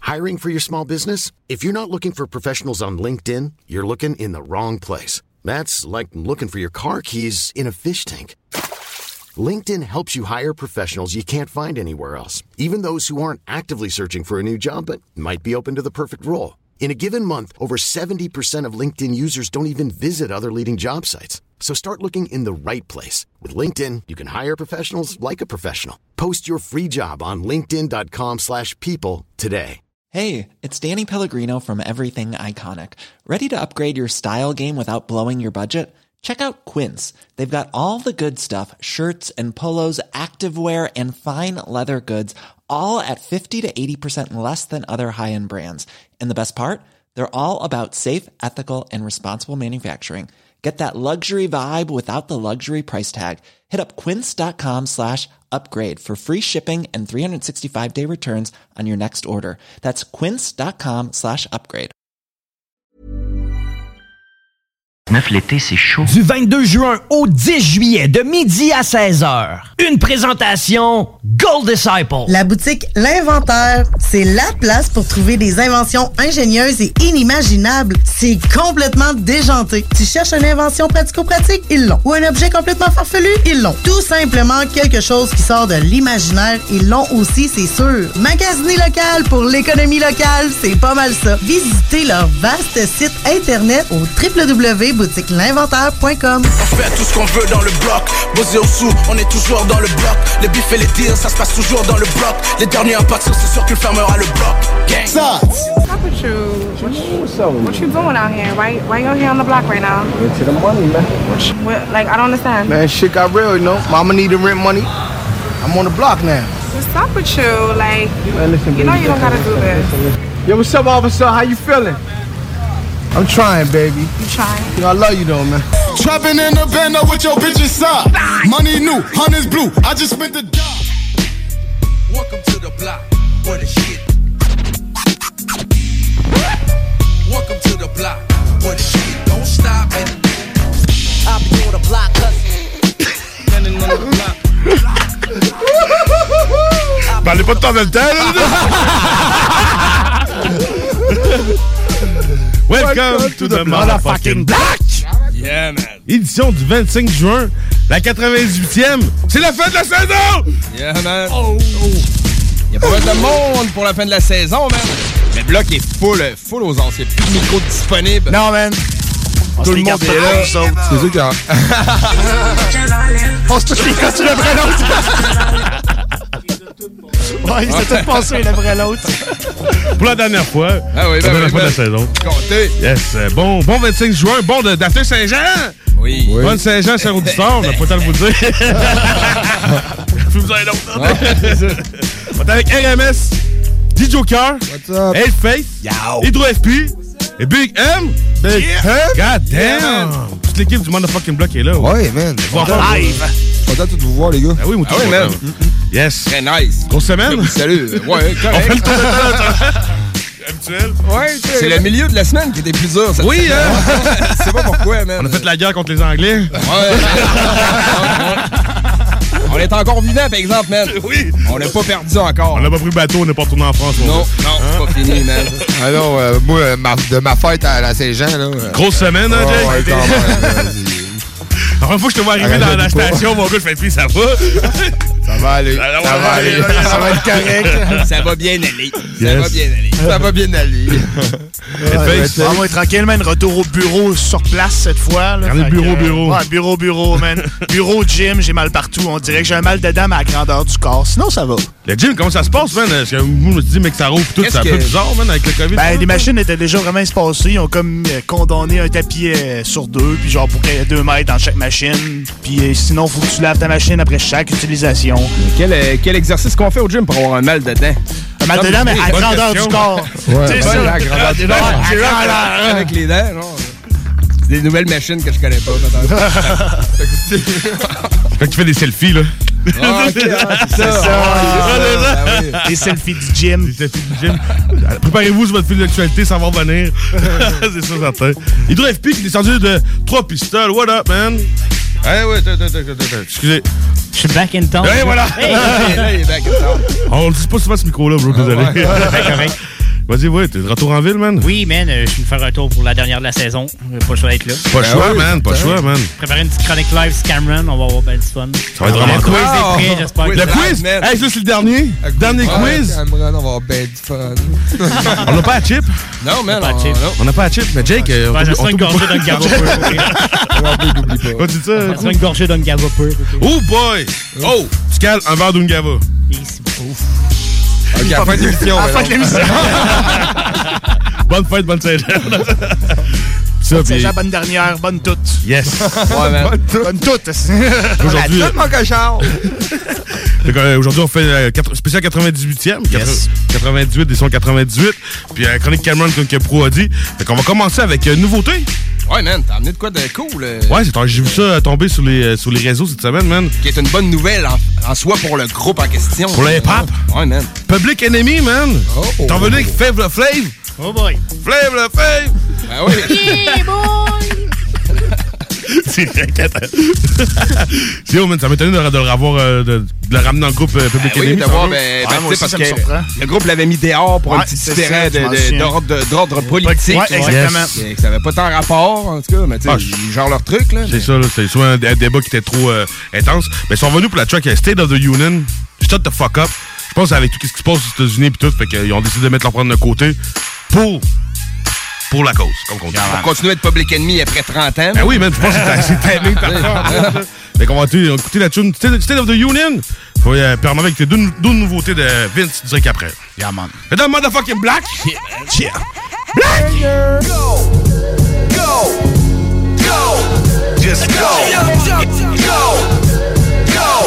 Hiring for your small business? If you're not looking for professionals on LinkedIn, you're looking in the wrong place. That's like looking for your car keys in a fish tank. LinkedIn helps you hire professionals you can't find anywhere else, even those who aren't actively searching for a new job but might be open to the perfect role. In a given month, over 70% of LinkedIn users don't even visit other leading job sites. So start looking in the right place. With LinkedIn, you can hire professionals like a professional. Post your free job on linkedin.com/people today. Hey, it's Danny Pellegrino from Everything Iconic. Ready to upgrade your style game without blowing your budget? Check out Quince. They've got all the good stuff, shirts and polos, activewear, and fine leather goods, all at 50 to 80% less than other high-end brands. And the best part? They're all about safe, ethical, and responsible manufacturing. Get that luxury vibe without the luxury price tag. Hit up quince.com/upgrade for free shipping and 365-day returns on your next order. That's quince.com/upgrade. L'été, c'est chaud. Du 22 juin au 10 juillet, de midi à 16h. Une présentation Gold Disciple. La boutique L'Inventaire, c'est la place pour trouver des inventions ingénieuses et inimaginables. C'est complètement déjanté. Tu cherches une invention pratico-pratique? Ils l'ont. Ou un objet complètement farfelu? Ils l'ont. Tout simplement quelque chose qui sort de l'imaginaire? Ils l'ont aussi, c'est sûr. Magasiner local pour l'économie locale, c'est pas mal ça. Visitez leur vaste site internet au www.boutiquelinventaire.com. On fait tout ce qu'on veut dans le bloc. Bosé au sous, on est toujours dans le bloc. Les bifs et les deals, ça se passe toujours dans le bloc. Les derniers à partir, c'est sûr que le fermera le bloc. Gang. What's up with you? What you doing out here? Why you here on the block right now? Into the money, man. I don't understand. Man, shit got real, you know. Mama need the rent money. I'm on the block now. What's up with you? Like, man, listen, you know you don't gotta do this. Yo, what's up, officer? How you feeling? I'm trying, baby. You trying? You know, I love you though, man. Trapping in the bando with your bitches up. Money new, hunters blue. I just spent the dime. Welcome to the block, where the shit. Welcome to the block, where the shit don't stop. I'll be on the block, Parlez pas de temps dans le temps, Welcome to the motherfucking block! Yeah, man. Édition du 25 juin, la 98e. C'est la fin de la saison! Yeah, man. Il y a pas mal de monde pour la fin de la saison, man. Mais le bloc est full aux ans. Il n'y a plus de micro disponible. Non, man. Tout le monde est là. C'est sûr que... On se touche les costumes l'un après l'autre. Ouais, ils s'est tous passés l'un après l'autre. Pour la dernière fois. Ah oui, la dernière fois de la saison. Comptez. Yes. Bon 25 juin. Bon d'after Saint-Jean. Oui. Bonne Saint-Jean, Saint-Audistor. On n'a pas le temps de vous le dire. Je vous en ai d'autres. On est avec RMS, D-Joker, Hellface, Hydro-FP et Big M. Big M? God damn! Toute l'équipe du motherfucking block est là. Ouais, man. Live! Content de vous voir, les gars. Ah oui, moi, ah oui, man. Yes. Très nice. Grosse semaine? Salut. Ouais, correct. On fait le tour de temps habituel. Ouais, c'est le milieu de la semaine qui était plus dur. Oui, hein? Je sais pas pourquoi, man. On a fait la guerre contre les Anglais. Ouais. On est encore vivant, par exemple, man. Oui. On n'a pas perdu encore. On n'a pas pris le bateau, on n'est pas retourné en France. Non, c'est pas fini, man. Ah non, moi, de ma fête à la Saint-Jean, là. Grosse semaine, hein, Jay? Ouais, quand même. La première fois que je te vois arriver dans la station, mon gars, je fais puis ça va. Ça va aller. Ça va aller. Ça va être correct. Ça va bien aller. Yes. Ça va bien aller. Ça va bien aller. On va être tranquille, man. Retour au bureau sur place cette fois. Là. Regardez, bureau. Ouais, bureau, man. Bureau, gym, j'ai mal partout. On dirait que j'ai un mal dedans, mais à la grandeur du corps. Sinon, ça va. Le gym, comment ça se passe, man? Parce que vous me dites, mais que ça rouvre tout, c'est un peu bizarre, man, avec le COVID. Ben, les machines étaient déjà vraiment espacées. Ils ont comme condamné un tapis sur deux, puis genre pour qu'il y ait 2 mètres dans chaque machine. Puis sinon, faut que tu laves ta machine après chaque utilisation. Quel exercice qu'on fait au gym pour avoir un mal dedans? Un mal dedans, mais à la grandeur du corps. Ouais, c'est ça. La grandeur du corps. Avec les dents, non? C'est des nouvelles machines que je connais pas, Quand tu fais des selfies, là. C'est ça. Des selfies du gym. Des selfies du gym. Préparez-vous sur votre fil d'actualité, ça va revenir. C'est ça, certain. Hydro-FP qui est descendu de 3 pistoles. What up, man? Ouais, excusez. Je suis back in town. Ouais, voilà. Là, il est back in town. On le dit pas souvent ce micro-là, bro, désolé. Correct. Vas-y, ouais, t'es de retour en ville, man? Oui, man, je suis faire un tour pour la dernière de la saison. Pas le choix d'être là. Pas le choix, man, pas le choix, man. Préparer une petite chronique live, Cameron, on va avoir ben du fun. Ça va être vraiment cool. Le quiz est prêt, j'espère. Le quiz? Hey, ça, c'est le dernier. Dernier quiz. Cameron, on va avoir ben du fun. On n'a pas à chip? Non, man, on n'a pas à chip. Mais Jake, ça sera une gorgée d'un gava pur. On dit ça? Ça sera une gorgée d'un gava pur. Oh boy! Oh! Tu cales un verre d'une gava. Ouf. Ok, à la fin de l'émission. Bonne fête, bonne Saint-Jean. Bonne Saint-Jean, bonne dernière, bonne toute. Yes. Ouais, man. Bonne toute. Aujourd'hui, mon cochon. Aujourd'hui, on fait spécial 98e. Yes. 98, des sons 98. Puis chronique Cameron, comme que Pro a dit. Fait qu'on va commencer avec une nouveauté. Ouais, man, t'as amené de quoi de cool. Ouais, j'ai vu ça tomber sur les réseaux cette semaine, man. Qui est une bonne nouvelle en soi pour le groupe en question. Pour le hip-hop. Ouais, man. Public Enemy, man. T'es revenu avec Fave le Flave. Oh boy. Flave le Fave. Ben oui. Yeah, boy. C'est haut, man. Ça m'étonne de le revoir, de le ramener dans le groupe Public Enemy. Oui, d'avoir, parce que le groupe l'avait mis dehors pour un petit différent d'ordre politique. Ouais, exactement. Ça n'avait pas tant rapport, en tout cas, mais tu sais, genre leur truc, là. C'est ça, là. C'est soit un débat qui était trop intense. Mais ils sont venus pour la track State of the Union. Shut the fuck up. Je pense avec tout ce qui se passe aux États-Unis et tout, fait qu'ils ont décidé de mettre leur prendre de côté pour la cause, comme qu'on dit. Pour continuer à être Public Enemy après 30 ans. Ben oui, man, je pense que c'est timé parfait. Fait qu'on va écouter la tune State of the Union. Faut permettre avec tes deux nouveautés de Vince direct après. Yeah, man. C'est dans motherfucking Black. Yeah. Black! Go! Go! Go! Just go! Go! Go!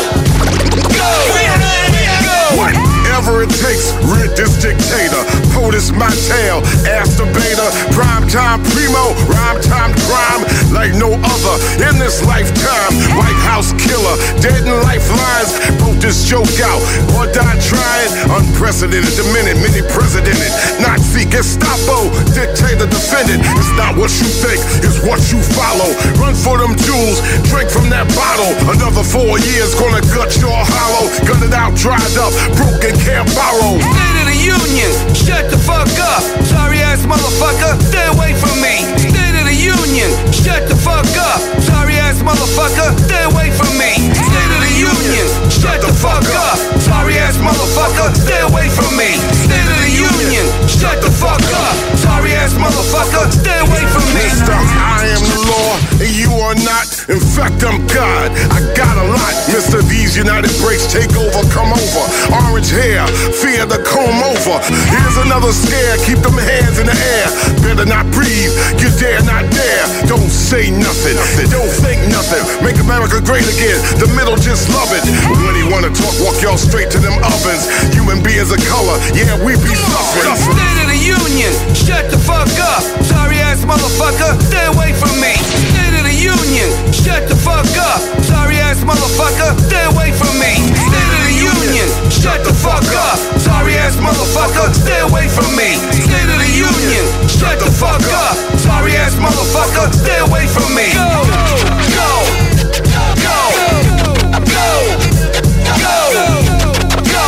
Whatever it takes, rid this dictator. POTUS my tail, ass the beta. Prime time primo, rhyme time crime like no other in this lifetime. White House killer, dead in lifelines. Broke this joke out or die trying. Unprecedented, the minute, many presidented. Nazi, Gestapo, dictator, defendant. It's not what you think, it's what you follow. Run for them jewels, drink from that bottle. Another 4 years, gonna gut your hollow. Gun it out, dried up, broken, can't borrow. State of the Union, shut the fuck up. Sorry ass motherfucker, stay away from me. State of the Union, shut the fuck up. Sorry ass motherfucker, stay away from me. State of the Union, shut the fuck up. Sorry ass motherfucker, stay away from me. State of the Union, shut the fuck up. Sorry ass motherfucker, stay away from me. I am the law and you are not. In fact, I'm God. I got a lot. Mr. These United Breaks take over, come over. Orange hair, fear the comb over. Here's another scare, keep them hands in the air. Better not breathe, you dare not dare. Don't say nothing, don't think nothing. Make America great again, the middle just love it. When he wanna talk, walk y'all straight to them ovens. Human beings of color, yeah, we be suffering. State of the Union, shut the fuck up. Sorry ass motherfucker, stay away from me. State of the Union, shut the fuck up. Sorry ass motherfucker, stay away from me. State of the Union, shut the fuck up. Sorry ass motherfucker, stay away from me. State of the Union, shut the fuck up. Sorry ass motherfucker, stay away from me. Go, go, go, go, go, go, go,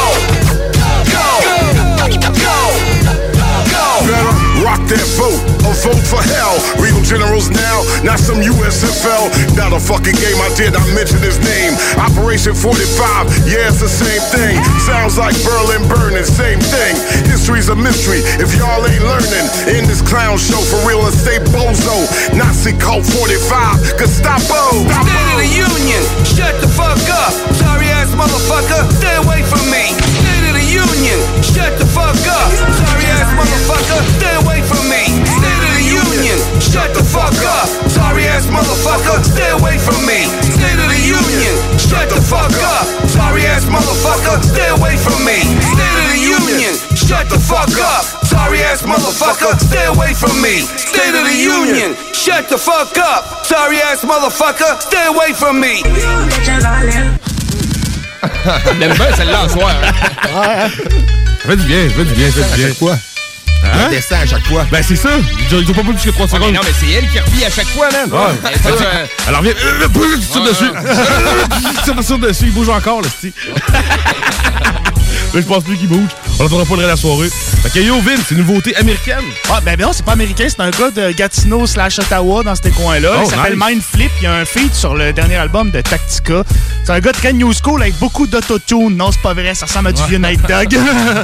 go. Better rock that vote or vote for hell. Real generals now, not some USFL. Not a fucking game, I did not mention his name. Operation 45, yeah, it's the same thing. Sounds like Berlin burning, same thing. History's a mystery if y'all ain't learning. In this clown show for real estate bozo. Nazi cult 45, Gestapo. State of the Union, shut the fuck up. Sorry ass motherfucker, stay away from me. State of the Union, shut the fuck up. Sorry ass motherfucker, stay away from me. State of the Union, shut the fuck up. Sorry ass motherfucker, stay away from me. State of the Union, shut the fuck up. Sorry ass motherfucker, stay away from me. State of the Union, shut the fuck up. Sorry ass motherfucker, stay away from me. State of the Union, shut the fuck up. Sorry ass motherfucker, stay away from me. J'aime bien celle-là en soir. Ça fait du bien, ça fait du bien, ça fait du bien. Quoi? Hein? Elle descend à chaque fois. Ben c'est ça. Ils ont pas plus que 3 secondes. Non, mais c'est elle qui revit à chaque fois, man. Ouais. Alors viens, tu tires dessus. Tu tires dessus, il bouge encore, le style. Là, je pense plus qu'il bouge. On n'entendra pas le reste de la soirée. Fait que yo, Vince, c'est une nouveauté américaine. Ah, ben non, c'est pas américain. C'est un gars de Gatineau/Ottawa dans ces coins-là. Oh, il s'appelle nice. Mindflip. Il y a un feat sur le dernier album de Tactica. C'est un gars très new school avec beaucoup d'autotune. Non, c'est pas vrai. Ça ressemble à du vieux Night Dog.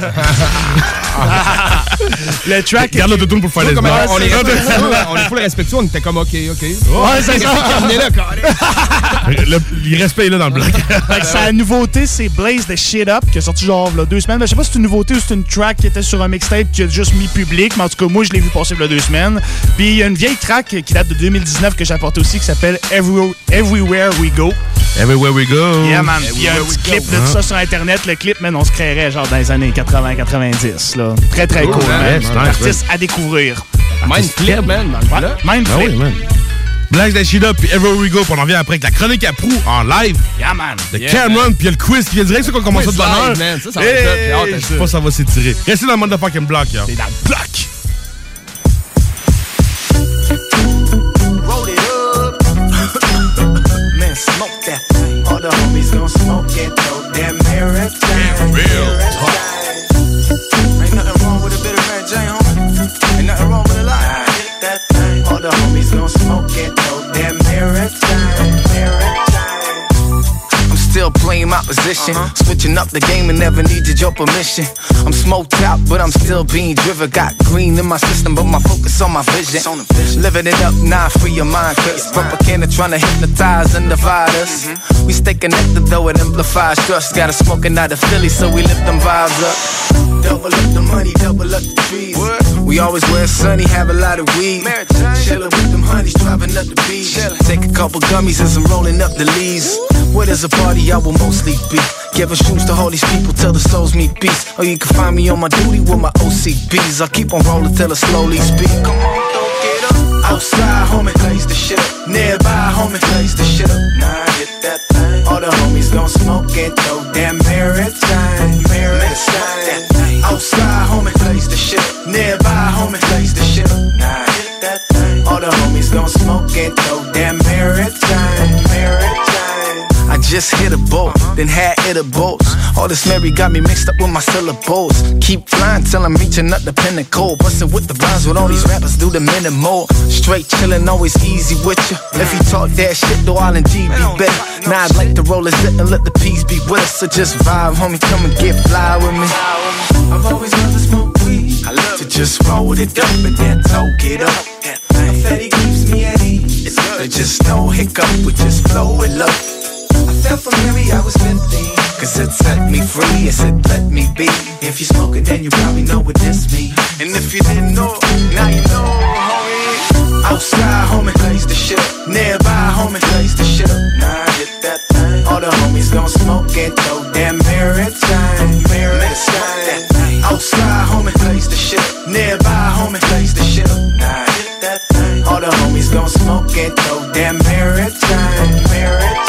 Le track... Garde l'autotune pour faire les on est full respectueux. On était comme OK. Ouais, c'est ça. On est là, quand Il respect est là dans le bloc. Sa nouveauté, c'est Blaze the Shit Up, qui est sorti genre là, 2 semaines. Ben, je sais pas si c'est une nouveauté ou c'est une track qui était sur un mixtape qui a juste mis public, mais en tout cas, moi, je l'ai vu passer il y a 2 semaines. Puis il y a une vieille track qui date de 2019 que j'ai apportée aussi qui s'appelle Everywhere We Go. Everywhere We Go. Yeah, man. Il y a un petit clip de tout ça sur Internet. Le clip, man, on se créerait genre dans les années 80-90. Là. Très, très cool. C'est un artiste à découvrir. Mindflip, man. Mindflip. Blaze the Shit Up puis Everywhere We Go. Puis on en vient après avec la chronique à Prou en live. Yeah, man. De Cameron, puis il y a le quiz qui vient direct, c'est qu'on commence ça de bonne heure. Ça va être je sais pas si ça va s'étirer. Restez dans le motherfucking block, là. C'est dans le bloc. Roll it up. Man, smoke that thing. All the homies gon' smoke it, though. Damn marathon. Real talk. Ain't nothing wrong with a bit of Red J, homie. Ain't nothing wrong with a lie. Hit that thing. All the homies gon' smoke it, though. Damn marathon. I'm still playing my position. Switching up the game and never needed your permission. I'm smoked out, but I'm still being driven. Got green in my system, but my focus on my vision. Living it up now, free your mind, cause propaganda trying to hypnotize and divide us. We stay connected though, it amplifies trust. Got a smoking out of Philly, so we lift them vibes up. Double up the money, double up the trees. We always wear sunny, have a lot of weed. Chillin' with them honeys, driving up the beach. Take a couple gummies and some rolling up the leaves. Where there's a party, I will mostly be. Giving shoes to all these people till the souls meet peace. Or you can find me on my duty with my OCBs. I keep on rolling till I slowly speak. Come on, don't get up. Outside, homie, blaze the shit up. Nearby, homie, blaze the shit up. Nah, hit that thing. All the homies gon' smoke it, though. Damn marathon, marathon. Outside, homie, blaze the shit up. Nearby, homie, blaze the shit up. Nah, hit that thing. All the homies gon' smoke it, though. Damn marathon, marathon. I just hit a boat, then had it a boat. All this Mary got me mixed up with my syllables. Keep flying till I'm reaching up the pinnacle. Bustin' with the rhymes with all these rappers, do the minimal. Straight chillin', always easy with ya. If you talk that shit, though, I'll indeed be better. Now I'd like to roll a zit and let the peace be with us. So just vibe, homie, come and get fly with me. I've always loved to smoke weed. I love to just roll it up and then toke it up. That fatty keeps me at ease. It's good. Just no hiccup, we just flow it up. I felt from Mary, I was 15. Cause it set me free, it said let me be. If you smoking, then you probably know what this means. And if you didn't know, now you know, homie. Outside, homie, blaze the shit up. Nearby, homie, blaze the shit up. Nah, hit that thing. All the homies gon' smoke it, though. Damn marathon, marathon. Outside, homie, blaze the shit up. Nearby, homie, blaze the shit up. Nah, hit that thing. All the homies gon' smoke it, though. Damn marathon, marathon.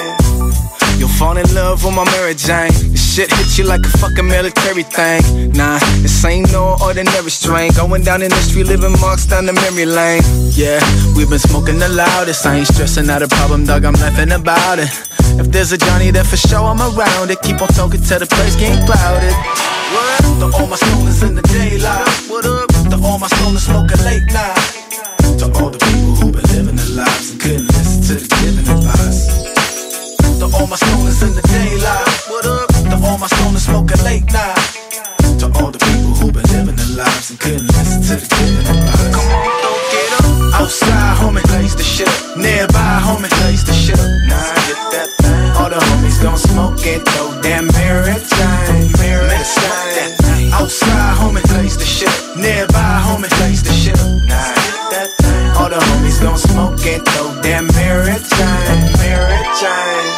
You'll fall in love with my Mary Jane. This shit hits you like a fucking military thing. Nah, this ain't no ordinary strain. Going down in the street, living marks down the memory lane. Yeah, we've been smoking the loudest. I ain't stressing out a problem, dog, I'm laughing about it. If there's a Johnny there for sure, I'm around it. Keep on talking till the place get clouded. What up? To all my stoners in the daylight. What up? To all my stoners smoking late night. To all the people who been living their lives and couldn't listen to the giving advice. To all my stoners in the daylight. What up? To all my stoners smoking late night. To all the people who been living their lives and couldn't listen to the giving advice. Come on, don't get up. Outside, homie, blaze the shit up. Nearby, homie, blaze the shit up. Nah, get that thing. All the homies gon' smoke it, though. Damn marathon, marathon. Outside, homie, blaze the shit up. Nearby, homie, blaze the shit up. Nah, get that thing. All the homies gon' smoke it, though. Damn marathon, marathon.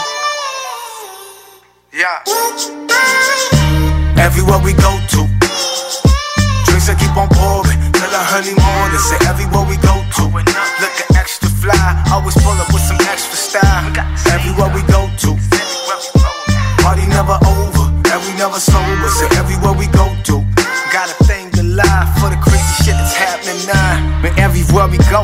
Yeah. Everywhere we go to, drinks that keep on pouring till the early morning. Say everywhere we go to, looking extra fly, always pull up with some extra style. Everywhere we go to, party never over, and we never sober. Say everywhere we go to, got a thing to lie for the crazy shit that's happening now. Man, everywhere we go,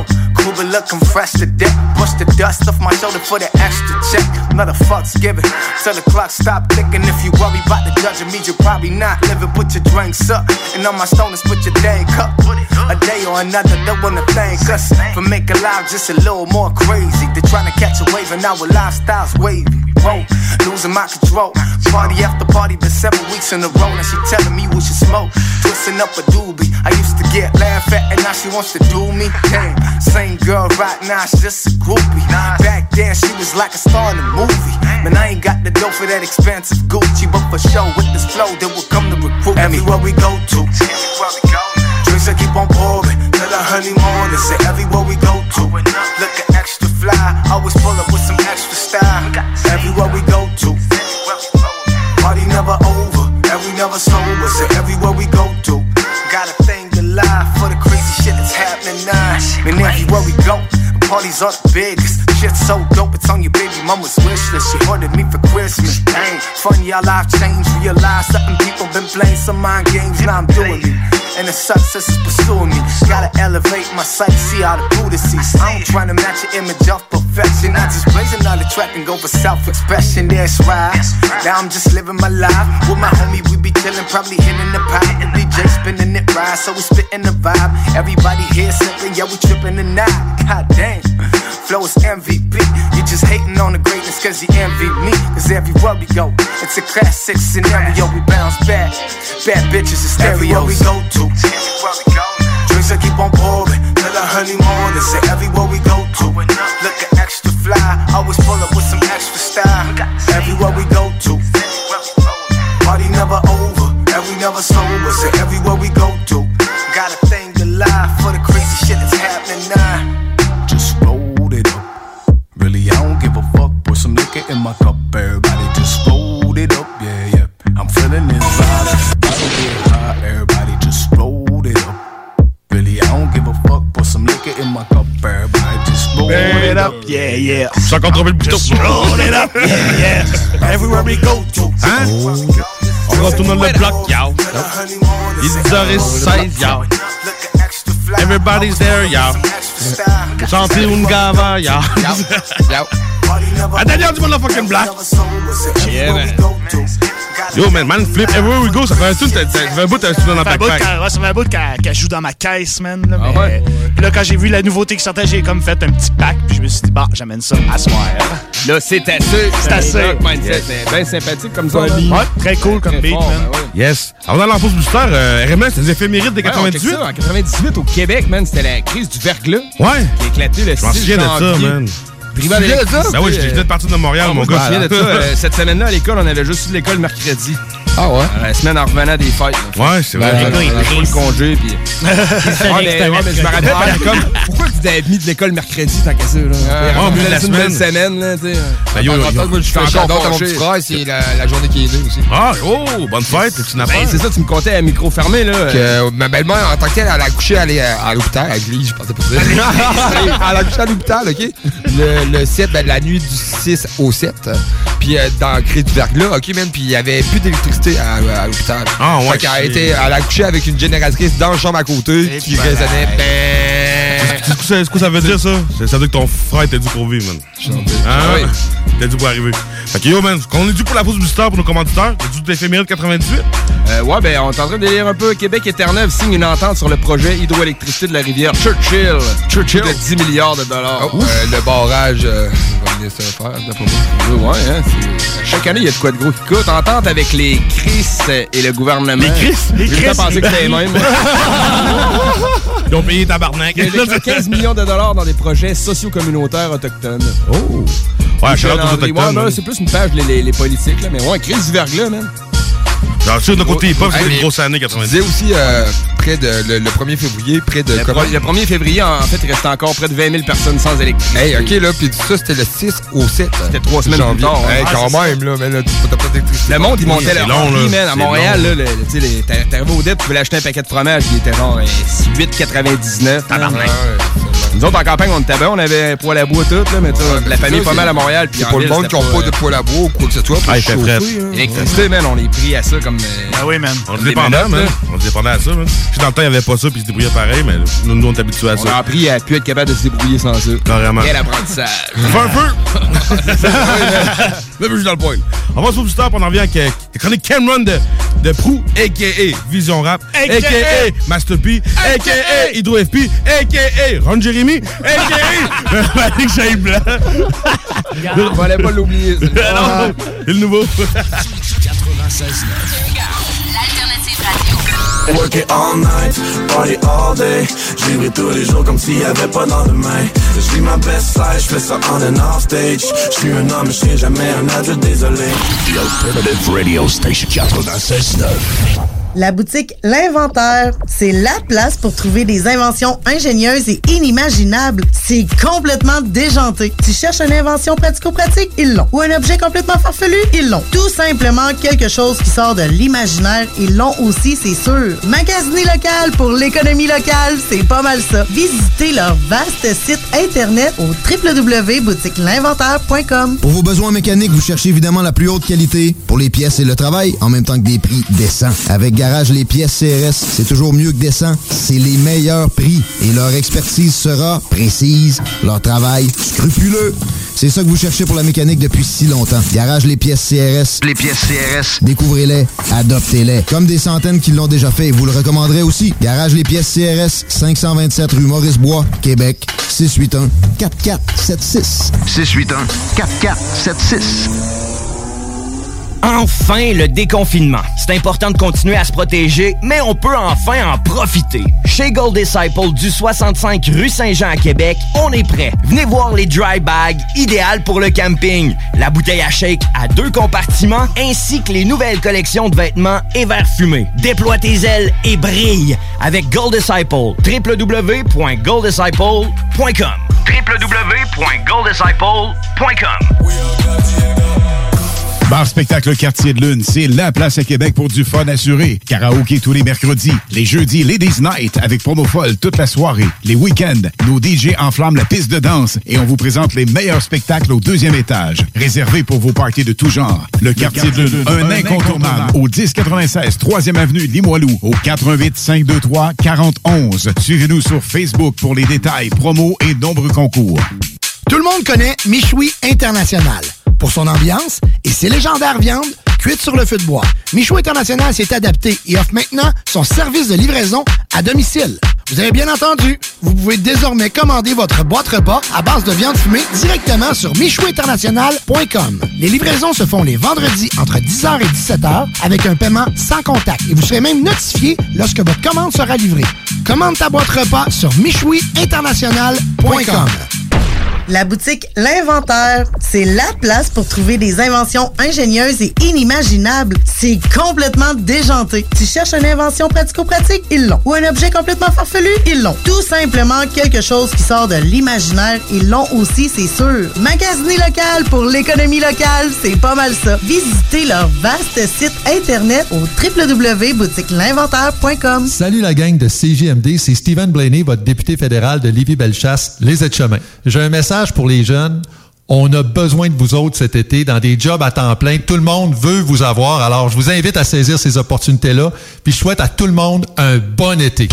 Cuba looking fresh to death. Brush the dust off my shoulder for the extra check. Not a fuck's given till the clock stop ticking. If you worry about the judge, it means you're probably not living. Put your drinks up, and on my stoners, put your dang cup. A day or another, don't wanna thank us for making life just a little more crazy. They're trying to catch a wave, and our lifestyle's wavy. Whoa, losing my control. Party after party, been 7 weeks in a row. Now she telling me we should smoke, twisting up a doobie. I used to get laughed at, and now she wants to do me. Damn, same girl right now, she's just a groupie. Back then, she was like a star in a movie. Man, I ain't got the dough for that expensive Gucci, but for sure, with this flow, they will come to recruit me. Everywhere we go to, drinks I keep on pouring till the honey morning. Say everywhere we go to, looking extra fly, always pull up with some extra style. Everywhere we go to, party never over, and we never sober. Say everywhere we go to, got a thing to lie for the crazy shit that's happening now. Man, everywhere we go, parties are the biggest. Shit's so dope, it's on your baby mama's wish list. She ordered me for Christmas. Dang, funny how life changed. Realize something people been playing some mind games. Now I'm doing it, and the success is pursuing me. Gotta elevate my sight, see how the Buddha sees. I ain't trying to match your image of perfection. I just blazing on the track and go for self-expression. That's right. Now I'm just living my life with my homie. We be chilling, probably hitting the pipe. The DJ spinning it right, so we spitting the vibe. Everybody here sipping, yeah, we tripping tonight. God damn, flow is MVP. You just hating on the greatness cause you envy me. Cause everywhere we go, it's a classic scenario. We bounce back, bad bitches is stereo. Everywhere we go to, drinks I keep on pouring till the honey morning. Say everywhere we go to, looking extra fly, always pull up with some extra style. Everywhere we go to, party never over, and we never sober. Say everywhere we go to, got a thing to lie for the crazy shit that's happening now. Just roll it up. Really, I don't give a fuck. Put some liquor in my cup. Everybody just roll it up. Yeah, yeah. I'm feeling this vibe. Everybody get high. Everybody just roll it up. Really, I don't give a fuck. Put some liquor in my cup. Everybody just roll it up. Yeah, yeah. J'ai encore trouvé le bouton. Just roll it up. Yeah, yeah. Everywhere we go to. Hein? On retourne dans le bloc, yo. Il est 10h16, yo. Everybody's there, yo. Chanter Ungava, yo. La dernière du motherfucking black. Yeah, man. Yo, man, flip everywhere we go. Ça fait un bout, t'as un dans ta backpack. Ça fait un bout qu'elle joue dans ma caisse, man. Là, mais, ouais. Puis là, quand j'ai vu la nouveauté qui sortait, j'ai comme fait un petit pack. Puis je me suis dit, bah, j'amène ça à soir. Là, c'est assez. C'est assez. Mindset, bien sympathique comme ça. Ouais, très cool comme beat, man. Ouais. Yes. Alors, dans l'enfance booster, RMS, les éphémérides de 98. En 98, au Québec, man, c'était la crise du verglas. Ouais. Qui a éclaté le 6 janvier. Je m'en souviens de ça, man. Privé de ça? Ben oui, je venais de partir de Montréal, mon gars. Je me souviens de ça. Cette semaine-là, à l'école, on avait juste eu l'école mercredi. Ah ouais? La semaine en revenant des fêtes. Ouais, c'est vrai. On a pris le congé, puis... mais je me rappelle, comme, pourquoi tu t'avais mis de l'école mercredi, tant qu'à ça, là? On a la semaine, là, tu sais. Moi, je fais un cadeau à mon petit frère, c'est la journée qui est née aussi. Ah, oh, bonne fête, c'est une affaire. C'est ça, tu me comptais à micro fermé, là. Que ma belle-mère, en tant que telle, elle a accouché à l'hôpital, à l'église, je pensais pas dire. Elle a accouché à l'hôpital, OK? Le 7, la nuit du 6 au 7. Puis dans le cré du verglas, OK, man, puis il y avait plus d'électricité à l'hôpital. Ah, ouais. Elle a accouché avec une génératrice dans la chambre à côté qui résonnait. C'est quoi ça veut dire, ça? Ça veut dire que ton frère t'a dû pour vivre, man. Oui. T'as dû pour arriver. Fait que yo, man, on est dû pour la pause booster pour nos commanditaires. T'as dû d'éphéméride 98? Ouais, ben, on est en train de lire un peu. Québec et Terre-Neuve signe une entente sur le projet hydroélectricité de la rivière Churchill. De 10 milliards de dollars. Le barrage va venir se faire, d'après moi. Ouais, hein. Chaque année, il y a de quoi de gros qui coûte. Entente avec les CRIS et le gouvernement. Les CRIS? J'ai pensé que c'était les mêmes. Ils ont payé tabarnak. Il y a 15 millions de dollars dans des projets socio-communautaires autochtones. Oh! Ouais, je suis aux autochtones. Ouais, c'est plus une page, les politiques, là. Mais ouais, crise du verglas, man. Genre, sûr, de côté hip-hop, c'était une grosse année 90. Tu disais aussi, près de le 1er février, près de... Le 1er février, en fait, il restait encore près de 20 000 personnes sans électricité. Hey, OK, là, puis ça, c'était le 6 au 7. C'était 3 semaines plus tard. Hey, quand même, là, mais là, t'as pas d'électricité. Le monde, il montait leur prix, man. À Montréal, là, tu sais, t'arrivais au dette, tu voulais acheter un paquet de fromage, il était genre 8,99. Tabarnak. Nous autres, en campagne, on était bien, on avait un poêle à bois tout, là, mais la famille est pas mal à Montréal. C'est pour le monde qui n'a pas de poêle à bois ou quoi que ce soit. Ah, il fait frais. L'électricité, man, on est pris à ça comme. Ah oui, man. On est dépendant, man. On est dépendant à ça, man. Puis dans le temps, il n'y avait pas ça, puis ils se débrouillaient pareil, mais nous, on est habitués à ça. On a appris à plus être capable de se débrouiller sans ça. Carrément. Quel apprentissage. Fais un feu! Là, je suis dans le point. On va sur le stop, on en revient avec la chronique Cameron de Prou, a.k.a. Vision Rap, a.k.a. Master P, a.k.a. Hydro FP, a.k.a. Ron Jérémy, a.k.a. Malik Jaïb Blanc. On fallait pas l'oublier. Non, c'est le nouveau. 96.9. L'alternative radio. Work it all night, party all day. Je vivrai tous les jours comme s'il n'y avait pas de lendemain. Je vis ma best life, je fais ça on and off stage. Je suis un homme, je serai jamais un adulte, désolé. The Alternative Radio Station 96.9. La boutique L'Inventaire, c'est la place pour trouver des inventions ingénieuses et inimaginables. C'est complètement déjanté. Tu cherches une invention pratico-pratique? Ils l'ont. Ou un objet complètement farfelu? Ils l'ont. Tout simplement quelque chose qui sort de l'imaginaire. Ils l'ont aussi, c'est sûr. Magasiner local pour l'économie locale, c'est pas mal ça. Visitez leur vaste site internet au www.boutiquelinventaire.com. Pour vos besoins mécaniques, vous cherchez évidemment la plus haute qualité pour les pièces et le travail, en même temps que des prix décents. Avec Garage Les Pièces CRS, c'est toujours mieux que décent. C'est les meilleurs prix et leur expertise sera précise, leur travail scrupuleux. C'est ça que vous cherchez pour la mécanique depuis si longtemps. Garage Les Pièces CRS. Les pièces CRS. Découvrez-les, adoptez-les. Comme des centaines qui l'ont déjà fait et vous le recommanderez aussi. Garage Les Pièces CRS, 527 rue Maurice-Bois, Québec, 681-4476. 681-4476. Enfin, le déconfinement. C'est important de continuer à se protéger, mais on peut enfin en profiter. Chez Gold Disciple du 65 rue Saint-Jean à Québec, on est prêt. Venez voir les dry bags, idéales pour le camping, la bouteille à shake à 2 compartiments, ainsi que les nouvelles collections de vêtements et verres fumés. Déploie tes ailes et brille avec Gold Disciple. www.golddisciple.com www.golddisciple.com. Bar Spectacle Quartier de Lune, c'est la place à Québec pour du fun assuré. Karaoké tous les mercredis. Les jeudis, Ladies Night avec promo folle toute la soirée. Les week-ends, nos DJ enflamment la piste de danse et on vous présente les meilleurs spectacles au 2e étage. Réservé pour vos parties de tout genre. Le Quartier de Lune, un incontournable. Au 1096 3e avenue Limoilou, au 418-523-4011. Suivez-nous sur Facebook pour les détails, promos et nombreux concours. Tout le monde connaît Michoui International. Pour son ambiance et ses légendaires viandes cuites sur le feu de bois. Michoui International s'est adapté et offre maintenant son service de livraison à domicile. Vous avez bien entendu, vous pouvez désormais commander votre boîte repas à base de viande fumée directement sur michouinternational.com. Les livraisons se font les vendredis entre 10h et 17h avec un paiement sans contact et vous serez même notifié lorsque votre commande sera livrée. Commande ta boîte repas sur michouinternational.com. La boutique L'Inventaire, c'est la place pour trouver des inventions ingénieuses et inimaginables. C'est complètement déjanté. Tu cherches une invention pratico-pratique? Ils l'ont. Ou un objet complètement farfelu? Ils l'ont. Tout simplement quelque chose qui sort de l'imaginaire. Ils l'ont aussi, c'est sûr. Magasiner local pour l'économie locale, c'est pas mal ça. Visitez leur vaste site internet au www.boutiquelinventaire.com. Salut la gang de CJMD, c'est Stephen Blaney, votre député fédéral de Lévis-Bellechasse, les Aides-Chemins. J'ai un message pour les jeunes. On a besoin de vous autres cet été dans des jobs à temps plein. Tout le monde veut vous avoir. Alors, je vous invite à saisir ces opportunités-là. Puis, je souhaite à tout le monde un bon été.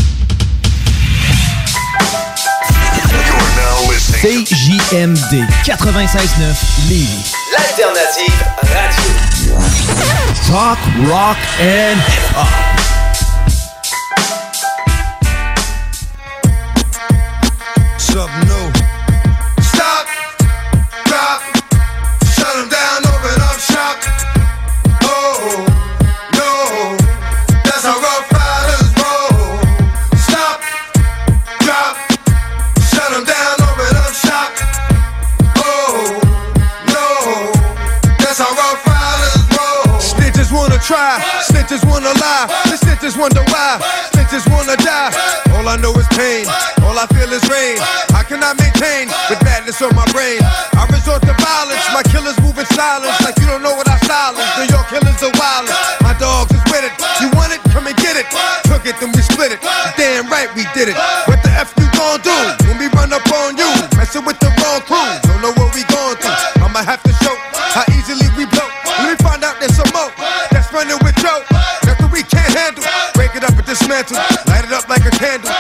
CJMD 96.9 Lévis. L'alternative radio. Talk, rock and hip-hop. Something new. Stop, drop, shut them down, open up shop. Oh, no, that's how Rough Riders roll. Stop, drop, shut them down, open up shop. Oh, no, that's how Rough Riders roll. Snitches wanna try, snitches wanna lie, the snitches wonder why, snitches wanna die. All I know is pain, all I feel is rain. How can I maintain with badness on my brain? I resort to violence, my killers move in silence like you don't know what I silence. New York killers are wild. My dogs is with it. You want it? Come and get it. Took it, then we split it. Damn right we did it. What the F you gon' do when we run up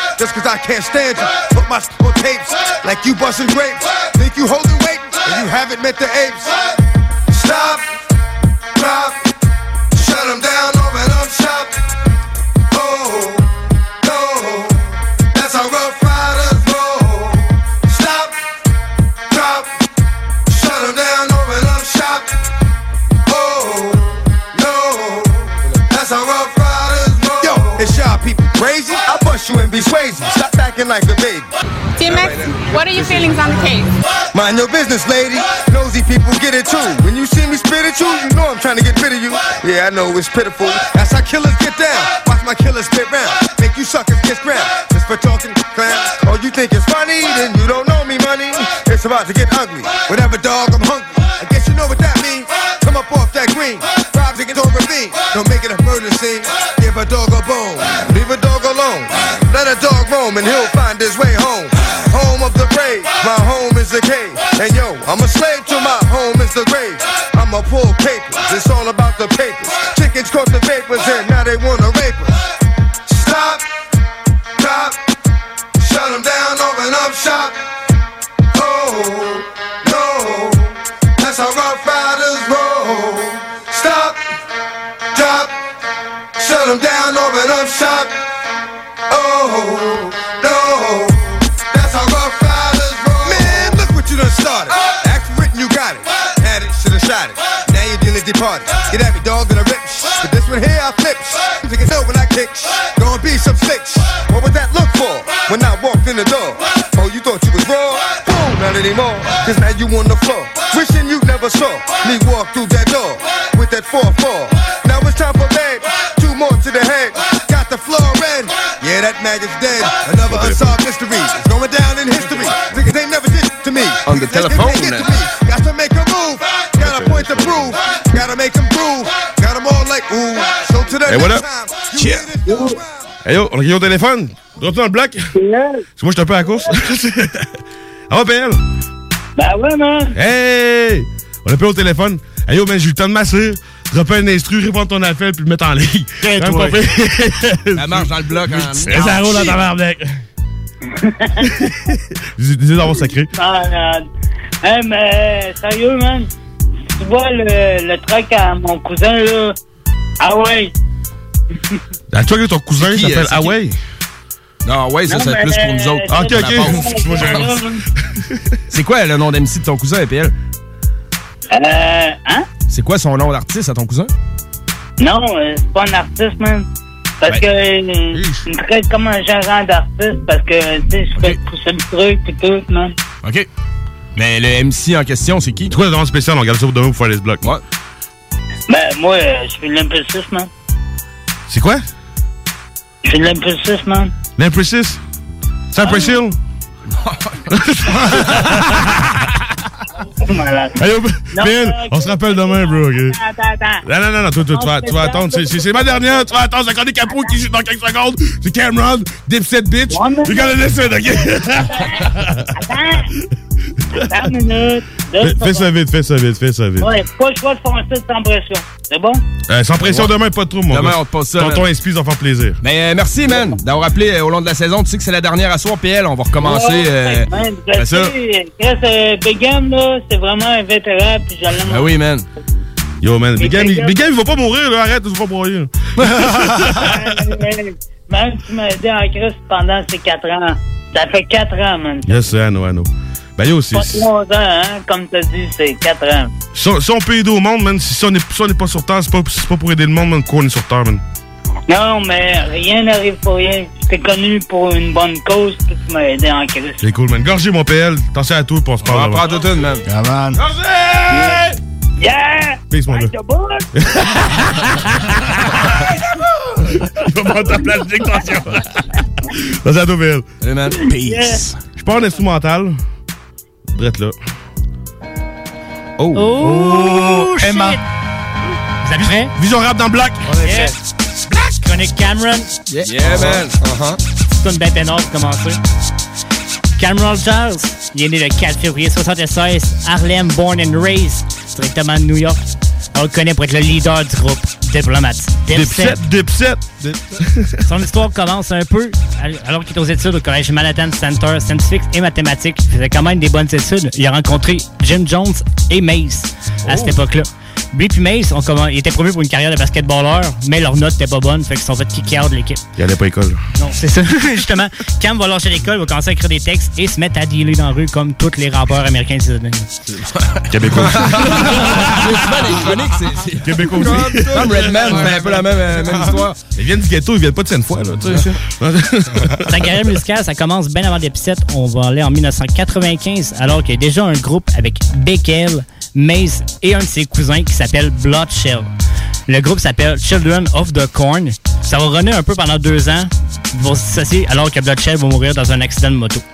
just cause I can't stand you. Put my on tapes like you busting grapes. Think you holding weight and you haven't met the apes. Stop, drop, shut them down, open up shop. Oh, no, that's how Rough Riders roll. Stop, drop, shut them down, open up shop. Oh, no, that's how Rough Riders roll. Yo, it's y'all people crazy? I bust you and be crazy. Stop acting like a baby. T-Max, what are your feelings on the case? Mind your business, lady. Nosy people get it too. When you see me spit at you, you know I'm trying to get rid of you. Yeah, I know it's pitiful. That's how killers get down. Watch my killers spit round. Make you suckers kiss ground. Just for talking clowns. Oh, you think it's funny? Then you don't know me, money. It's about to get ugly. Whatever, dog, I'm hungry. I guess you know what that means. Come up off that green. Rob niggas don't ravine. Don't make it a murder scene. Give a dog a bone. Leave a dog alone. Let a dog roam and he'll find his way home. Home of the brave, my home is the cave. And yo, I'm a slave to my home is the grave. I'ma pull papers, it's all about the papers. Chickens caught the vapors and now they wanna rape us. Stop, drop, shut them down, open up shop. Oh, no, that's how Rough Riders roll. Stop, drop, shut them down, open up shop. Oh, no. Started. Act for it and you got it. Had it, should've shot it. Now your dealer's departed. Get at me, dog, and I rip. But this one here, I flip. You can know when I kick. Gonna be some slicks. What would that look for when I walked in the door? Oh, you thought you was raw? Boom, not anymore. Cause now you on the floor. Wishing you never saw me walk through that door with that 4-4. Now it's time for bed. 2 more to the head. Got the floor red. Yeah, that maggot's dead. Another unsolved mystery. It's going down in history. Niggas ain't never did to me. On the telephone now. Got to make a move. Got a point to prove. Gotta make them prove. Got them all like ooh. So to the hey, what up? Yeah. Hey yo, on a gagné au téléphone. Drop-toi dans le bloc. Parce que moi, je suis un peu à la course. Ah ouais, PL? Ben ouais, man. Hey! On a payé au téléphone. Hey yo, man, j'ai eu le temps de m'asseoir. Dropper un instru, répondre ton appel, puis le mettre en ligne. Ça marche dans le bloc. Ça roule dans ta barbec. Disais d'avoir sacré. Hey, mais sérieux, man. Tu vois le truck à mon cousin, là. Ah ouais. La truck de ton cousin s'appelle Huawei? Non, ouais, ça c'est plus pour nous autres. Ah, ok. C'est quoi le nom d'MC de ton cousin, EPL? Hein? C'est quoi son nom d'artiste à ton cousin? Non, c'est pas un artiste, man. Parce que il me traite comme un gérant d'artiste parce que, tu sais, je fais pousser le truc pis tout, man. OK. Mais le MC en question, c'est qui? C'est quoi le nom spécial? On regarde ça pour demain pour faire les blocs. Ouais. Ben, moi, je fais de l'impulsif, man. C'est quoi? Je fais de l'impulsif, man. L'impulsif? C'est un précile? Hey, Ben, on se rappelle demain, bro, ok? Attends. Non, tu vas attendre. C'est ma dernière, tu vas attendre. C'est encore des capots qui jouent dans quelques secondes. C'est Cameron, Dipset Bitch. You gotta listen, ok? Attends une minute. Fais ça vite. Ouais, pas le choix de foncer sans pression. C'est bon? Sans pression, demain, pas de trouble, mon gars. Demain, on te passe ça. Tonton SP, ça va faire plaisir. Mais merci, man, d'avoir appelé au long de la saison. Tu sais que c'est la dernière à soir, PL. On va recommencer. Ouais, ça. Big Game, là, c'est vraiment un vétéran, puis je l'aime. Ah oui, man. Yo, man. Big Game, il va pas mourir, là. Arrête, tu vas pas broyer. Même si tu m'as aidé en crise pendant ces 4 ans. Ça fait 4 ans, man. Yes, I know. Ben yo, c'est... Pas 3 ans, hein, comme t'as dit, c'est 4 ans. Si on peut aider au monde, man, si on n'est pas sur Terre, c'est pas pour aider le monde, man, qu'on est sur Terre, man. Non, mais rien n'arrive pour rien. Je t'ai connu pour une bonne cause, puis tu m'as aidé en crise. C'est cool, man. Gorgé, mon PL. Attention à tout, puis on se parle. On va prendre toute une, man. Yeah, man. Gorgé! Yeah! Peace, mon gars. Il va prendre ta plastique, attention. Attention à tout, PL. Salut, man. Peace. Je pars en instrumental. Drette là. Oh, Emma. Shit. Vous êtes prêts? Vision rap dans le bloc. On est prêts. Chronique Cameron. Yeah, man. C'est une belle pénale pour commencer. Cameron Charles, il est né le 4 février 1976. Harlem, born and raised. Directement de New York. On le connaît pour être le leader du groupe Diplomate. Dipset. Son histoire commence un peu alors qu'il est aux études au collège Manhattan Center Scientifique et Mathématiques. Il faisait quand même des bonnes études. Il a rencontré Jim Jones et Mace à cette époque-là. Lui et Mace, ils étaient promus pour une carrière de basketballeur, mais leurs notes n'étaient pas bonnes, fait qu'ils sont fait kick out de l'équipe. Il allait pas à l'école. Non, c'est ça. Justement, Cam va lâcher l'école, va commencer à écrire des textes et se mettre à dealer dans la rue comme tous les rappeurs américains des États-Unis. Québécois aussi. Les chroniques, c'est Québécois aussi. Comme Redman, c'est un peu la même histoire. Ils viennent du ghetto, ils viennent pas de Sainte-Foy, là. Sa carrière musicale, ça commence bien avant Dipset. On va aller en 1995, alors qu'il y a déjà un groupe avec Beckel, Mace et un de ses cousins qui s'appelle Bloodshell. Le groupe s'appelle Children of the Corn. Ça va runner un peu pendant 2 ans. Ils vont se dissocier alors que Bloodshell va mourir dans un accident de moto.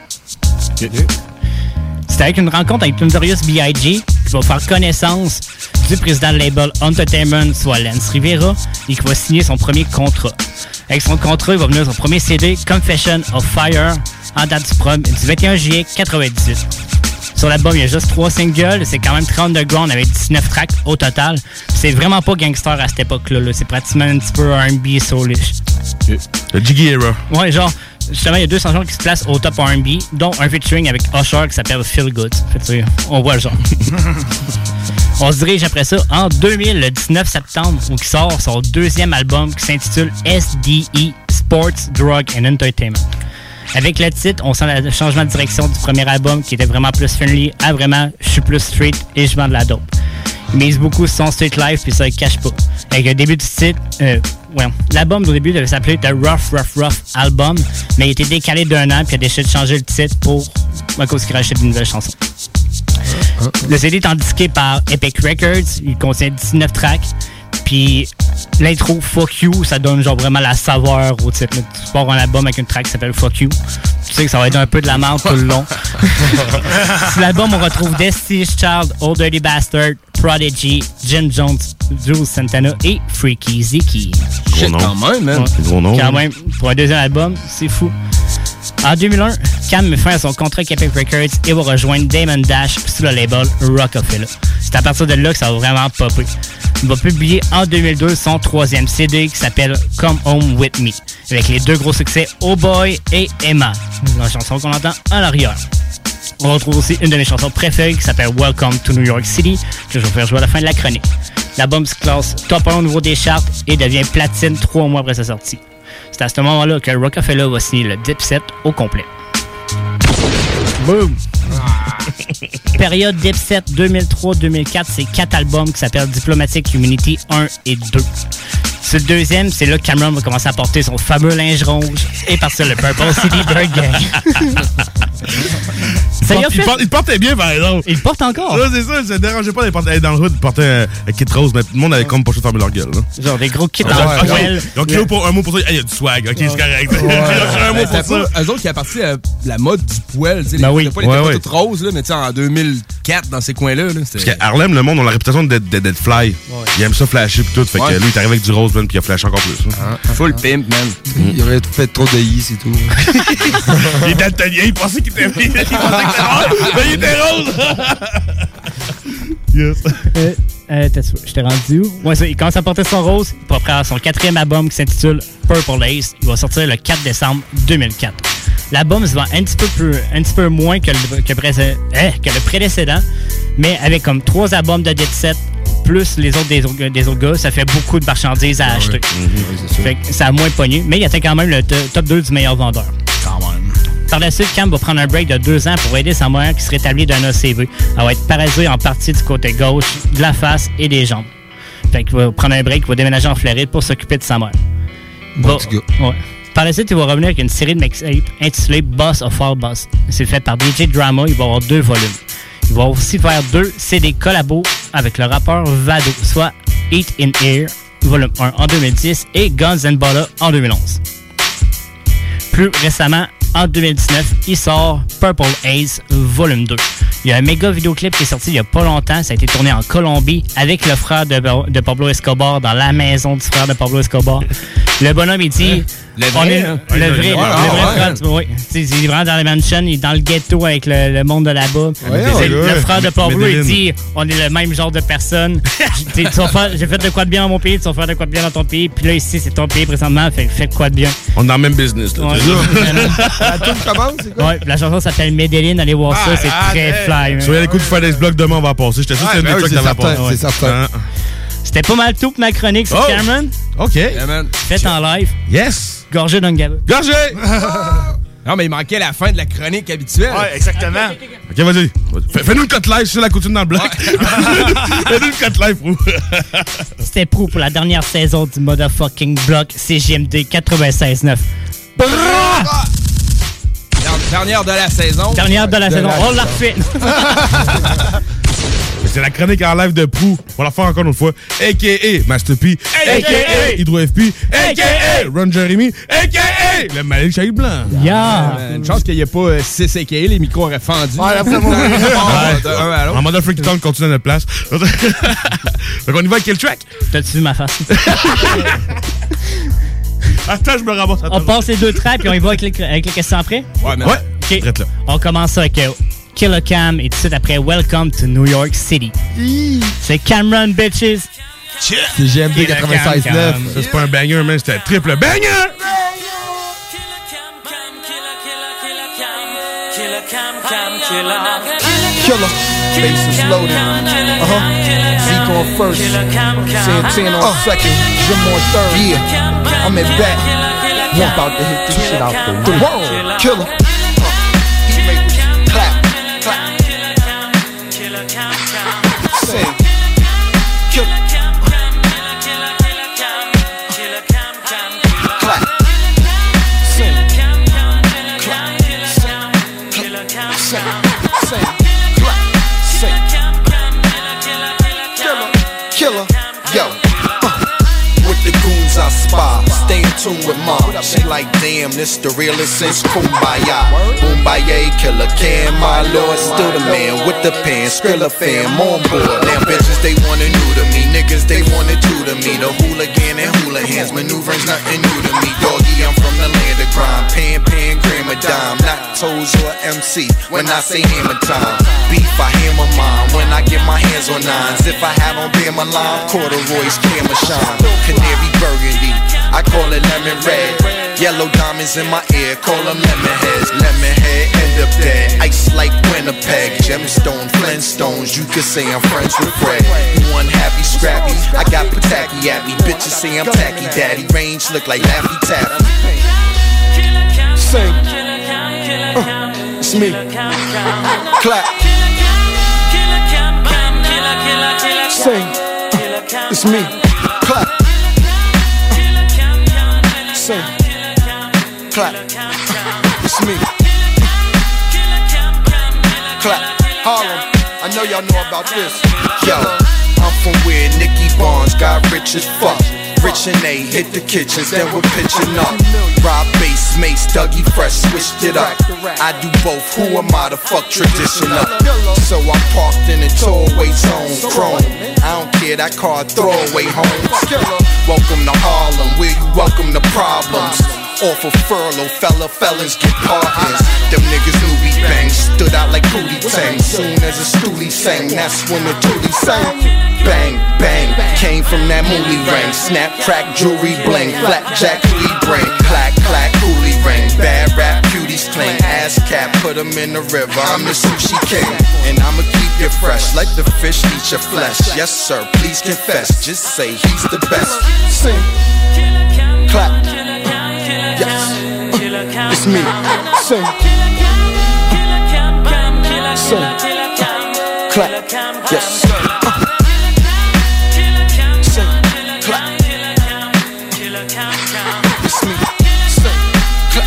C'est avec une rencontre avec Notorious B.I.G. qui va faire connaissance du président de label Entertainment, soit Lance Rivera, et qui va signer son premier contrat. Avec son contrat, il va venir son premier CD, Confession of Fire, en date du 21 juillet 1998. Sur l'album, il y a juste 3 singles. C'est quand même très underground avec 19 tracks au total. C'est vraiment pas gangster à cette époque-là. Là. C'est pratiquement un petit peu R&B soulish. Le Jiggy Era. Ouais, genre, justement, il y a 2 chansons qui se placent au top R&B, dont un featuring avec Usher qui s'appelle Feel Good. Fait, on voit le genre. On se dirige après ça en 2000, le 19 septembre, où il sort son 2e album qui s'intitule SDE, Sports, Drug and Entertainment. Avec le titre, on sent le changement de direction du premier album qui était vraiment plus friendly à vraiment je suis plus street et je vends de la dope. Il mise beaucoup sur son street life puis ça il cache pas. Avec le début du titre, l'album au début devait s'appeler The Rough Album, mais il a été décalé d'1 an puis il a décidé de changer le titre à cause qu'il rachète une nouvelle chanson. Le CD est disqué par Epic Records, il contient 19 tracks. Puis l'intro Fuck You, ça donne genre vraiment la saveur au titre. Tu pars un album avec une track qui s'appelle Fuck You. Tu sais que ça va être un peu de la merde tout le long. Sur l'album, on retrouve Destiny's Child, Old Dirty Bastard, Prodigy, Jim Jones, Jules Santana et Freaky Zeke. Shit, quand même, man. Gros nom. Quand même, pour un 2e album, c'est fou. En 2001, Cam met fin à son contrat avec Epic Records et va rejoindre Damon Dash sur le label Rockefeller. C'est à partir de là que ça va vraiment popper. Il va publier en 2002 son 3e CD qui s'appelle Come Home With Me, avec les 2 gros succès Oh Boy et Emma, la chanson qu'on entend en arrière. On retrouve aussi une de mes chansons préférées qui s'appelle Welcome to New York City, que je vais vous faire jouer à la fin de la chronique. L'album se classe top 1 au niveau des charts et devient platine 3 mois après sa sortie. C'est à ce moment-là que Rockefeller va signer le Dipset au complet. Boom! Période Dipset 2003-2004, c'est 4 albums qui s'appellent Diplomatic Immunity 1 et 2. Ce 2e, c'est là que Cameron va commencer à porter son fameux linge rouge et partir le Purple City Bird Gang. Il portait bien, par exemple. Il porte encore. Là, c'est ça, ça ne dérangeait pas d'aller dans le hood, de porter un kit rose, mais tout le monde avait comme pas choisi de fermer leur gueule. Là. Genre des gros kits en poêle. Donc, un mot pour ça, il y a du swag, ok, c'est correct. Un mot pour ça. Eux autres qui a parti à la mode du poêle, tu sais, ben oui. les pas toutes roses, là, mais tu sais, en 2004, dans ces coins-là. Parce qu'à Harlem, le monde a la réputation d'être fly. Ouais. Il aime ça flasher pis tout, fait que lui, il est arrivé avec du rose, man, pis il a flashé encore plus. Full pimp, man. Il aurait fait trop de i, c'est tout. Il est daltonien, il pensait qu'il était rose. Mais il était rose! Yes. Je t'ai rendu où? Ouais, ça, il commence à porter son rose pour après son 4e album qui s'intitule Purple Haze. Il va sortir le 4 décembre 2004. L'album se vend un petit peu moins que le précédent, mais avec comme 3 albums de Dipset plus les autres des autres gars, ça fait beaucoup de marchandises à acheter. Fait que ça a moins pogné, mais il atteint quand même le top 2 du meilleur vendeur. Quand même. Par la suite, Cam va prendre un break de 2 ans pour aider sa mère qui se rétablit d'un ACV. Elle va être paralysée en partie du côté gauche, de la face et des jambes. Fait qu'il va prendre un break, il va déménager en Floride pour s'occuper de sa mère. Ouais. Par la suite, il va revenir avec une série de mixtapes intitulée Boss of All Boss. C'est fait par DJ Drama, il va avoir 2 volumes. Il va aussi faire 2 CD collabos avec le rappeur Vado, soit Eat in Air, volume 1 en 2010 et Guns and Butter en 2011. Plus récemment, en 2019, il sort Purple Haze, volume 2, Il y a un méga vidéoclip qui est sorti il y a pas longtemps. Ça a été tourné en Colombie avec le frère de Pablo Escobar dans la maison du frère de Pablo Escobar. Le bonhomme, il dit... Le vrai, le vrai frère. Oui. Il est vraiment dans la mansion, il est dans le ghetto avec le monde de là-bas. Le frère de Pablo, il dit, on est le même genre de personne. J'ai fait de quoi de bien dans mon pays, tu vas faire de quoi de bien dans ton pays. Puis là, ici, c'est ton pays présentement, fais de quoi de bien. On est dans le même business. Là, la tune commence, c'est quoi? Ouais, la chanson s'appelle Medellin, allez voir ça, c'est très fly. Sur l'écoute du Fridays Blog demain, on va passer. J'étais sûr que c'était une des trucs que t'avais passé. C'est certain. C'était pas mal tout pour ma chronique sur Cameron. OK. Faites en live. Yes. Gorgé d'un gaba. Gorgé! Non, mais il manquait la fin de la chronique habituelle. Ouais, exactement. OK, vas-y. Fais-nous une cote live, c'est la coutume dans le bloc. Fais-nous une cote live, Prou. C'était Prou pour la dernière saison du motherfucking bloc CJMD 96.9. Dernière de la saison. Dernière de la saison. On l'a refait. C'est la chronique en live de Prou. On va la faire encore une autre fois. A.K.A. Master P. A.K.A. Hydro FP. A.K.A. Ron Jeremy. A.K.A. le Malik Shahid Blanc. Une chance qu'il n'y ait pas 6 A.K.A. Les micros auraient fendu. En mode Freaky Town, continue à notre place. Donc on y va avec quel track? T'as-tu vu ma face? Attends, je me ramasse. On passe les deux tracks et on y va avec les questions après? Ouais. OK. On commence avec Killer Cam et tout de suite après Welcome to New York City. C'est Cameron, bitches. C'est GMD 96.9. Ça, c'est pas un banger, mais c'était un triple banger! Killer, bass is loaded. Zeke on first, Santana on second, Jim on third. Yeah, I'm at back. I'm about to hit this shit out the world. Killer. Clap, clap. Sing. Killer. Clap. Sing. Clap. Sing. Killer, yo. With the goons I spy, stay in tune with mom. She like, damn, this the realest since Kumbaya. Kumbaya, Killer Cam, my lord, still the man with the pen, Skrilla fam on board. Damn bitches, they wanna new to me, niggas, they wanna do to me. The hooligan and hula hands, maneuvering's nothing new to me. Doggy, I'm from the land of crime, pan, gram a dime, not toes or MC. When I say hammer time, beef I hammer mine. When I get my hands on nines, if I have on beer my line, corduroys, camera shine. Canary burgundy, I call it lemon red. Yellow diamonds in my ear, call them lemon heads. Lemon head, end up dead. Ice like Winnipeg, gemstone, Flintstones. You could say I'm friends with Fred. You unhappy, scrappy, I got Pataki at me. Bitches say I'm tacky, daddy. Range look like Laffy Taffy. Sing. It's me. Clap. Sing. It's me. Clap. Sing. Clap. It's me. Clap. Harlem. I know y'all know about this. Yo, I'm from where Nicky Barnes got rich as fuck. Rich and A hit the kitchens, then we're pitching up. Rob bass, Mace, Dougie Fresh, switched it up. I do both, who am I to fuck tradition up? So I'm parked in a throwaway zone, chrome. I don't care, that car throwaway home. Welcome to Harlem, where you welcome the problems. Off of furlough, felons get pardons. Them niggas knew we bang, stood out like Pootie Tang. Soon as a stoolie sang, that's when the toolie sang. Bang, bang, came from that moolie ring. Snap, crack, jewelry bling, flapjack, coolie brain. Clack, clack, coolie ring. Bad rap, cuties cling. Ass cap, put them in the river. I'm the sushi king, and I'ma keep you fresh. Let the fish eat your flesh. Yes sir, please confess. Just say he's the best. Sing, clap. Yes, it's me. Sing, sing, clap. Yes, sing, clap. It's me. Sing, clap.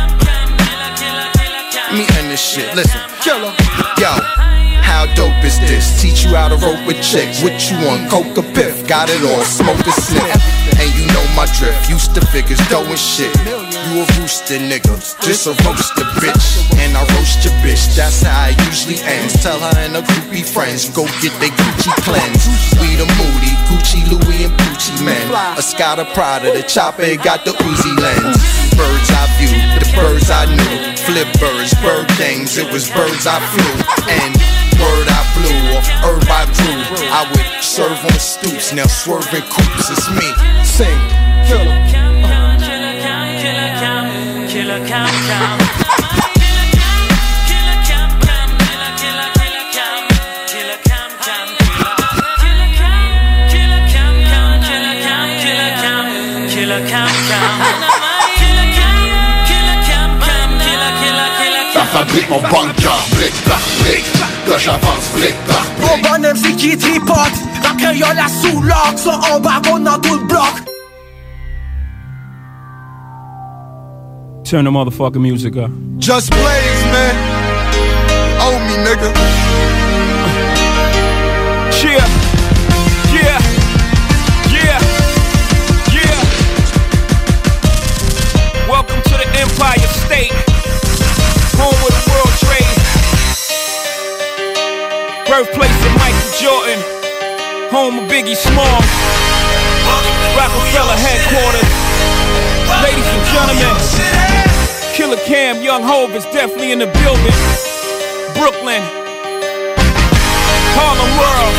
Me and this shit. Listen, killer. Yo. How dope is this? Teach you how to rope with chicks. What you want? Coke or piff? Got it all, smoke a sniff. And you know my drift. Used to figures, dough and shit. You a rooster nigga, just a roaster bitch. and I roast your bitch. That's how it usually ends. Tell her and her groupie friends, go get their Gucci cleanse. We the Moody, Gucci, Louis, and Gucci men. A Scotta Prada, the chopper got the Uzi lens. Birds I view, the birds I knew. Flip birds, bird games, it was birds I flew. And word I blew, off herb I drew. I would serve on stoops, now swerving coops. It's me, sing, killer. Killer Cam Cam. La fabrique mon bunker, brick par brick. Là j'avance brick par brick. Mon bon MC qui tripote, la créole à sous l'orgue, ça en baron dans tout le bloc. Turn the motherfucking music up. Just Blaze, man. Owe me, nigga. Yeah, yeah, yeah, yeah. Welcome to the Empire State, home of the World Trade, birthplace of Michael Jordan, home of Biggie Small, Rockefeller headquarters. Ladies and gentlemen, Killer Cam, Young Hov is definitely in the building. Brooklyn, Harlem World,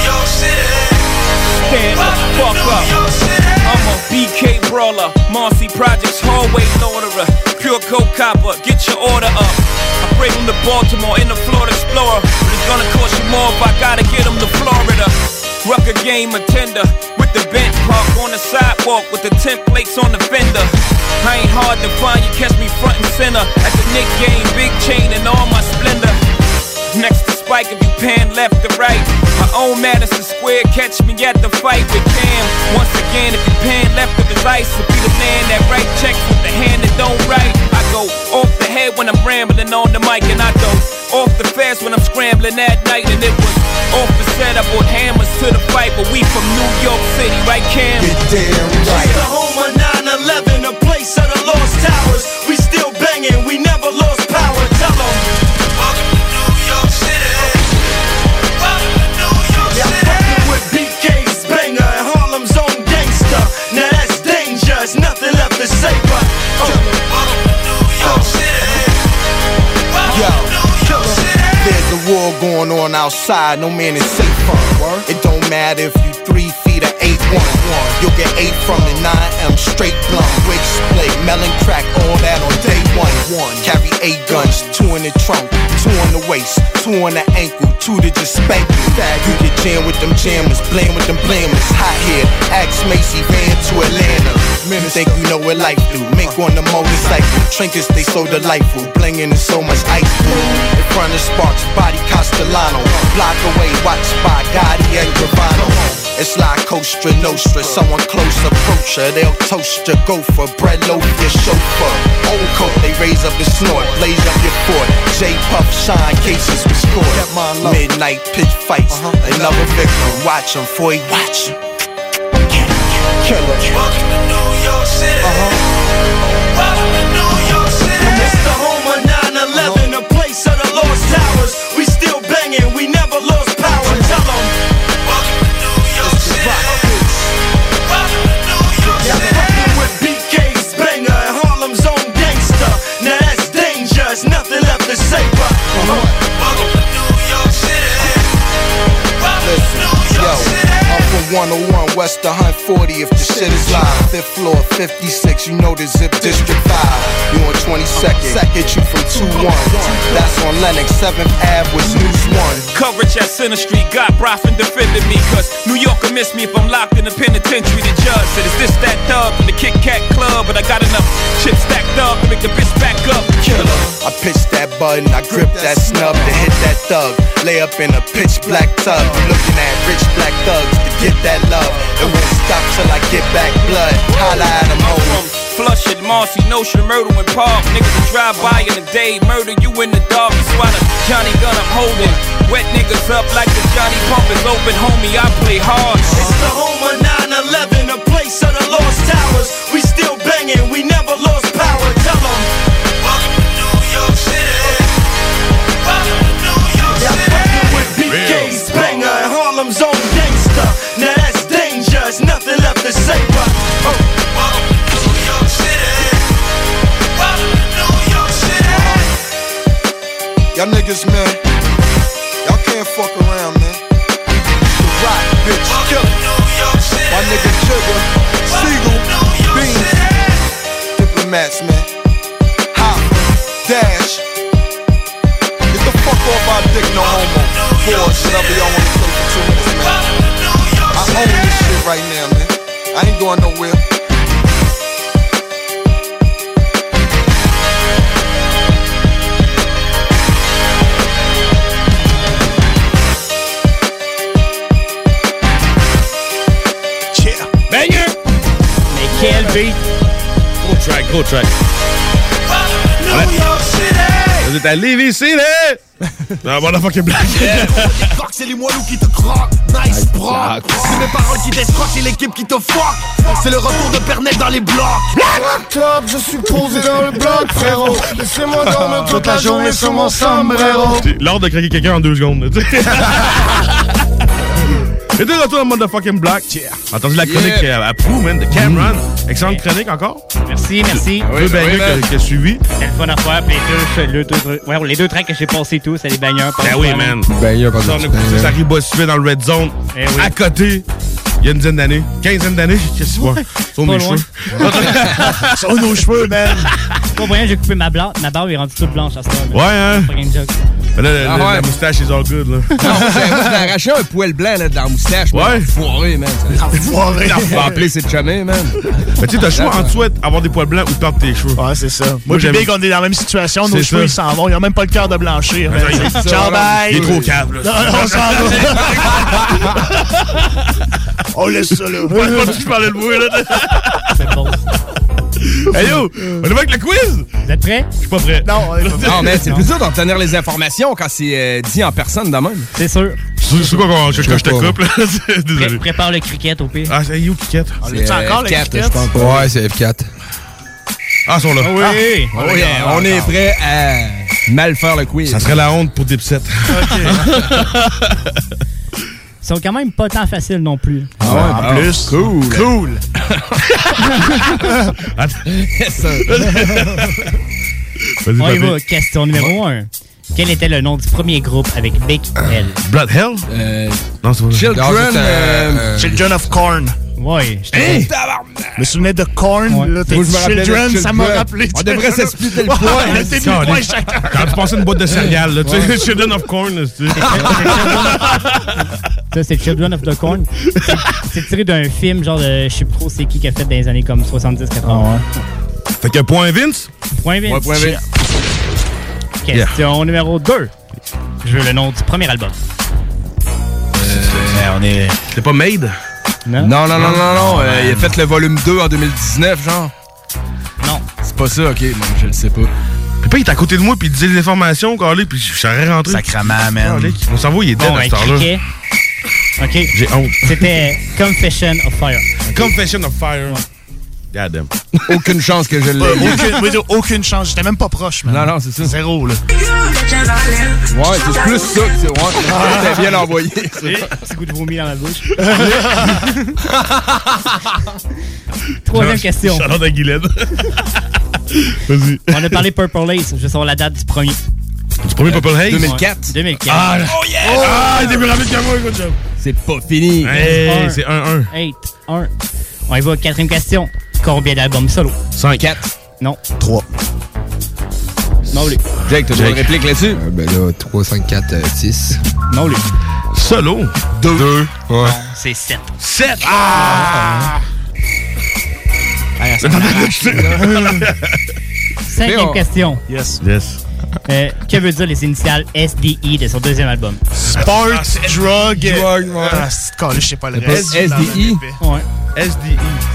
stand the fuck up. I'm a BK brawler, Marcy Projects hallway orderer, pure coke copper, get your order up. I bring them to Baltimore in the Florida Explorer, but it's gonna cost you more if I gotta get them to Florida. Rucker game attender with the bench park on the sidewalk with the tent plates on the fender. I ain't hard to find, you catch me front and center at the Knick game, big chain and all my splendor. Next to Spike if you pan left to right. My own Madison Square, catch me at the fight with Cam. Once again, if you pan left of his ice, I'll be the man that write checks with the hand that don't write. I go off the head when I'm rambling on the mic, and I go off the fast when I'm scrambling at night. And it was off the set, I brought hammers to the fight, but we from New York City, right Cam? Get damn right. The home of 9/11, a place of the lost towers. We still banging, we never lost power. Tell them. Welcome to New York City. Welcome to New York City. Yeah, fucking with BK's banger and Harlem's own gangster. Now that's dangerous, nothing left to say but welcome to New York City. Yo, there's a war going on outside, no man is safe from. It don't matter if you 3 feet or 8'1". You'll get 8 from the 9M straight blunt. Wig split, melon crack, all that on day one. Carry 8 guns, 2 in the trunk, 2 on the waist, 2 on the ankle, 2 to just spank you. You get jammed with them jammers, blame with them blamers. Hot here, ask Macy, van to Atlanta. Think you know what life do, make on the motorcycle. Trinkets, they so delightful, blinging in so much ice blue. In front of Sparks, body Castellano. Block away, watch by Gotti and Gravano. It's like Costa Nostra, someone close approach her. They'll toast your gopher, bread loaf your chauffeur. Old coat, they raise up the snort, blaze up your fort. J-Puff, shine cases with score. Midnight pitch fights, another victim. Watch him, for he watch him. Killer. Welcome to New York City. Welcome to New York City. It's the home of 9/11, a place of the lost towers. We still banging, we never lost power. Tell them. Welcome to New York City. Welcome to New York City. Yeah, fucking with BK's banger and Harlem's own gangster. Now that's dangerous, nothing left to say but welcome to New York City. Welcome to New York City. I'm from 101 West 140 if the shit is live. 5th floor, 56, you know the Zip District 5. You on 22nd, hit you from 2-1. That's on Lennox, 7th Ave was News 1. Coverage at Center Street, got Brofin defending me, cause New York will miss me if I'm locked in the penitentiary. The judge said, is this that thug from the Kit Kat Club? But I got enough chips stacked up to make the bitch back up. Killer. I pitched that button, I gripped that snub to hit that thug. Lay up in a pitch black tub. You looking at rich black thugs to get that love. It won't stop till I get back blood. Holla at them home. Flushing, Marcy, Notion, Myrtle, and Park. Niggas will drive by in the day, murder you in the dark. You swallow Johnny gun, I'm holding. Wet niggas up like the Johnny Pump is open, homie. I play hard. It's the home of 9/11, a place of the lost towers. We still banging, we never lost power. Tell them. Welcome to New York City. Y'all niggas, man, y'all can't fuck around, man. The rock, bitch, killer. My nigga Jigga, Siegel, Beans, Diplomats, man. Hop, Dash. Get the fuck off our dick, no homo. Boys, whatever y'all wanna say for 2 minutes, man. I own this shit right now, man. I ain't going nowhere. Banger! Mais quel beat! Gros track. Vous êtes à Lévis City! Non, motherfucking black. C'est les moelleux qui te croquent, nice bro. C'est mes paroles qui t'escroquent, c'est l'équipe qui te fuck. C'est le retour de Pernec dans les blocs. Top, je suis posé dans le bloc, frérot. Laissez-moi dormir toute la journée sur mon sombrero. C'est l'art de craquer quelqu'un en 2 secondes. Et de retour dans le motherfucking black. Entendu la chronique à Prou, man, de Cameron. Excellente chronique encore. Merci, merci. Deux bangers qui a suivi. C'était le fun à faire. Puis les deux tracks que j'ai passés tous, c'est des bangers. Ben oui, man. Ça, on a poussé ça Ribot-Suvet dans le Red Zone. À côté. Il y a une dizaine d'années. 15 d'années. Qu'est-ce que tu vois? Sur mes cheveux. Sur nos cheveux, man. Pas moyen, j'ai coupé ma barbe est rendue toute blanche à ce moment. Ouais, hein? Pas une joke. Là, la moustache is all good, là. Non, moi, j'ai arraché un poil blanc là, dans la moustache. Ouais. Foiré, man. Foiré. On va appeler ses chumés, man. Mais tu sais, t'as le choix entre soit avoir des poils blancs ou perdre tes cheveux. Ouais, c'est ça. Moi, puis Big, on est dans la même situation. Nos cheveux, ils s'en vont. Ils ont même pas le cœur de blanchir. Ciao, bye. Il est trop câble, là. On s'en va. On laisse ça, là. Pas que tu parlais de moi, là. C'est bon. Hey yo, on est avec le quiz? Vous êtes prêts? Je suis pas prêt. Non, non, mais c'est plus dur d'en tenir les informations quand c'est dit en personne de même. C'est sûr. C'est quoi quand je te coupe, là? Désolé. Prépare le cricket au pire. Ah, c'est où cricket? C'est encore le cricket? Ouais, c'est F4. Ah, ils sont là. Oui. On est prêt à mal faire le quiz. Ça serait la honte pour Dipset. Ils sont quand même pas tant faciles non plus. Ah ouais, en plus. Cool. On y va. Question numéro 1. Quel était le nom du premier groupe avec Big L? Blood Hell? Non, c'est pas Children of Corn. Ouais. Je me souvenais de Korn, là, t'as dit Children, ça m'a rappelé. On devrait s'expliquer le point. On était mis le point chacun. Quand tu passais une boîte de céréales, là, tu sais, Children of Corn, tu sais. Ça, c'est Children of the Corn. C'est tiré d'un film, genre de, je sais pas trop c'est qui a fait dans les années comme 70-80. Fait que point Vince? Point Vince. Ouais, point Vince. Question numéro 2. Je veux le nom du premier album. On est... C'est pas Made? Non. Non. Il a fait le volume 2 en 2019, genre. Non. C'est pas ça, ok, man, je le sais pas. Puis pas, il est à côté de moi, puis il disait les informations, Carly, puis je serais rentré. Sacrement, man. Mon cerveau, il est dead à cette heure-là. OK. J'ai honte. C'était Confession of Fire. Confession of Fire. God damn. Aucune chance que je l'ai. Aucune chance. J'étais même pas proche, man. Non, c'est ça. Zéro, là. Ouais, c'est plus ça que c'est. Ouais, t'as bien envoyé. Petit goût de vomi dans la bouche. Troisième question. Charlotte Aguilette. Vas-y. On a parlé Purple Haze. Je sors la date du premier. Du premier Purple Haze? 2004. 2004. Ah, oh yeah! Ah, il était plus rapide que moi, écoute ça. C'est pas fini. Hey, c'est 1-1. 8-1. On y va, quatrième question. Combien d'albums solo? 5. 4. Non. 3. Non, lui. Jake, t'as une réplique là-dessus? Ben là, 3, 5, 4, 6. Non, lui. Solo? 2. Ouais. Non, c'est 7. 7! Ah! Cinquième question. Yes. Que veut dire les initiales SDI de son deuxième album? Sport, drug. Ah, je sais pas le reste. SDI? Ouais. SDI.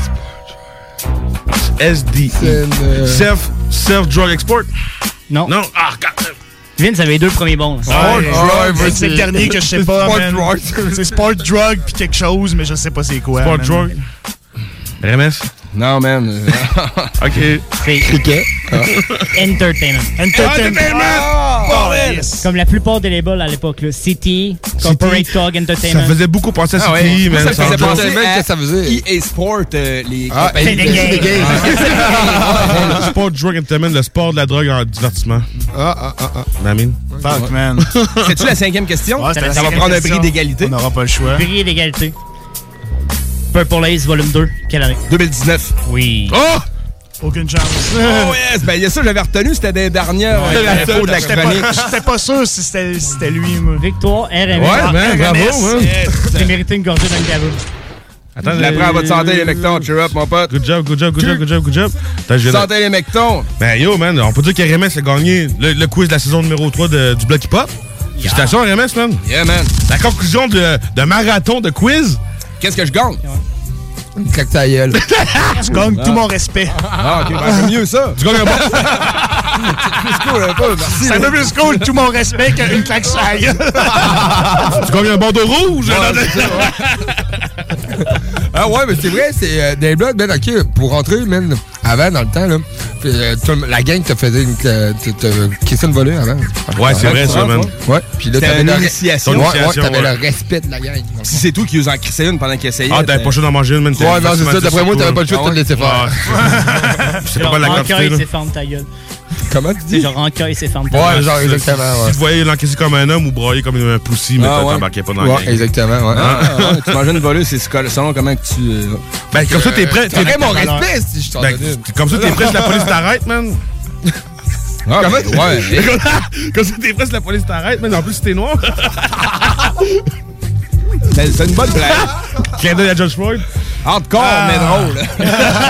SDI. Self-drug export? Non. Non. Ah, God. Vince avait les deux premiers bons. Sport drug. C'est le dernier que je sais pas, man. C'est sport drug puis quelque chose, mais je sais pas c'est quoi. Sport drug. RMS? Non, man. OK. C'est Cricket. Entertainment. Entertainment. pas, man! Comme la plupart des labels à l'époque, là. City, Corporate Talk Entertainment. Ça faisait beaucoup penser à City, ouais. man. Ça faisait penser à ça faisait. EA Sport, les c'est des games. Le sport, drug entertainment, le sport de la drogue en divertissement. Mamine. Fuck, man. C'est-tu la 5e question? Ouais, ça va prendre un prix d'égalité. On n'aura pas le choix. Prix d'égalité. Purple Haze Volume 2, quelle année? 2019. Oui. Oh! Aucune chance. Oh yes! Ben, il y a ça, j'avais retenu, c'était des dernières infos de la chronique. J'étais pas sûr si c'était lui, moi. Victoire, RMS. Ouais, man, bravo, man. T'as mérité une gorgée dans le gaveau. Attends, je l'apprends à votre santé, les mectons. Cheer up, mon pote. Good job. Santé, les mectons. Ben yo, man, on peut dire qu'RMS a gagné le quiz de la saison numéro 3 du Bloc Hip Hop. Félicitations, RMS, man. Yeah, man. La conclusion de marathon de quiz. Qu'est-ce que je gagne? Une claque ta gueule. Tu gagnes tout mon respect. Ah, ok, ben, c'est mieux ça. Tu gagnes un bon. C'est plus cool un peu, merci. C'est un peu plus cool, tout mon respect, qu'une claque sa gueule. Tu gagnes un bandeau rouge. Ah ouais, mais c'est vrai, c'est des blocs, man, ok, pour rentrer, man, avant, dans le temps, là, la gang te faisait une question de volée avant. Ouais, c'est vrai, ça, man. Ouais, puis là, t'avais l'initiation. Ouais, t'avais le respect de la gang. Si c'est toi qui nous en crissais une pendant qu'il essayait. Ah, t'avais pas le choix d'en manger une, man. Ouais, non, c'est ça, d'après moi, t'avais pas le choix de te laisser faire. C'est pas la quantité, Rancœur, là. c'est ferme ta gueule. Comment tu dis? C'est genre rancœur, c'est ferme ta gueule. Ouais, genre, exactement, ouais. Si tu voyais l'encaisser comme un homme ou broyer comme un poussi, mais t'embarquais pas dans la gang. Ouais, exactement, ouais. Tu mangeais une volée, c'est selon comment que tu... Ben, comme ça, t'es prêt. T'aurais mon respect si je t'en donnais. Comme ça, t'es prêt si la police t'arrête, man. Ah, comment? Ouais. Comme ça, t'es prêt si la police t'arrête, man. En plus, si t'es noir. C'est une bonne blague. Clin d'œil à George Floyd. Hardcore, mais drôle.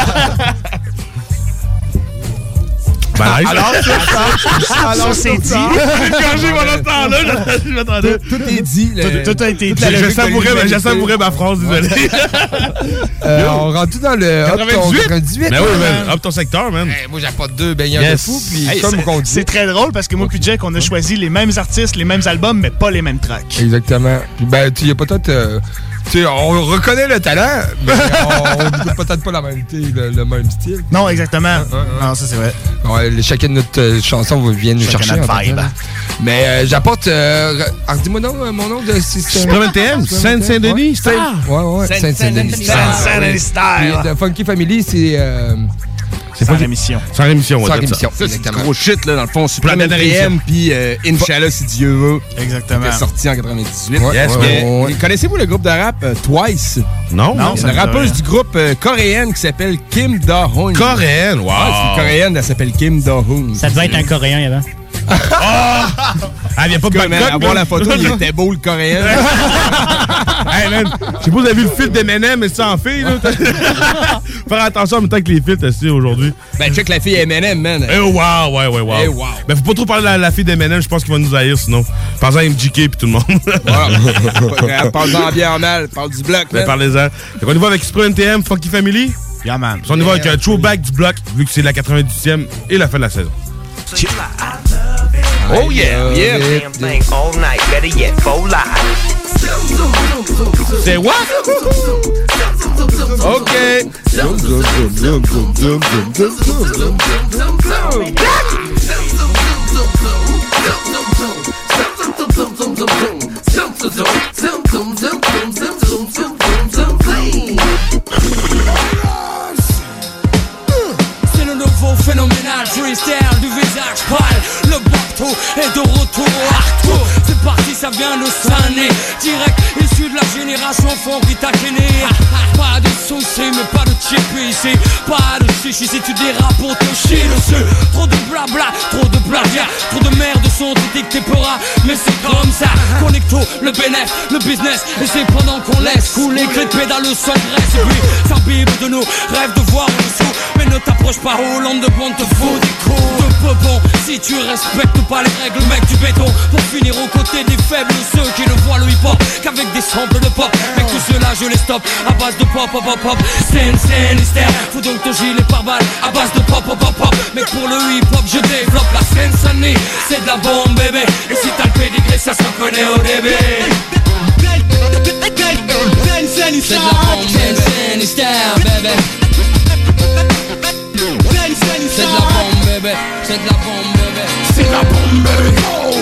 Ben, Alors, c'est dit. J'ai pendant ce temps-là, je m'attendais. Tout est dit. Tout a été dit. Je savourais ma phrase, désolé. On rentre dans le 98? Ben oui, man. Hop ton secteur, man. Moi, j'apporte 2 baigneurs de fou, puis comme qu'on dit. C'est très drôle parce que moi puis Jack, on a choisi les mêmes artistes, les mêmes albums, mais pas les mêmes tracks. Exactement. Puis ben, tu y a peut-être... Tu sais, on reconnaît le talent, mais on n'écoute peut-être pas le même style. Non, exactement. Non, ça, c'est vrai. Ouais, chacune de notre chanson vient nous chercher. Notre vibe. Mais j'apporte... dis-moi mon nom de... Supreme NTM, Saint-Denis Style. Ouais, Saint-Denis Style. Saint-Denis Style. Puis de Funky Family, c'est... C'est pas rémission. Sans rémission, ouais. Sans rémission. Ça, c'est gros shit, là, dans le fond. Supreme NTM, puis Inch'Allah, si Dieu veut. Exactement. Qui est sorti en 98. Ouais. Connaissez-vous le groupe de rap Twice? Non. C'est une rappeuse du groupe coréenne qui s'appelle Kim Da-hoon. Coréenne, wow. C'est une coréenne, elle s'appelle Kim Da-hoon. Ça devait être un coréen avant. Elle vient pas de Bangkok. À voir la photo, il était beau, le coréen. Hey, man, je sais pas si vous avez vu le filtre d'M&M, mais ça en fait, là. Faire attention en même temps que les filtres, aussi, aujourd'hui. Ben, check la fille M&M, man. Eh, wow. Eh, wow. Ben, faut pas trop parler de la fille d'M&M, je pense qu'il va nous haïr, sinon. Parle-en à MGK pis tout le monde. Voilà. Parle-en bien mal, parle du bloc, ben, parlez-en. Donc, on y va avec Super NTM, Funky Family. Yeah, man. On y va avec un throwback du bloc, vu que c'est la 98e et la fin de la saison. Oh yeah, yeah. C'est what? OK. C'est le nouveau phénoménal freestyle du visage pâle. Le bateau est de retour au hardcore. C'est parti, ça vient de Sané. Direct issu de la génération funky taquené. Pas de soucis, mais pas de chip ici. Pas de chichi si tu dérapes pour te chier dessus. Trop de blabla, trop de plagiat. Trop de merde sont dictés peuras. Mais c'est comme ça. Connecto, le bénéf, le business. Et c'est pendant qu'on laisse couler que les pédales s'engraissent. Et puis s'imbibe de nous, rêve de voir en dessous. Mais ne t'approche pas, Hollande de Bond te faut des coups de peu bon. Si tu respectes pas les règles, mec, du béton. Pour finir aux côtés des faibles, ceux qui ne voient le hip-hop qu'avec des samples de pop. Mec, tout cela je les stoppe à base de pop, pop, pop, pop. Scène, hystère, faut donc ton gilet par balle à base de pop, pop, pop, pop. Mec, pour le hip-hop, je développe la scène sonnée. C'est de la bombe, bébé. Et si t'as le pédigré, ça se reconnaît au début. C'est de la bombe, scène, hystère, bébé. C'est de la bombe, bébé. C'est de la bombe, bébé. C'est de la bombe, bébé.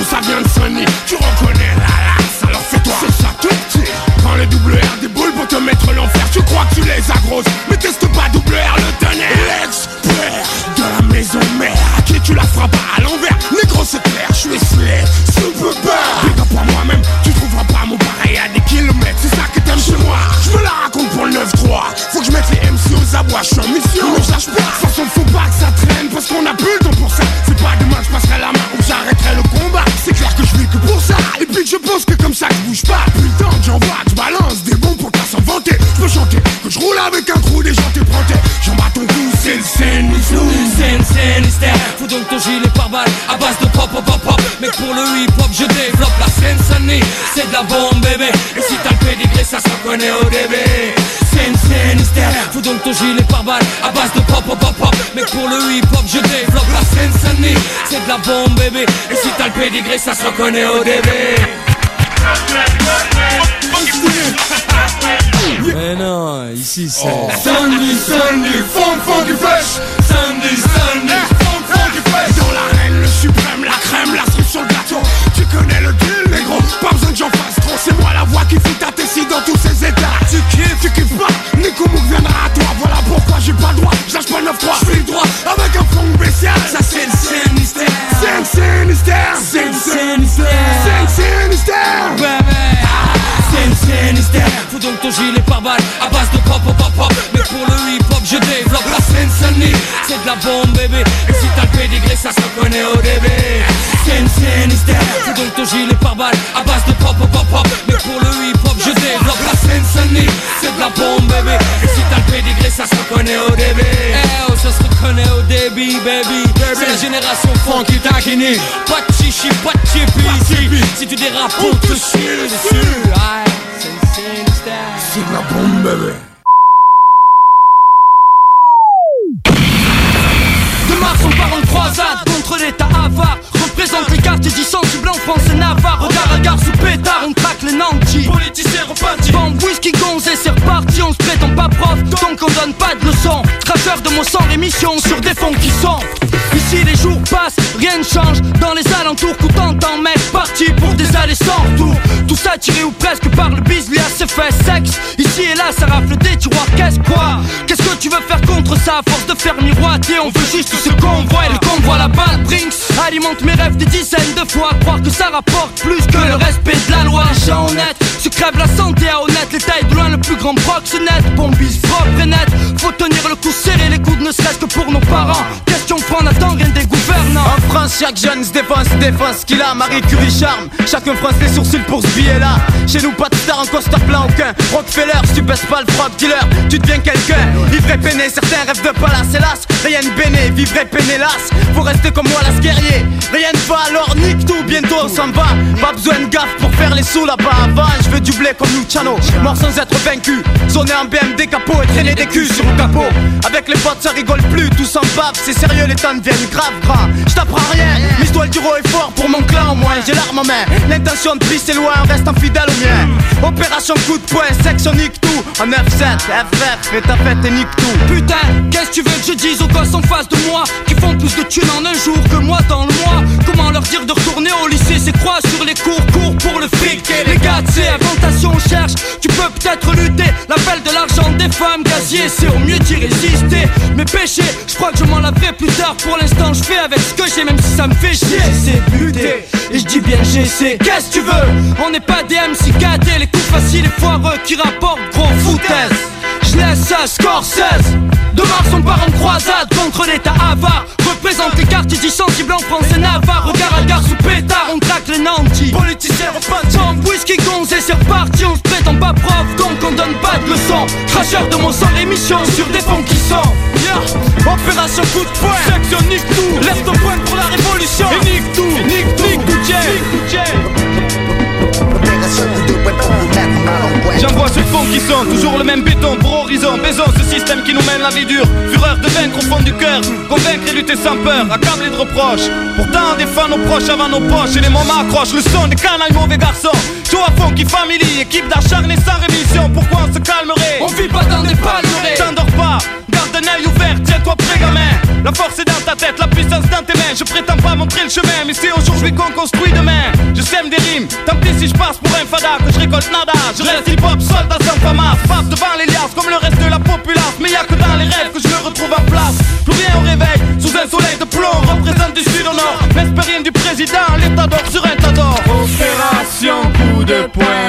donc ton gilet pare-balles à base de pop pop pop pop. Mais pour le hip-hop je développe la Seine-Saint-Denis. C'est de la bombe bébé. Et si t'as le pédigré ça se reconnaît au début. Seine-Saint-Denis, faut donc ton gilet pare-balles à base de pop pop pop pop. Mais pour le hip-hop je développe la Seine-Saint-Denis. C'est de la bombe bébé. Et si t'as le pédigré ça se reconnaît au début. Mais non, ici c'est Sandy, Sandy, funk du fresh. Sandy, Sandy, funk du fresh. Dans l'arène, le suprême, la crème, la cerise sur le gâteau. Tu connais le deal, négro, pas besoin que j'en fasse trop. C'est moi la voix qui fout ta tessie dans tous ces états. Tu kiffes pas, Nico Mouk viendra à toi. Voilà pourquoi j'ai pas le droit, je lâche pas le 9-3. J'fais le droit avec un fond spécial. Ça c'est le Saint-Mystère. Saint-Mystère. Saint-Mystère. Saint-Mystère. Faut donc ton gilet pare-balles à base de pop pop pop pop. Mais pour le hip-hop je développe la Seine-Saint-Denis. C'est de la bombe bébé. Et si t'as le pédigré ça se reconnaît au début. Saint-Mystère. Faut donc ton gilet pare-balles à base de pop pop pop pop. Mais pour le hip-hop je développe la Seine-Saint-Denis. C'est de la bombe bébé. Et si t'as le pédigré ça se reconnaît au début. Eh oh ça se reconnaît au début baby. C'est la génération funky taquini. Pas de chichi, pas de chippy ici. Si tu dérapes on te chie dessus. C'est de la bombe bébé. De Mars on part en croisade contre l'état avare. Représente les quartiers dits sensibles en France et Navarre. Regard à gare sous pétard, on traque les nantis. Politiciens repentis. Bombe, whisky, gonze et c'est reparti. On se prétend pas prof, donc on donne pas de leçons. Traceur de mots sans rémission sur des fonds qui sont. Ici les jours passent, rien ne change. Dans les alentours, coup t'entends mec, parti pour des allées sans retour. Tout ça tiré ou presque par le bise, lui a ses fait sexe. Ici et là ça rafle des tiroirs, qu'est-ce quoi? Qu'est-ce que tu veux faire contre ça? À force de faire miroiter, on veut juste ce qu'on voit. Et le convoi la balle Brinks alimente mes rêves des dizaines de fois. Croire que ça rapporte plus que le respect de la loi. Les gens honnêtes se crèvent la santé à honnête. Les tailles de loin le plus grand proxénète. Bombise propre et net. Faut tenir le coup serré les coudes ne serait-ce que pour nos parents. Question de prendre attend rien des gouvernants. En France chaque jeune se défense ce qu'il a. Marie Curie charme, chacun fronce les sourcils pour ce billet là. Chez nous pas de star en costard plein aucun. Rockefeller, si tu baisses pas le frog dealer, tu deviens quelqu'un. Ivre et peiné, certains rêvent de palace hélas. Rien de béné, vivre et peiné las. Faut rester comme moi las guerrier. Rien ne va alors nique tout, bientôt on s'en va. Pas besoin de gaffe pour faire les sous là-bas. Avant je veux du blé comme Luciano, mort sans être vaincu. Sonner en BMD capot et traîner des culs sur le capot. Avec les potes ça rigole plus, tout s'en bave. C'est sérieux les temps deviennent grave gras. Je t'apprends rien, mise-toi le du haut et fort pour mon clan au moins. J'ai l'arme en main, l'intention de pisser loin, on reste fidèle au mien. Opération coup de poing, section nique tout. En 9-7, FF, fais ta fête et nique tout. Putain, qu'est-ce que tu veux que je dise aux gosses en face de moi qui font plus de thunes en un jour que moi dans le mois? Comment leur dire de retourner au lycée? C'est quoi sur les cours pour le fric? Et les gars, c'est inventation, on cherche. Tu peux peut-être lutter, l'appel de l'argent des femmes gazier, c'est au mieux d'y résister. Mes péchés, je crois que je m'en laverai plus tard. Pour l'instant, je fais avec ce que j'ai, même si ça me fait chier. J'essaie de buter, et je dis bien j'essaie. Qu'est-ce que tu veux? On n'est pas des MC KD, les coups faciles et foireux qui rapportent gros foutaise. Je laisse ça, Scorsese. De Mars on part en croisade contre l'état avare. Représente les quartiers dits sensibles en France et Navarre. Regard à gare sous pétard, on traque les nantis. Politiciens repentis. Bombe, whisky, gonze et c'est reparti. On se prétend pas prof, donc on donne pas de leçons. Cracheur de mots sans rémission sur des fonds qui sont. Yeah. Opération coup de poing, section nique tout. Lève ton poing pour la révolution. Et nique tout, nique tout, nique tout, J'envoie ceux de fond qui sont toujours le même béton pour horizon. Baisons ce système qui nous mène la vie dure. Fureur de vaincre au fond du cœur. Convaincre et lutter sans peur, accablé de reproches. Pourtant on défend nos proches avant nos poches. Et les moments accrochent le son des canailles mauvais garçons. Show à fond qui family, équipe d'acharnés sans rémission. Pourquoi on se calmerait? On vit pas dans des palmeraies. T'endors pas, garde un œil ouvert, tiens-toi prêt gamin. La force est dans ta tête, la puissance dans tes mains. Je prétends pas montrer le chemin, mais c'est aujourd'hui qu'on construit demain. Je sème des rimes, tant pis si je passe pour un fada, que je récolte nada. Je reste hip-hop, soldat sans famas. Passe devant les liasses comme le reste de la populace. Mais y'a que dans les rêves que je me retrouve en place. Plus rien au réveil, sous un soleil de plomb. Représente du sud au nord, n'espère rien du président. L'état d'or sur un tas d'or. Opération coup de poing.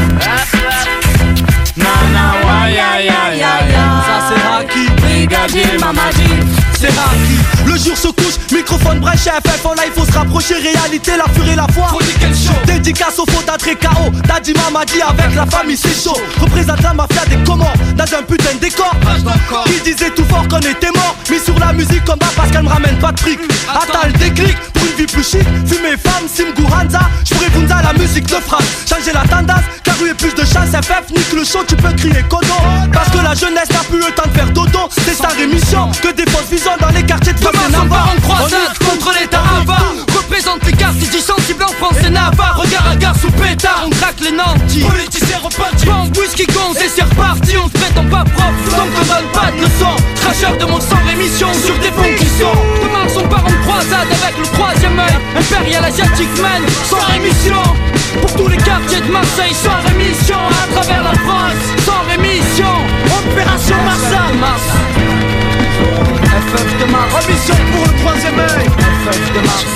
Nana, wa ya ya ya ya. Ça c'est Haki, brigadier Mamadi. C'est Haki, le jour se couche, microphone brèche, FF en live, faut se rapprocher, réalité, la furie, la foi. Dédicace au faux d'Adré KO, Daddy Mama dit avec la famille c'est chaud. Représente la mafia des Comores, dans un putain de décor. Qui disait tout fort qu'on était mort, mis sur la musique comme bas parce qu'elle me ramène pas de fric. Attends le déclic, pour une vie plus chic, fumer femme, Simgu Hanza, j'pourrais Bunza la musique de frappe. Changer la tendance, car il y a plus de chance, FF, nique le show, tu peux crier Kodo. Parce que la jeunesse n'a plus le temps de faire dodo, c'est sa rémission, que des fausses visions dans les quartiers de Demain on croisade contre l'état avare. Représente les quartiers du sensible en France et Navarre. Regard à gare sous pétard, on craque les nantis. Politiciens repartis, bombe, whisky, gonze et c'est reparti. On se prétend pas propre, donc on donne pas de leçons. Cracheur de mon sang, rémission sur des fonds qui sont. Demain on part en croisade avec le troisième œil. Impérial asiatique man, sans rémission. Pour tous les quartiers de Marseille, sans rémission. À travers la France, sans rémission. Opération Mars. FF de Mars, remission pour le troisième œil. FF de Mars.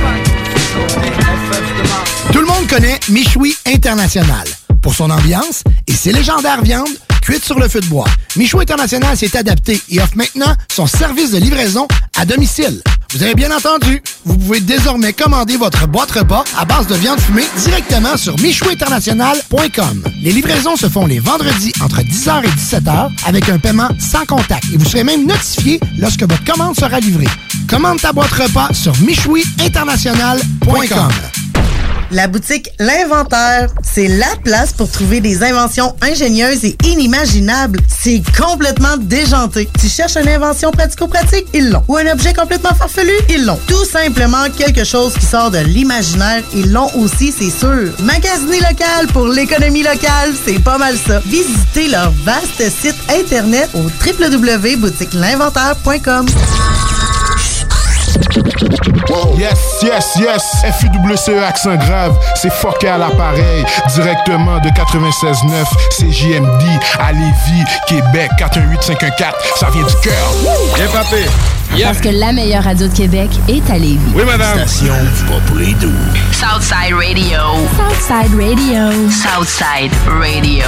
Tout le monde connaît Michoui International pour son ambiance et ses légendaires viandes cuites sur le feu de bois. Michoui International s'est adapté et offre maintenant son service de livraison à domicile. Vous avez bien entendu, vous pouvez désormais commander votre boîte repas à base de viande fumée directement sur michouinternational.com. Les livraisons se font les vendredis entre 10h et 17h avec un paiement sans contact et vous serez même notifié lorsque votre commande sera livrée. Commande ta boîte repas sur michouinternational.com. La boutique L'Inventaire, c'est la place pour trouver des inventions ingénieuses et inimaginables. C'est complètement déjanté. Tu cherches une invention pratico-pratique? Ils l'ont. Ou un objet complètement farfelu? Ils l'ont. Tout simplement quelque chose qui sort de l'imaginaire? Ils l'ont aussi, c'est sûr. Magasiner local pour l'économie locale, c'est pas mal ça. Visitez leur vaste site internet au www.boutiquelinventaire.com. Yes, FUWCE accent grave, c'est fucké à l'appareil. Directement de 96.9, CJMD à Lévis, Québec, 418-514, ça vient du cœur. Bien papé. Parce que la meilleure radio de Québec est à Lévis. Oui, madame. Station pas pour les doux. Southside Radio. Southside Radio. Southside Radio.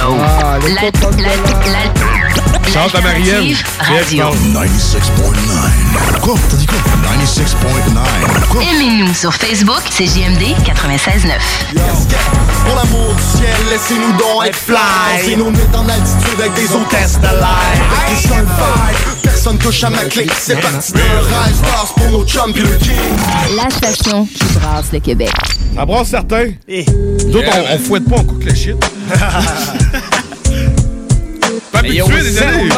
Chante à Marielle. Radio. 96.9. Quoi? T'as dit quoi? 96.9. Aimez-nous sur Facebook, c'est JMD 96.9. Pour l'amour du ciel, laissez-nous donc être fly. Laissez-nous mettre en altitude avec des hôtesses de l'air. Avec des vibe, personne touche à ma clé. C'est parti de rêve, stars pour nos chums pis le king. La station qui brasse le Québec. Ça brasse certains. Nous autres, on fouette pas, on cook le shit. Pas habitué, désolé.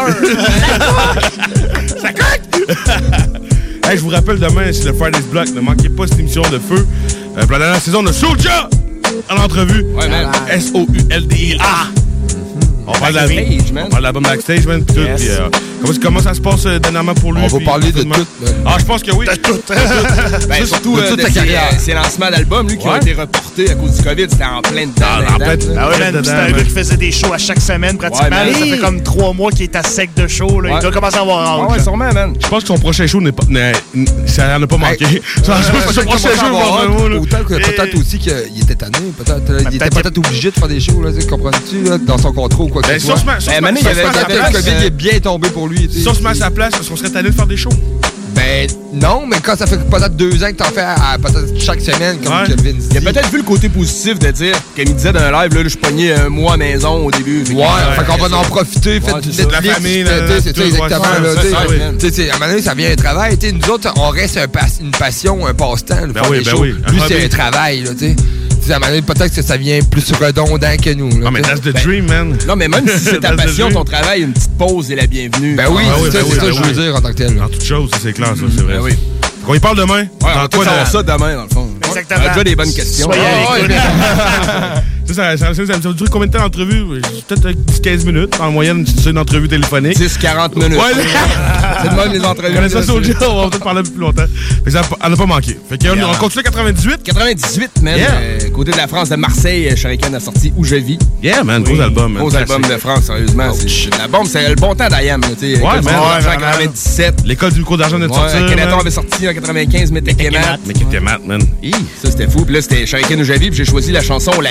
Ça coque! Hey, je vous rappelle, demain, c'est le Friday's Block. Ne manquez pas cette émission de feu. Pour la dernière saison de Soulja en entrevue. Ouais, man. SOULDIA. On parle de l'album Backstage, man. Pis Yes. comment ça se passe dernièrement pour lui? On va parler de tout. Ah, je pense que oui. De tout. Ben, surtout de toute sa carrière. Ses lancements d'albums, lui, qui ont été reportés à cause du COVID. C'était en plein dedans. En plein dedans. Ah ouais, man, c'était un gars qui faisait des shows à chaque semaine pratiquement. Ouais, man. Ça fait comme 3 mois qu'il est à sec de show. Là. Il doit commencer à avoir hâte. Ouais, sûrement, man. Je pense que son prochain show ça n'en a pas manqué. Son prochain show va autant que peut-être aussi qu'il était tanné. Il était peut-être obligé de faire des shows, là, comprends-tu, là, dans son contrat ou quoi que ce soit. il y avait le COVID est bien tombé pour lui. Si on se met à sa place, est-ce qu'on serait tanné de faire des shows? Ben non, mais quand ça fait peut-être 2 ans que t'en fais peut-être chaque semaine, comme Kelvin dit. Il a peut-être vu le côté positif de dire, comme il disait dans un live, là, je pognais un mois à maison au début. Fait qu'on va en profiter, faites du Netflix, la famille, c'est ça exactement. À un moment donné, ça vient un travail. Nous autres, on reste une passion, un passe-temps. Lui, c'est un travail, tu sais. À un moment donné, peut-être que ça vient plus redondant que nous. Non, mais that's the dream, man. Non, mais même si c'est ta passion, ton travail, une petite pause est la bienvenue. Ben oui, c'est ça que je veux dire en tant que tel. En toute chose, c'est clair, ça, c'est vrai. Ben oui. On y parle demain? Ouais, on va savoir ça demain, dans le fond. Exactement. On a déjà des bonnes questions. Soyez à l'écoute. Ça va durer combien de temps d'entrevue? Peut-être 10-15 minutes. En moyenne, c'est une entrevue téléphonique. 10-40 minutes. Ouais, c'est de même les entrevues. On ça sur le on va peut-être parler un peu plus longtemps. Fait que ça n'a pas manqué. Fait qu'on continue 98. 98, man. Côté de la France, de Marseille, Shuriken a sorti Où je vis. Yeah, man. Gros album. Gros album de France, sérieusement. C'est la bombe. C'est le bon temps d'Ayam. Ouais, man. En 97. L'école du micro d'argent de sortir. Kenaton avait sorti en 95, mais Kemat. Mais Kemat, man. Ça, c'était fou. Puis là, c'était Shuriken Où je vis. Puis j'ai choisi la chanson La Lettre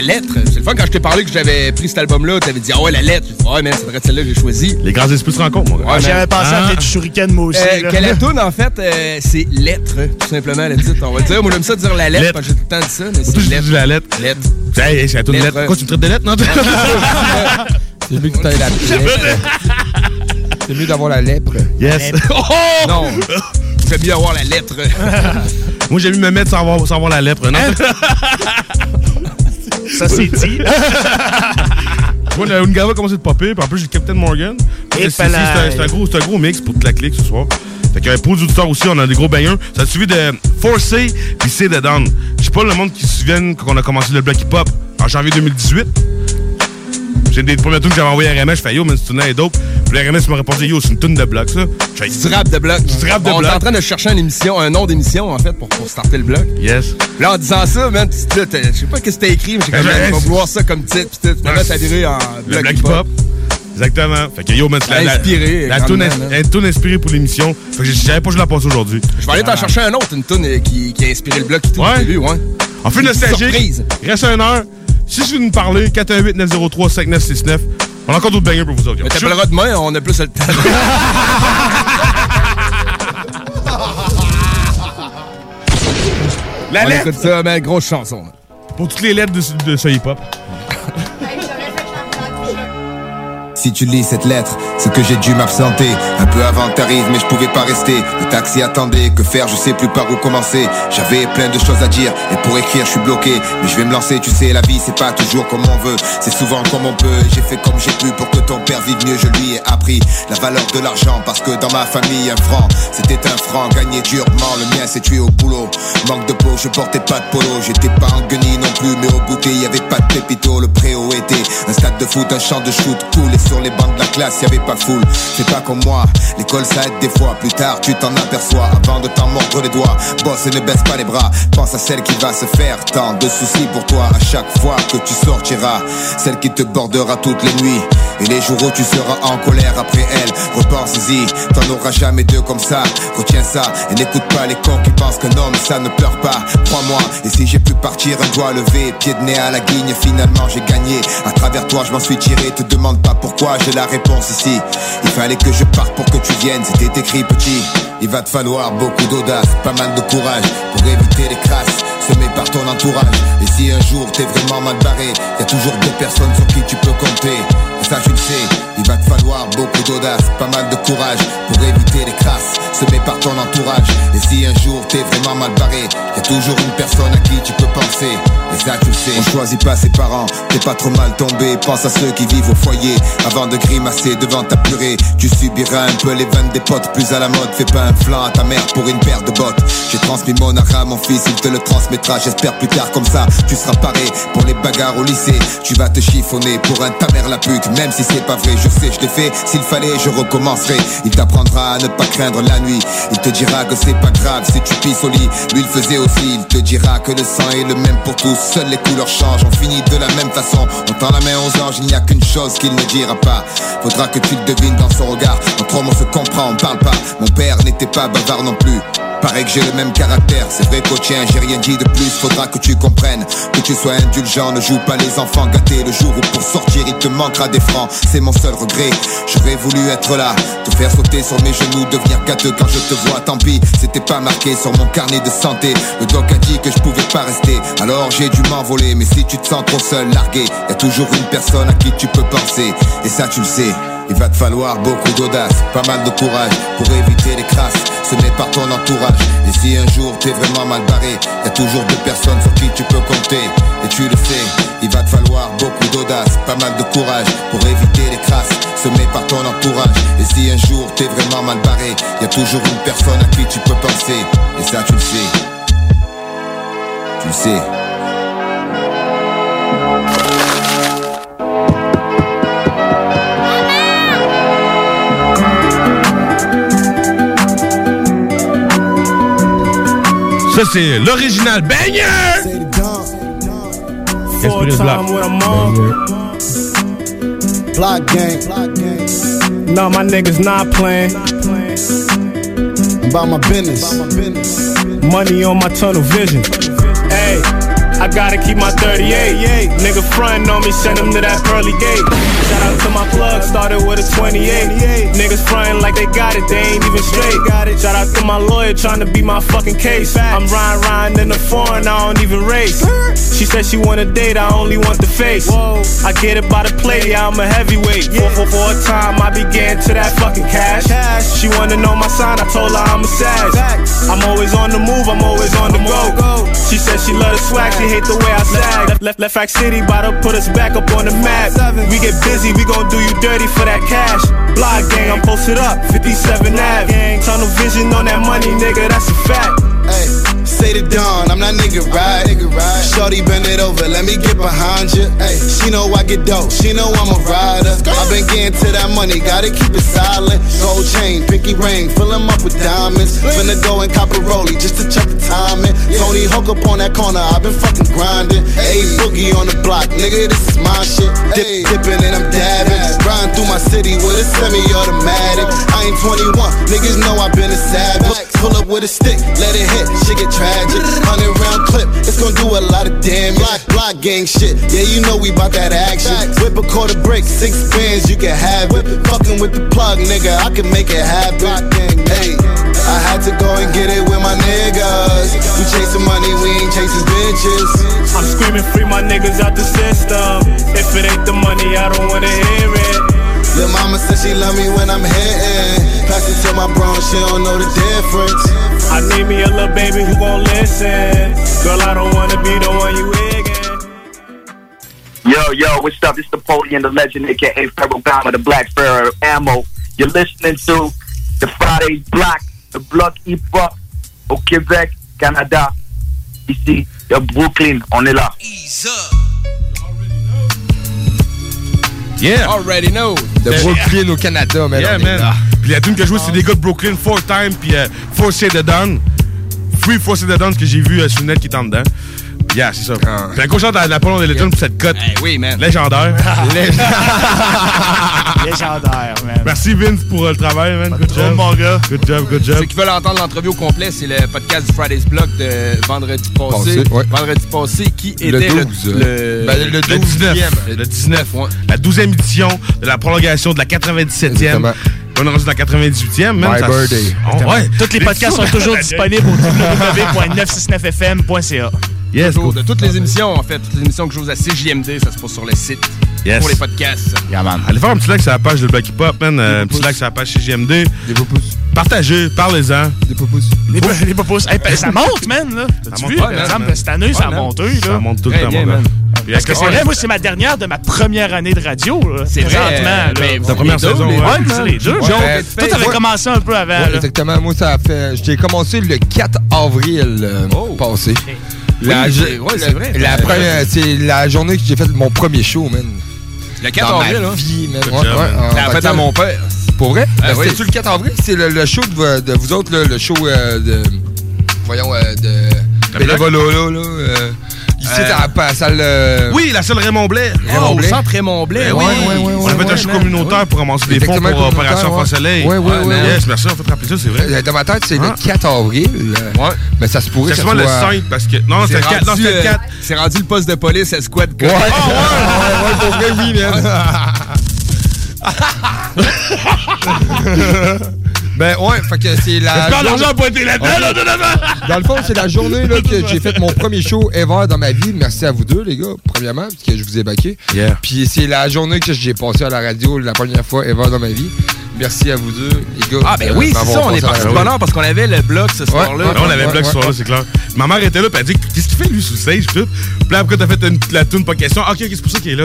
c'est le fun quand je t'ai parlé que j'avais pris cet album-là, t'avais dit, ah ouais, la lettre. J'ai dit, ouais, mais ça devrait être celle-là que j'ai choisie. Les grands esprits se rencontrent, mon gars. Ouais, j'avais pensé à du Shuriken, moi aussi. Quelle est la toune, en fait, c'est lettre, tout simplement, le titre. On va dire, moi, j'aime ça dire la lettre, parce que j'ai tout le temps dit ça, mais c'est lettre. La lettre. Lettre. Hey, c'est la toune lettre. Quoi, tu me traites de lettre, non? C'est mieux que tu aies la lettre. C'est mieux d'avoir la lèpre. Yes. Oh! Non. J'aime mieux avoir la lettre. Moi, j'ai mieux me mettre sans avoir la lèpre. Non? Ça, c'est dit. Moi, le Ungava a commencé de popper, puis en plus, j'ai le Captain Morgan. C'est un gros mix pour toute la clique ce soir. Fait que pour les auditeurs aussi, on a des gros bangers. Ça a suivi de Forcé puis C'est de Down. Je sais pas le monde qui se souvienne quand on a commencé le bloc hip-hop en janvier 2018. J'ai des premiers tunes que j'avais envoyé à RMS, je fais yo, mais cette tune est dope. Puis le RMS m'a répondu yo, c'est une tune de bloc, ça. C'est du rap de bloc. On est en train de chercher un nom d'émission, en fait, pour starter le bloc. Yes. Là, en disant ça, man, je sais pas ce que t'as écrit, mais j'ai quand même pas vouloir ça comme titre. Puis tu t'as viré en bloc hip-hop. Exactement. Fait que yo, man, c'est la tune inspirée pour l'émission. Fait que j'avais pas joué la passer aujourd'hui. Je vais aller t'en chercher un autre, une tune qui a inspiré le bloc qui tout au début, ouais. En fait, nostalgique. Reste 1 heure. Si je veux nous parler, 418-903-5969. On a encore d'autres bangers pour vous autres. Mais t'appelleras demain, on a plus le temps. La lettre! Écoute ça, mais grosse chanson. Là. Pour toutes les lettres de ce hip-hop. Si tu lis cette lettre, c'est que j'ai dû m'absenter. Un peu avant t'arrives, mais je pouvais pas rester. Le taxi attendait, que faire, je sais plus par où commencer. J'avais plein de choses à dire, et pour écrire je suis bloqué. Mais je vais me lancer, tu sais, la vie c'est pas toujours comme on veut. C'est souvent comme on peut, j'ai fait comme j'ai pu pour que ton père vive mieux. Je lui ai appris la valeur de l'argent, parce que dans ma famille, un franc, c'était un franc gagné durement. Le mien s'est tué au boulot, manque de peau, je portais pas de polo. J'étais pas en guenille non plus, mais au goûter y avait pas de pépito. Le préau était un stade de foot, un champ de shoot cool. Et sur les bancs de la classe, y'avait pas foule. C'est pas comme moi, l'école ça aide des fois. Plus tard tu t'en aperçois, avant de t'en mordre les doigts. Bosse et ne baisse pas les bras, pense à celle qui va se faire. Tant de soucis pour toi à chaque fois que tu sortiras. Celle qui te bordera toutes les nuits, et les jours où tu seras en colère après elle. Repense-y, t'en auras jamais deux comme ça. Retiens ça, et n'écoute pas les cons qui pensent qu'un homme ça ne pleure pas. Crois-moi, et si j'ai pu partir un doigt levé, pied de nez à la guigne, finalement j'ai gagné. À travers toi je m'en suis tiré, te demande pas pourquoi, j'ai la réponse ici. Il fallait que je parte pour que tu viennes, c'était écrit petit. Il va te falloir beaucoup d'audace, pas mal de courage pour éviter les crasses semées par ton entourage. Et si un jour t'es vraiment mal barré, y a toujours deux personnes sur qui tu peux compter. Et ça tu le sais, il va te falloir beaucoup d'audace, pas mal de courage pour éviter les crasses semées par ton entourage. Et si un jour t'es vraiment mal barré, y a toujours une personne à qui tu peux penser. Et ça tu le sais, on choisit pas ses parents, t'es pas trop mal tombé. Pense à ceux qui vivent au foyer, avant de grimacer devant ta purée. Tu subiras un peu les vannes des potes, plus à la mode. Fais pas un flanc à ta mère pour une paire de bottes. J'ai transmis mon art à mon fils, il te le transmettra. J'espère plus tard comme ça, tu seras paré pour les bagarres au lycée. Tu vas te chiffonner pour un ta mère la pute, même si c'est pas vrai, je sais, je l'ai fait. S'il fallait, je recommencerai. Il t'apprendra à ne pas craindre la nuit. Il te dira que c'est pas grave si tu pisses au lit. Lui il faisait aussi, il te dira que le sang est le même pour tous. Seules les couleurs changent, on finit de la même façon. On tend la main aux anges, il n'y a qu'une chose qu'il ne dira pas. Faudra que tu le devines dans son regard. Entre hommes on se comprend, on parle pas. Mon père n'était pas bavard non plus. Paraît que j'ai le même caractère, c'est vrai qu'au tien j'ai rien dit de plus. Faudra que tu comprennes, que tu sois indulgent. Ne joue pas les enfants gâtés le jour où pour sortir il te manquera des francs. C'est mon seul regret, j'aurais voulu être là, te faire sauter sur mes genoux, devenir gâteux quand je te vois. Tant pis, c'était pas marqué sur mon carnet de santé. Le doc a dit que je pouvais pas rester, alors j'ai dû m'envoler. Mais si tu te sens trop seul, largué, y a toujours une personne à qui tu peux penser. Et ça tu le sais, il va te falloir beaucoup d'audace, pas mal de courage pour éviter les crasses semées par ton entourage. Et si un jour t'es vraiment mal barré, y a toujours deux personnes sur qui tu peux compter. Et tu le sais, il va te falloir beaucoup d'audace, pas mal de courage pour éviter les crasses semées par ton entourage. Et si un jour t'es vraiment mal barré, y a toujours une personne à qui tu peux penser. Et ça tu le sais, tu le sais. Ça, c'est l'original banger! Esprit de Black. Block gang. No, my niggas not playing. About my business. Money on my tunnel vision. Hey, I gotta keep my 38. Nigga frontin' on me, send him to that pearly gate. Shout out to my plug, started with a 28. Niggas frontin' like they got it, they ain't even straight. Shout out to my lawyer, tryna be my fucking case. I'm riding in the foreign, I don't even race. She said she want a date, I only want the face. I get it by the plate, yeah, I'm a heavyweight. For a time, I be getting to that fucking cash. She wanna know my sign, I told her I'm a sag. I'm always on the move, I'm always on the go. She said she love the swag, she hate the way I sag. Left Rack City, bout to put us back up on the map. We get busy, we gon' do you dirty for that cash. Block gang, I'm posted up, 57 Ave. Tunnel vision on that money, nigga, that's a fact. Hey, say the dawn, I'm not nigga right. Shorty bend it over, let me get behind you. Hey, she know I get dope, she know I'm a rider. I been getting to that money, gotta keep it silent. Gold chain, pinky ring, fill 'em up with diamonds. Finna go and cop a rollie just to check the timing. Tony Hawk up on that corner, I been fucking grinding. Hey, boogie on the block, nigga, this is my shit. Dipping and I'm dabbing, riding through my city with a semi-automatic. I ain't 21, niggas know I been a savage. Pull up with a stick, let it hit, shit get tragic. 100-round clip, it's gon' do a lot of damage. Block gang shit, yeah, you know we bout that action. Whip a quarter brick, 6 bands, you can have it. Fucking with the plug, nigga, I can make it happen. Hey, I had to go and get it with my niggas. We chasing money, we ain't chasing bitches. I'm screaming free my niggas out the system. If it ain't the money, I don't wanna hear it. Lil' mama said she love me when I'm hitting. Pass it to my bro, she don't know the difference. I need me a little baby who gon' listen. Girl, I don't wanna be the one you egging. Yo, what's up? It's the Pody and the Legend, a.k.a. Pharaoh Bama, the Black Pharaoh Ammo. You're listening to the Friday Block, the Bloc Hip-Hop au Québec, Canada. Ici, de Brooklyn, on est là. Yeah! Already know. De Brooklyn au Canada, man. Yeah, man. Puis la tune que je joue, c'est des gars de Brooklyn, 4Time, puis Force the Dawn. Free Force the Dawn, que j'ai vu sur le net qui est en dedans. Yeah, c'est ça. Puis un gros chante à Napoléon de Legend pour cette cote. Oui, man. Légendaire. Légendaire, man. Merci, Vince, pour le travail, man. Good job. Mon gars. Good job. Ceux qui veulent entendre l'entrevue au complet, c'est le podcast du Friday's Block de vendredi passé. Vendredi passé, qui était le 12. Le 19. Ouais. La 12e édition de la prolongation de la 97e. On est rendu dans la 98e. My birthday. Tous les podcasts sont toujours disponibles au www.969fm.ca. Yes, de toutes les émissions, en fait, toutes les émissions que je joue à CJMD, ça se passe sur le site. Yes. Pour les podcasts. Yeah, man. Allez faire un petit like sur la page de Bloc Hip-Hop, man. Un petit like sur la page CJMD. Des pouces. Partagez, parlez-en. Des pouces. Des pouces. Hey, ça monte, man, là. T'as-tu vu? Par exemple, cette année, ça a monté, là. Ça monte tout le temps, man. Parce que c'est vrai, moi, c'est ma dernière de ma première année de radio, là. C'est vrai. Ta première saison, ouais, c'est les deux. Toi, t'avais commencé un peu avant, là. Exactement. Moi, ça a fait... J'ai commencé le 4 avril passé. C'est vrai. La première, c'est la journée que j'ai fait mon premier show, man. Le 4 avril, là. Vie, man. T'as fait à mon père. Pour vrai? Oui. C'était-tu le 4 avril? C'est le show de vous autres, là, le show de... Voyons, de... Bénévolat, là. Ici, à la salle... Oui, la salle Raymond Blais. Au centre Raymond Blais, oui. On a fait un show communautaire pour ramasser des fonds pour Opération Enfant Soleil. Oui. Yes, merci, on fait rappeler ça, c'est vrai. Dans ma tête, c'est le 4 avril. Ouais. Mais ça se pourrait que c'est ça souvent soit... le 5, parce que... Non, c'est le 4. Non, c'est le 4. C'est rendu le poste de police à Squad. Ouais, pour vrai, oui, man. Ben ouais, fait que c'est la... J'espère l'argent pour être là-dedans, là, Dans le fond, c'est la journée là, que j'ai fait mon premier show ever dans ma vie. Merci à vous deux, les gars, premièrement, parce que je vous ai backé. Yeah. Puis c'est la journée que j'ai passé à la radio la première fois ever dans ma vie. Merci à vous deux, les gars. Ah, ben oui, c'est ça, on est parti de bonheur parce qu'on avait le bloc ce soir-là. Ouais, on avait le bloc ce soir-là, c'est clair. Ma mère était là, puis elle dit qu'est-ce qu'il fait lui sous le stage, tout. Puis là, après, t'as fait la toune, pas question. Ok, c'est pour ça qu'il est là.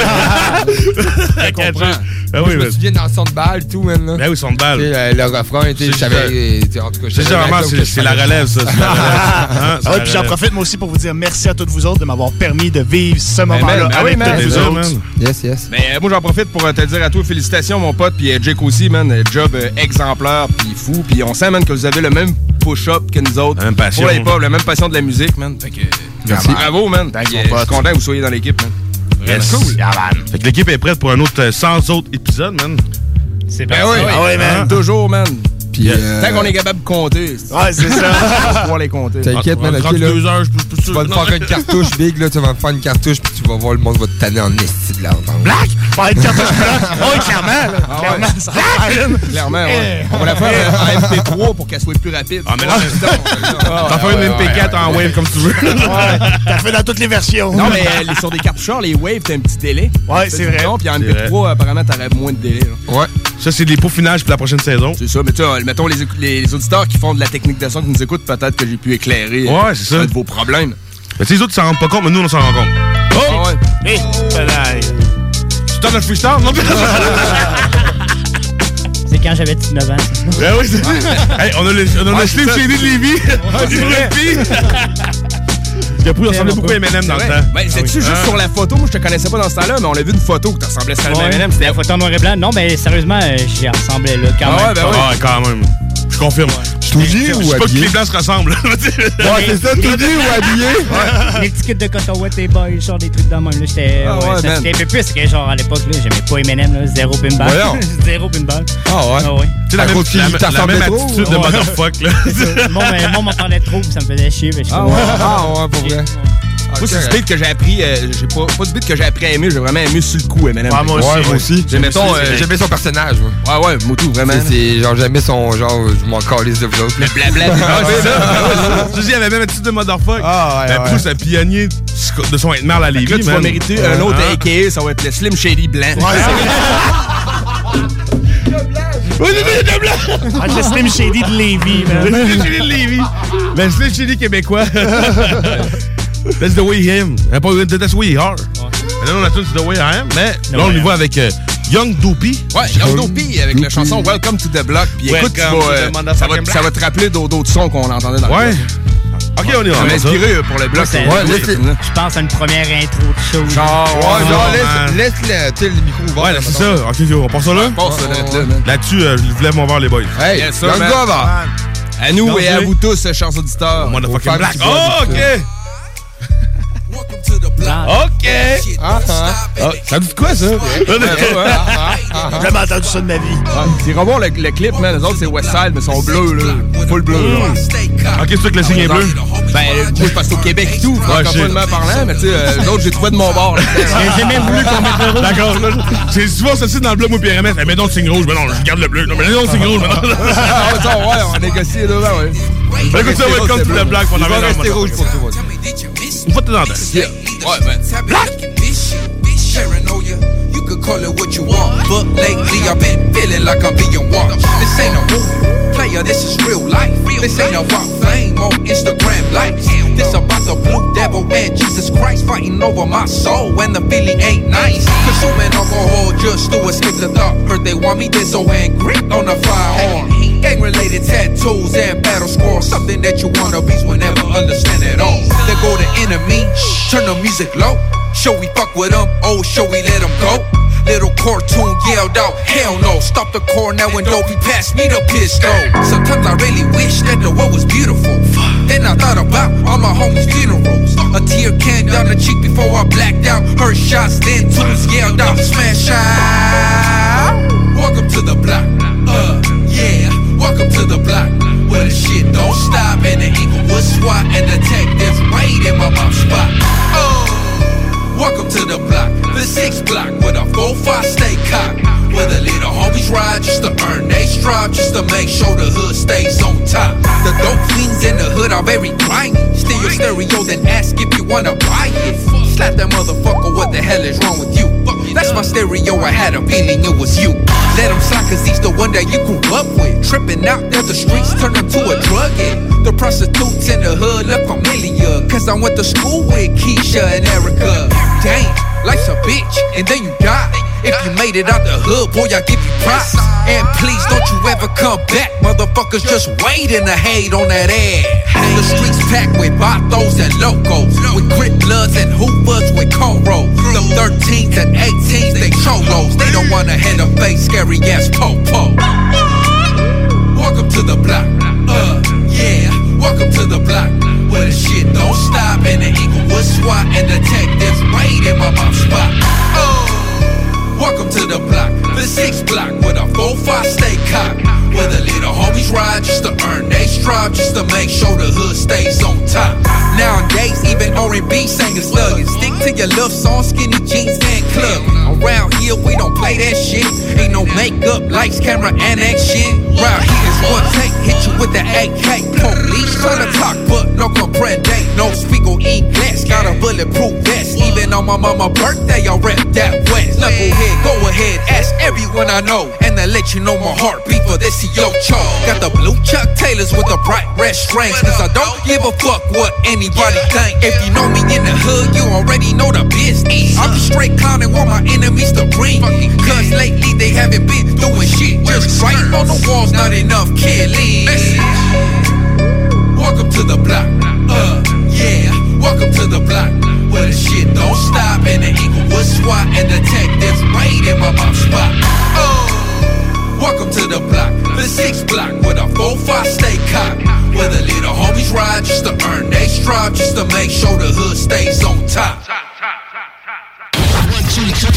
Je comprends. Moi, je me souviens dans le son de balle, tout, man. Là. Ben oui, son de balle. Le refrain, je savais. En tout cas, c'est la relève, ça. Ah oui, puis j'en profite, moi aussi, pour vous dire merci à tous vous autres de m'avoir permis de vivre ce moment-là avec tous vous autres. Yes. Mais moi, j'en profite pour te dire à toi, félicitations, mon pote, puis Jake aussi, man. Job exemplaire, puis fou. Puis on sent, man, que vous avez le même push-up que nous autres. La même passion. Pour les pop, la même passion de la musique, man. Fait que. Merci. Bravo, man. Je suis content que vous soyez dans l'équipe, man. Yes. Cool. Yeah, man. Fait que l'équipe est prête pour un autre 100 autres épisodes, man. C'est bien. Ah oui, man. Toujours, man. Puis, tant qu'on est capable de compter. Ouais, c'est ça. On va pouvoir les compter. T'inquiète, man. Ok, là. 2 heures, je peux Tu vas te faire une cartouche big, là. Tu vas me faire une cartouche, puis tu vas voir le monde va te tanner en esti de l'entendre. Black? Faire une cartouche black? Oui, clairement, là. Clairement, ça va faire une. Clairement, ouais. On va la faire en MP3 pour qu'elle soit plus rapide. Ah, mais là, t'en fais une MP4 en wave comme tu veux. Ouais, t'as fait dans toutes les versions. Non, mais sur des cartoucheurs, les waves, t'as un petit délai. Ouais, c'est vrai. Puis en MP3, apparemment, t'aurais moins de délai. Ouais. Ça, c'est des peaufinages pour la prochaine saison. C'est ça, mais tu sais, mettons les auditeurs qui font de la technique de son qui nous écoutent, peut-être que j'ai pu éclairer de vos problèmes. Mais tu sais, les autres, ils s'en rendent pas compte, mais nous, on s'en rend compte. Oh! Ouais. Hé, tu t'en as freestyle, non? C'est quand j'avais 19 ans. Ben oui, c'est hey, on a le Slim Shady de Lévis. Il a ressemblait beaucoup à Eminem dans le temps. Ben, c'est-tu juste sur la photo? Moi, je te connaissais pas dans ce temps-là, mais on a vu une photo que tu ressemblais seulement à Eminem. C'était la photo en noir et blanc. Non, mais sérieusement, j'y ressemblais là quand même. Ben oui. Ah, quand même. Je confirme. Tout nu ou habillé? Je sais pas que les blancs se ressemblent. Ouais, c'est ça, tout nu ou habillé? Ouais. Les petits kits de coton-ouette et boys, genre des trucs de même. Là, j'étais un peu plus que genre à l'époque, là, j'aimais pas Eminem, là, zéro pinball. Zéro pinball. Ah ouais? Ah ouais. Tu sais, la même attitude de motherfuck, là. Moi, m'en parlait trop, ça me faisait chier. Ah ouais, pour vrai. Moi, c'est du beat que j'ai appris. J'ai pas du beat que j'ai appris à aimer, j'ai vraiment aimé sur le coup, Eminem. Ouais, moi aussi. J'aimais son personnage, moi. Ouais, Moutou, vraiment. C'est genre, j'aimais son genre, je m'en calisse de vous autres. Le blabla. Tu dis, il y avait même attitude de motherfuck. Ah, ouais. Plus un pionnier de son être mal à Lévis. Là, tu vas mériter un autre AKA, ça va être le Slim Shady blanc. Oui, c'est de blanc! Le Slim Shady de Lévis, man. Le Slim Shady de Lévis. Le Slim Shady québécois. That's the way him. That's the way he are. Là, on a tous The Way I Am, mais là, on y va avec Young Dopey. Ouais, Young Dopey avec la chanson Welcome to the Block. Puis écoute, ça va te rappeler d'autres sons qu'on entendait dans le bloc. Ok, on est ça m'a inspiré pour le bloc. Je pense à une première intro de show. Laisse le micro ouvert. Ouais, c'est ça. Ok, on passe ça là? Là-dessus, je lève mon verre, les boys. Hey, Young Dopey. À nous et à vous tous, chers auditeurs. Motherfucking Black. Oh, ok! OK! Ça dit quoi, ça? J'ai jamais entendu ça de ma vie. C'est revoir le clip, man. Les autres, c'est Westside, mais ils sont bleus, là. Full bleu, là. OK, c'est sûr que le signe est bleu? Ben, moi, je passe au Québec et tout, francophoniquement parlant, mais tu sais, les autres, j'ai trouvé de mon bord, là. J'ai même voulu qu'on mette le rouge. D'accord, c'est souvent ceci dans le bleu, moi, puis RMS. Mais non, le signe rouge. Mais non, je garde le bleu. Non, mais non, le signe rouge. Ouais, on a négocié, là, ouais. Écoute ça, Welcome to the Block. On va rester rouge pour tout. Une fois de temps en temps. Ouais, man. Black! Paranoia, you could call it what you want, but lately I've been feeling like I'm being watched. This ain't a movie, player, this is real life. This ain't about fame on Instagram likes. This about the blue devil and Jesus Christ fighting over my soul when the feeling ain't nice. Consuming alcohol just to escape the thought. Heard they want me dead, so angry on the firearm. Gang-related tattoos and battle scores, something that you wannabes will never understand at all. They go to enemy, turn the music low. Show we fuck with them, oh, show we let them go. Little cartoon yelled out, hell no. Stop the car now and Dopey pass me the pistol. Sometimes I really wish that the world was beautiful. Then I thought about all my homies' funerals. A tear came down the cheek before I blacked out. Heard shots, then tunes yelled out, smash out. Welcome to the block, yeah. Welcome to the block, where the shit don't stop. And the Inglewood SWAT and detectives wait in my mom's spot. Welcome to the block, the 6th block, with a 4-5 stay cocked. Where the little homies ride just to earn they stride, just to make sure the hood stays on top. The dope fiends in the hood are very grimy. Steal your stereo, then ask if you wanna buy it. Slap that motherfucker, what the hell is wrong with you? That's my stereo, I had a feeling it was you. Let him slide, cause he's the one that you grew up with. Tripping out that the streets turned him to a drug addict. The prostitutes in the hood look familiar, cause I went to school with Keisha and Erica. Damn, life's a bitch, and then you die. If you made it out the hood, boy, I give you props. And please don't you ever come back. Motherfuckers just waiting to hate on that ass. The streets packed with vatos and locos, with Crip Bloods and Hoovers with cornrows. Them 13s and 18s, they cholos. They don't wanna hand a face, scary ass po-po. Welcome to the block, yeah. Welcome to the block, where the shit don't stop. And the Inglewood SWAT and detectives wait in my mom's spot. Welcome to the block, the 6th block, with a 4-5 stay cocked. Where the little homies slugging. Stick to your love song, skinny jeans and club. Around here, we don't play that shit. Ain't no makeup, lights, camera, and action. Round here is one take, hit you with the AK. Police tryna talk, but no comprende. No speak or eat glass, got a bulletproof vest. Even on my mama's birthday, I rep that west. Knucklehead, go ahead, ask everyone I know. And I let you know my heartbeat for this is your cho. Got the blue Chuck Taylors with the bright red strings. Cause I don't give a fuck what anybody think. If you know me in the hood, you already know the business. I'm straight clowning, want my enemies to breathe. Cause lately they haven't been doing shit. Just writing on the walls, not enough killing. Welcome to the block, yeah, welcome to the block. Where the shit don't stop and the Inglewood SWAT and detectives raid in my mom's spot. Welcome to the block, the 6th block where the 4-5 stay cocked. Where the little homies ride just to earn they stride, just to make sure the hood stays on top. 96.9.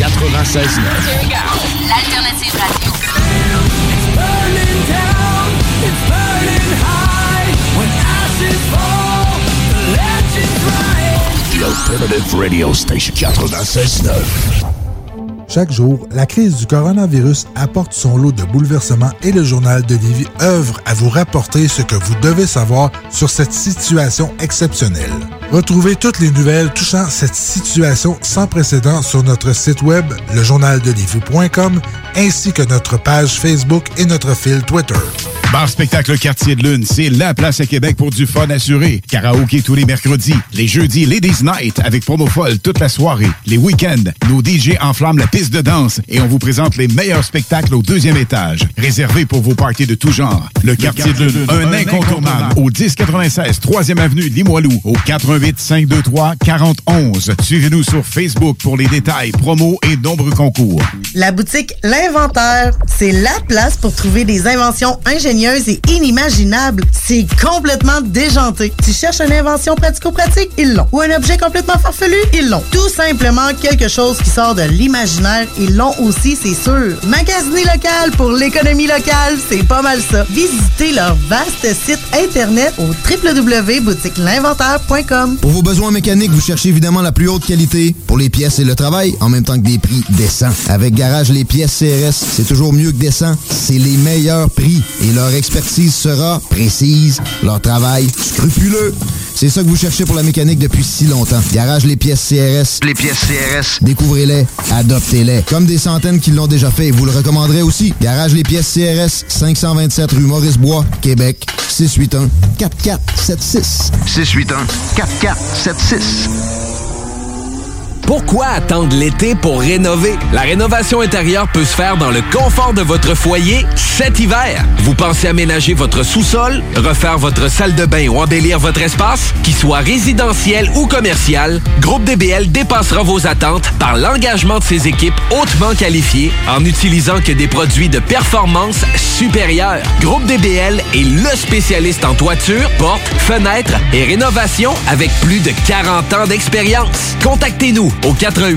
L'alternative radio. It's burning down, it's burning high. When ashes fall, the legends rise. The Alternative Radio Station 96.9. Chaque jour, la crise du coronavirus apporte son lot de bouleversements et le Journal de Lévis œuvre à vous rapporter ce que vous devez savoir sur cette situation exceptionnelle. Retrouvez toutes les nouvelles touchant cette situation sans précédent sur notre site web, lejournaldelévis.com, ainsi que notre page Facebook et notre fil Twitter. Bar Spectacle Quartier de Lune, c'est la place à Québec pour du fun assuré. Karaoké tous les mercredis. Les jeudis, Ladies Night avec promo folle toute la soirée. Les week-ends, nos DJ enflamment la piste de danse et on vous présente les meilleurs spectacles au 2e étage. Réservé pour vos parties de tout genre. Le Quartier de Lune, un incontournable au 1096 3e avenue Limoilou, au 418-523-4011. Suivez-nous sur Facebook pour les détails, promos et nombreux concours. La boutique L'Inventaire, c'est la place pour trouver des inventions ingénieuses et inimaginables. C'est complètement déjanté. Tu cherches une invention pratico-pratique? Ils l'ont. Ou un objet complètement farfelu? Ils l'ont. Tout simplement quelque chose qui sort de l'imaginaire? Ils l'ont aussi, c'est sûr. Magasiner local pour l'économie locale, c'est pas mal ça. Visitez leur vaste site internet au www.boutiquelinventaire.com. Pour vos besoins mécaniques, vous cherchez évidemment la plus haute qualité pour les pièces et le travail, en même temps que des prix décents. Avec Garage Les Pièces CRS, c'est toujours mieux que décent. C'est les meilleurs prix et leur expertise sera précise, leur travail scrupuleux. C'est ça que vous cherchez pour la mécanique depuis si longtemps. Garage Les Pièces CRS. Les pièces CRS. Découvrez-les, adoptez-les. Comme des centaines qui l'ont déjà fait, vous le recommanderez aussi. Garage Les Pièces CRS, 527 rue Maurice-Bois, Québec, 681-4476. 681-4476. Pourquoi attendre l'été pour rénover? La rénovation intérieure peut se faire dans le confort de votre foyer cet hiver. Vous pensez aménager votre sous-sol, refaire votre salle de bain ou embellir votre espace? Qu'il soit résidentiel ou commercial, Groupe DBL dépassera vos attentes par l'engagement de ses équipes hautement qualifiées en utilisant que des produits de performance supérieure. Groupe DBL est le spécialiste en toiture, portes, fenêtres et rénovation avec plus de 40 ans d'expérience. Contactez-nous au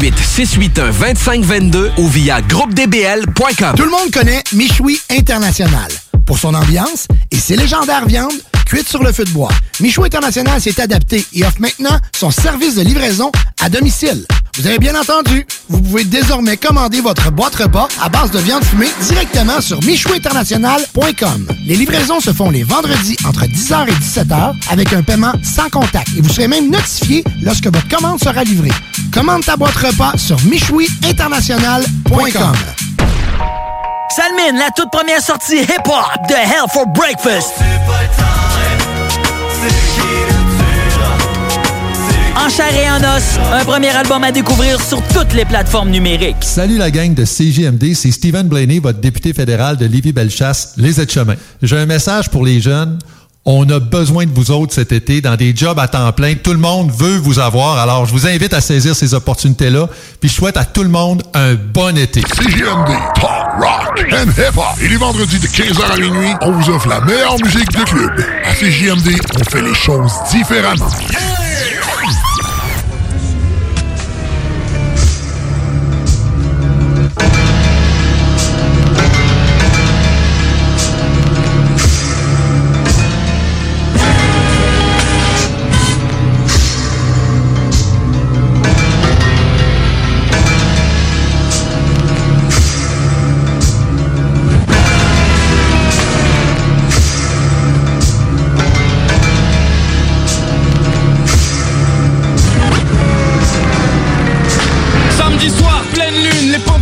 88-681-2522 ou via groupedbl.com. Tout le monde connaît Michoui International. Pour son ambiance et ses légendaires viandes cuites sur le feu de bois. Michoui International s'est adapté et offre maintenant son service de livraison à domicile. Vous avez bien entendu, vous pouvez désormais commander votre boîte repas à base de viande fumée directement sur michouinternational.com. Les livraisons se font les vendredis entre 10h et 17h avec un paiement sans contact et vous serez même notifié lorsque votre commande sera livrée. Commande ta boîte repas sur michouinternational.com. Salmine, la toute première sortie hip-hop de Hell for Breakfast. En chair et en os, un premier album à découvrir sur toutes les plateformes numériques. Salut la gang de CJMD, c'est Stephen Blaney, votre député fédéral de Lévis-Bellechasse, les Aides-Chemins. J'ai un message pour les jeunes. On a besoin de vous autres cet été dans des jobs à temps plein. Tout le monde veut vous avoir. Alors, je vous invite à saisir ces opportunités-là. Puis, je souhaite à tout le monde un bon été. CJMD, talk, rock and hip-hop. Et les vendredis de 15h à minuit, on vous offre la meilleure musique de club. À CJMD, on fait les choses différemment.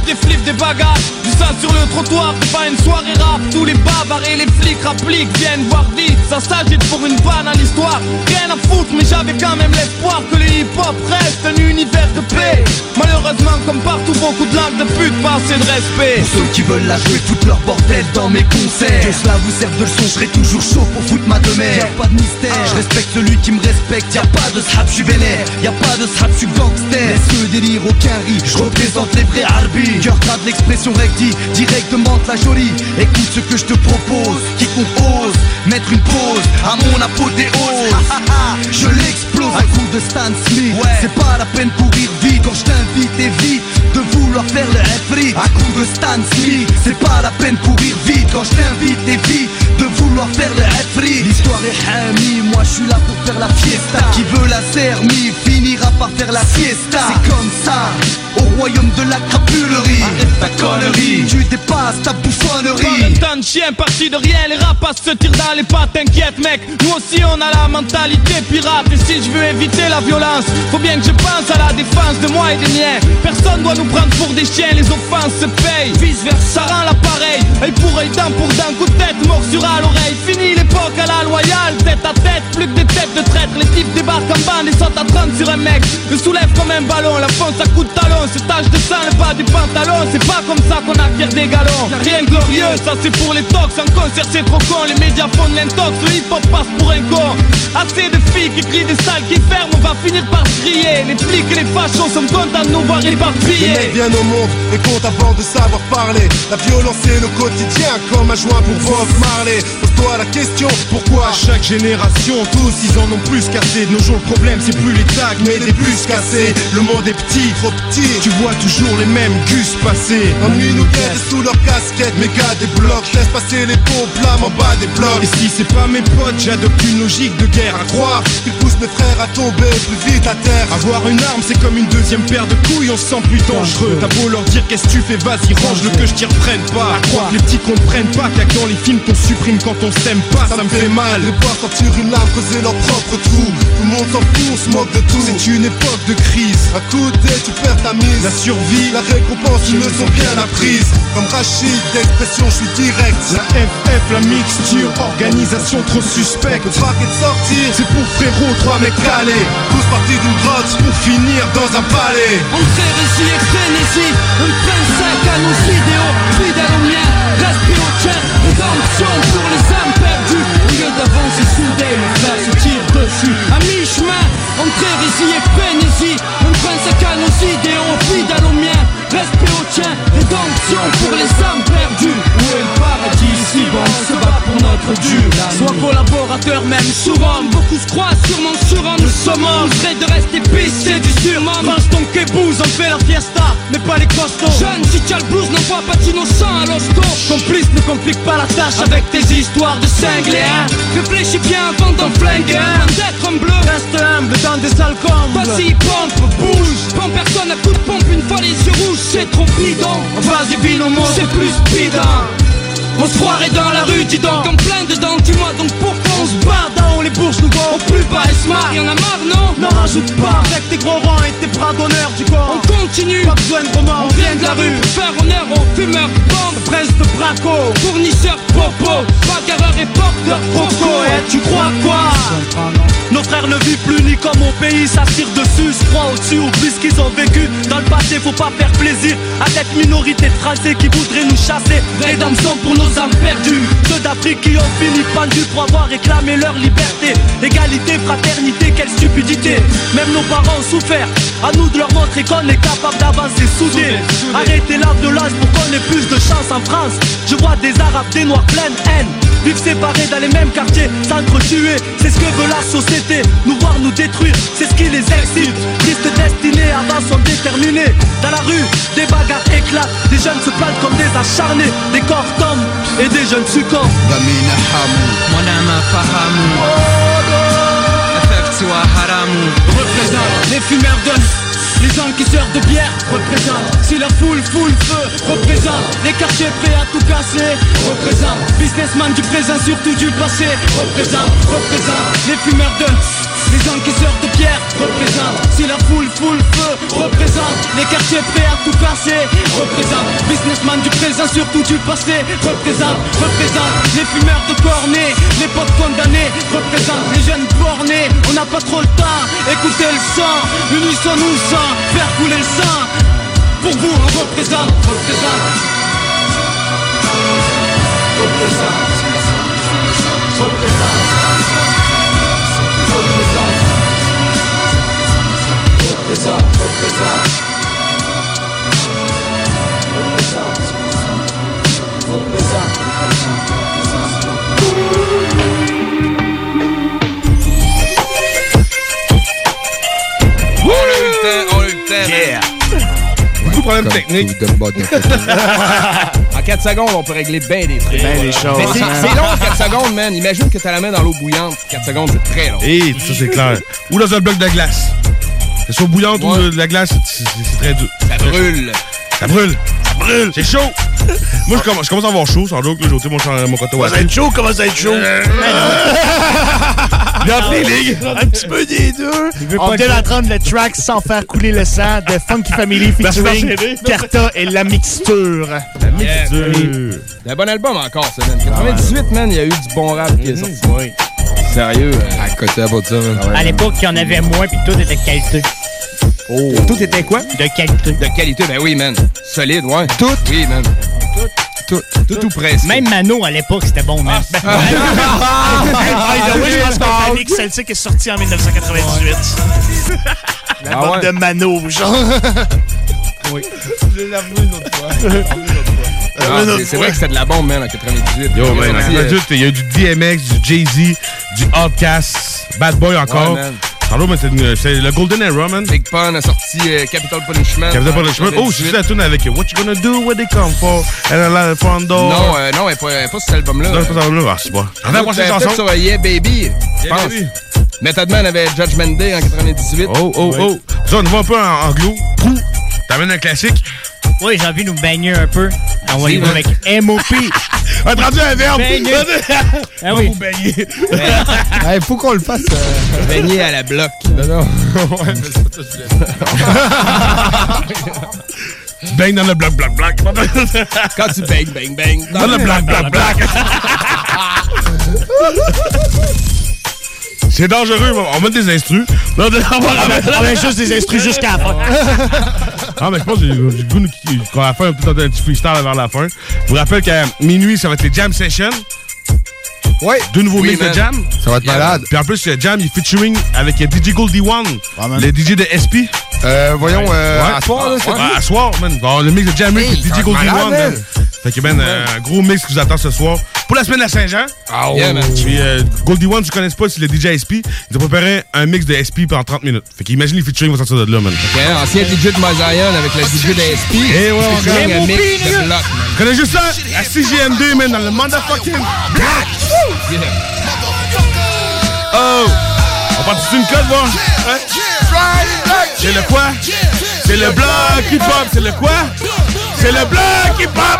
des flips, des bagarres, du sang sur le trottoir, c'est pas une soirée rap. Tous les bavards et les flics rappliquent viennent voir vite, ça s'agite pour une vanne à l'histoire. Rien à foutre, mais j'avais quand même l'espoir que le hip-hop reste un univers de paix. Malheureusement, comme partout, beaucoup de langues de pute, pas assez de respect. Pour ceux qui veulent la jouer, toute leur bordel dans mes concerts. Que cela vous serve de leçon, je serai toujours chaud pour foutre ma demeure. Y'a pas de mystère, je respecte celui qui me respecte. Y'a pas de srap, je suis vénère. Y'a pas de srap, je suis gangster. Laisse le délire, aucun riz, je représente les vrais harbis. Cœur gras de l'expression recti, directement de la jolie. Écoute ce que je te propose, quiconque ose mettre une pause à mon apothéose. Je l'explose à coup de Stan Smith. C'est pas la peine pour rire vite quand je t'invite, évite de vouloir faire le refri. À coup de Stan Smith, c'est pas la peine pour rire vite quand je t'invite, évite de vouloir faire le refri. L'histoire est hamie, moi je suis là pour faire la fiesta. Qui veut la sermie finira par faire la siesta. C'est comme ça, au royaume de la crapulerie. Arrête ta connerie, tu dépasses ta bouffonnerie. Pas de temps de chien parti de rien, les rapaces se tirent dans les pattes, t'inquiète mec. Nous aussi on a la mentalité pirate. Et si je veux éviter la violence, faut bien que je pense à la défense de moi et des miens. Personne doit nous prendre pour des chiens, les offenses se payent. Vice versa, ça rend l'appareil, œil pour œil, dent pour dent, coup de tête, morsure à l'oreille. Fini l'époque à la loyale, tête à tête, plus que des têtes de traître. Les types débarquent en bande et sautent à 30 sur un mec. Le soulève comme un ballon, la fonce à coups de talon. Ce tache de sang, le bas du pantalon. C'est pas comme ça qu'on acquiert des galons. Rien de glorieux, ça c'est pour les tox. En concert c'est trop con, les médias font de l'intox. Le hip-hop passe pour un con. Assez de filles qui crient, des salles qui ferment, on va finir par se crier. Les flics et les fachos sont contents de nous voir éparpillés. Les mecs viennent au monde et comptent avant de savoir parler. La violence c'est le quotidien, comme un joint pour Bob Marley. Pose-toi la question, pourquoi à chaque génération, tous ils en ont plus cassé. De nos jours le problème c'est plus les tags mais des puces cassées. Le monde est petit, trop petit, tu vois toujours les mêmes gus passer. Ennui nous guette sous leur casquette, méga des blocs. Laisse passer les pompes, flammes en bas des blocs. Et si c'est pas mes potes, j'adopte une logique de guerre. À croire qu'ils poussent mes frères à tomber plus vite à terre. Avoir une arme c'est comme une deuxième paire de couilles, on se sent plus dangereux. T'as beau leur dire qu'est-ce que tu fais, vas-y range-le que je t'y reprenne pas. À croire que les petits comprennent pas qu'il y a que dans les films qu'on supprime quand on s'aime pas, ça me fait mal. Les voir sortir une larme, causer leur propre trou. Tout le monde s'en fout, on se moque de tout. C'est une époque de crise. À coup de dé, tu perds ta mise. La survie, la récompense, ils me sont bien apprises. Comme Rachid, d'expression, je suis direct. La FF, la mixture, organisation trop suspecte. Le paquet de sortir, c'est pour frérot, 3 mecs calés. Tous partis d'une grotte, pour finir dans un palais. Entrée, récit et frénésie, un prince à nos idéaux, fidèle aux miens, respect au tien, rédemption pour les âmes perdues. Au lieu d'avancer soudé, le frère se tire dessus. À mi-chemin, entrée, récit et frénésie, un prince à nos idéaux, fidèle aux miens, respect au tien, rédemption pour les âmes perdues. Où est le paradis si bon, on se bat pour notre Dieu. Sois collaborateur même souvent, beaucoup se croient sûrement sur un nous sommes serait de rester pissé du surmum. Mange ton kebouze, on fait la fiesta, mais pas les costauds. Jeune, si t'as le blues, n'envoie pas d'innocent à l'hosto. Complice, ne complique pas la tâche avec tes histoires de cinglés, hein. Réfléchis bien avant d'en flinguer, hein. D'être un bleu, reste humble dans des sales combles. Vas-y, pompe, bouge, prends personne à coup de pompe une fois les yeux rouges, c'est trop bidon. Vas-y, binomo, c'est plus speedant. On se croirait dans la rue, dis donc, en plein dedans, dis-moi donc pourquoi on se barre dans les bourses nous au plus bas et smart. Y'en a marre, non? N'en rajoute pas, avec tes gros rangs et tes bras d'honneur du corps. On continue, pas besoin de roman, on vient de la rue pour faire honneur aux fumeurs, bombes, presse de braco, fournisseurs, popo, bagarreurs et porteurs, proco. Et tu crois quoi? Nos frères ne vivent plus ni comme au pays, ça tire dessus, se croient au-dessus, oublient ce qu'ils ont vécu. Dans le passé, faut pas faire plaisir à cette minorité tracée qui voudrait nous chasser. Rédemption pour nos âmes perdues, ceux d'Afrique qui ont fini pendus pour avoir réclamé leur liberté. Égalité, fraternité, quelle stupidité. Même nos parents ont souffert, à nous de leur montrer qu'on est capable d'avancer soudés. Arrêtez la violence pour qu'on ait plus de chance en France. Je vois des Arabes, des Noirs pleines haine, vivre séparés dans les mêmes quartiers, s'entretuer. C'est ce que veut la société, nous voir nous détruire, c'est ce qui les excite. Triste destinée, avant sont déterminés. Dans la rue, des bagarres éclatent, des jeunes se plantent comme des acharnés. Des corps tombent et des jeunes succombent. Damina hamu, monama fahamu, effectua haramu. Représente les fumeurs de... Les gens qui sortent de bière représentent. Si la foule fout le feu, représente. Les quartiers prêts à tout casser, représente. Businessman du présent, surtout du passé, représente. Les fumeurs de Les encaisseurs de pierre représentent. Si la foule feu représente. Les quartiers prêts à tout casser représente. Businessman du présent, surtout du passé représente. Les fumeurs de cornets, les potes condamnés représente. Les jeunes bornés, on n'a pas trop le temps. Écoutez le sang, l'unisson nous sent. Faire couler le sang. Pour vous on représente. On a eu le temps. Yeah. Beaucoup de problèmes techniques. En 4 secondes, on peut régler bien des trucs. Bien des choses. Mais c'est long, 4 secondes, man. Imagine que t'as la main dans l'eau bouillante. 4 secondes, c'est très long. Et ça, c'est clair. Ou dans un bloc de glace. Que ce soit bouillante ou de la glace, c'est très dur. Ça brûle. Ça brûle. C'est chaud. Moi, je commence à avoir chaud, sans doute. J'ai ôté mon coton. Comment ça va être chaud? Comment ça va être chaud? Dans les ligues. Un petit peu des deux. On vient d'entendre le track Sans faire couler le sang de Funky Family featuring Carta et La Mixture. La Mixture. C'est un bon album encore, ça, man. 98, man, il y a eu du bon rap qui est sorti. Oui. Sérieux. À côté à ça. À l'époque, il y en avait moins, puis tout était de qualité. Oh. Tout était quoi? De qualité. De qualité, ben oui, man. Solide, ouais. Tout? Oui, man. Tout presque. Même Mano, à l'époque, c'était bon, man. Oui, je pense que Panic Celtic est sorti en 1998. L'album de Mano, genre. Oui. Je l'ai avoué une autre fois. C'est vrai que c'était de la bombe, man, en 98. Yo, man, il y a eu du DMX, du Jay-Z, du Outkast, Bad Boy encore. Ouais, Pardon, mais c'est le Golden Era, man. Big Pun a sorti Capital Punishment. Oh, c'est la tune avec What You Gonna Do, What They Come For, and a Lot of Fun Door. Non, elle n'est pas sur cet album-là. Non, c'est pas cet album-là. Ah, c'est pas. On a la chanson sur Yeah Baby, je pense. Method Man avait Judgment Day en 98. Oh. Ça, on va un peu en anglo. T'amènes un classique. Oui, j'ai envie de nous baigner un peu. On va y voir avec M.O.P. On a traduit un verbe. Ah oui. Faut baigner. Il faut qu'on le fasse. Baigner à la bloc. Non. Ouais, mais ça, tu bang dans le bloc. Quand tu bang. Dans le bloc. C'est dangereux, on met des instrus. On met juste des instrus jusqu'à la fin. Ah, mais je pense que j'ai le goût qu'on va faire un petit freestyle vers la fin. Je vous rappelle qu'à minuit, ça va être les Jam Sessions. Ouais. 2 nouveaux mix de Jam. Ça va être malade. Puis en plus, Jam, il est featuring avec DJ Goldie One, le DJ de SP. Voyons, à soir, là, à soir, man. Bon, le mix de Jam avec DJ Goldie One, man. Fait que, man, un gros mix qui vous attend ce soir. Pour la semaine de la Saint-Jean. Ah ouais, man. Puis Goldie One, tu connais pas, c'est le DJ SP. Ils ont préparé un mix de SP pendant 30 minutes. Fait qu'imagine les featuring vont sortir de là, man. Okay, ancien DJ de Mazayan avec le DJ de SP. Et ouais, on featuring un mix de bloc, man. Tu connais juste ça? À CJMD, man, dans le motherfucking block. Oh! On part dessus une cote, voir? C'est le quoi? C'est le bloc hip-hop. C'est le quoi? C'est le bloc hip-hop.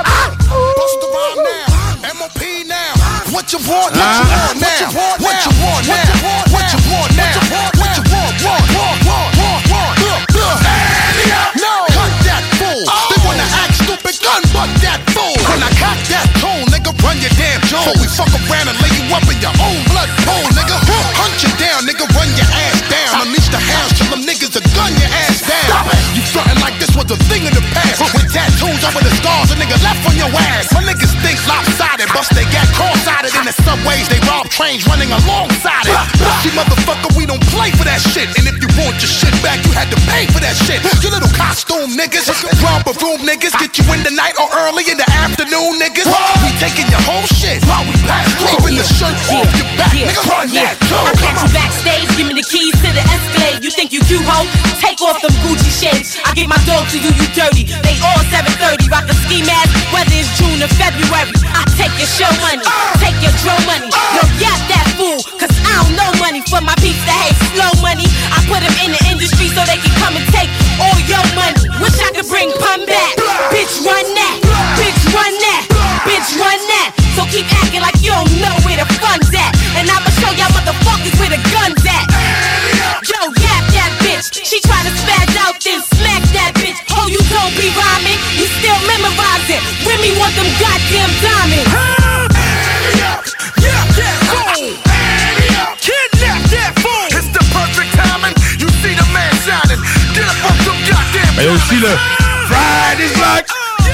What you want now? What you want now? What you want now? What you want now? What you want? No, cut that fool. They wanna act stupid, gun butt that fool. When I cock that tool, nigga, run your damn jaw. Before we fuck around and lay you up in your own blood pool, nigga. Hunt you down, nigga, run your ass down. Unleash the house till them niggas will gun your ass down. You frontin' like this was a thing in the past. With tattoos over the stars, a nigga left on your ass. My niggas think lopsided, bust they got cross-sided in the subways. They rob trains running alongside it. See, motherfucker, we don't play for that shit. And if you want your shit back, you had to pay for that shit. You little costume niggas, romper room niggas, get you in the night or early in the afternoon, niggas. We taking your whole shit while we pass through. Even the shirt off your back, nigga, run that too. I catch you backstage, give me the keys to the Escalade. You think you cute, ho? Take off them Gucci shades. I get my dog to you, you dirty. They all 730, rock a ski mask, whether it's June or February. I take your show money, take your drum money. No, got that fool, cause I don't know money for my peeps that hate slow money. I put them in the industry so they can come and take all your money. Wish I could bring Pun back. Bitch, run that. Bitch, run that. Bitch, run that. So keep acting like you don't know where the fun's at. And I'ma show y'all motherfuckers where the gun's at. me want them goddamn diamonds. Yeah, that fool. Kidnap that fool. It's the perfect timing. You see the man shining. Get up off them goddamn. Il y a aussi le Friday's Block.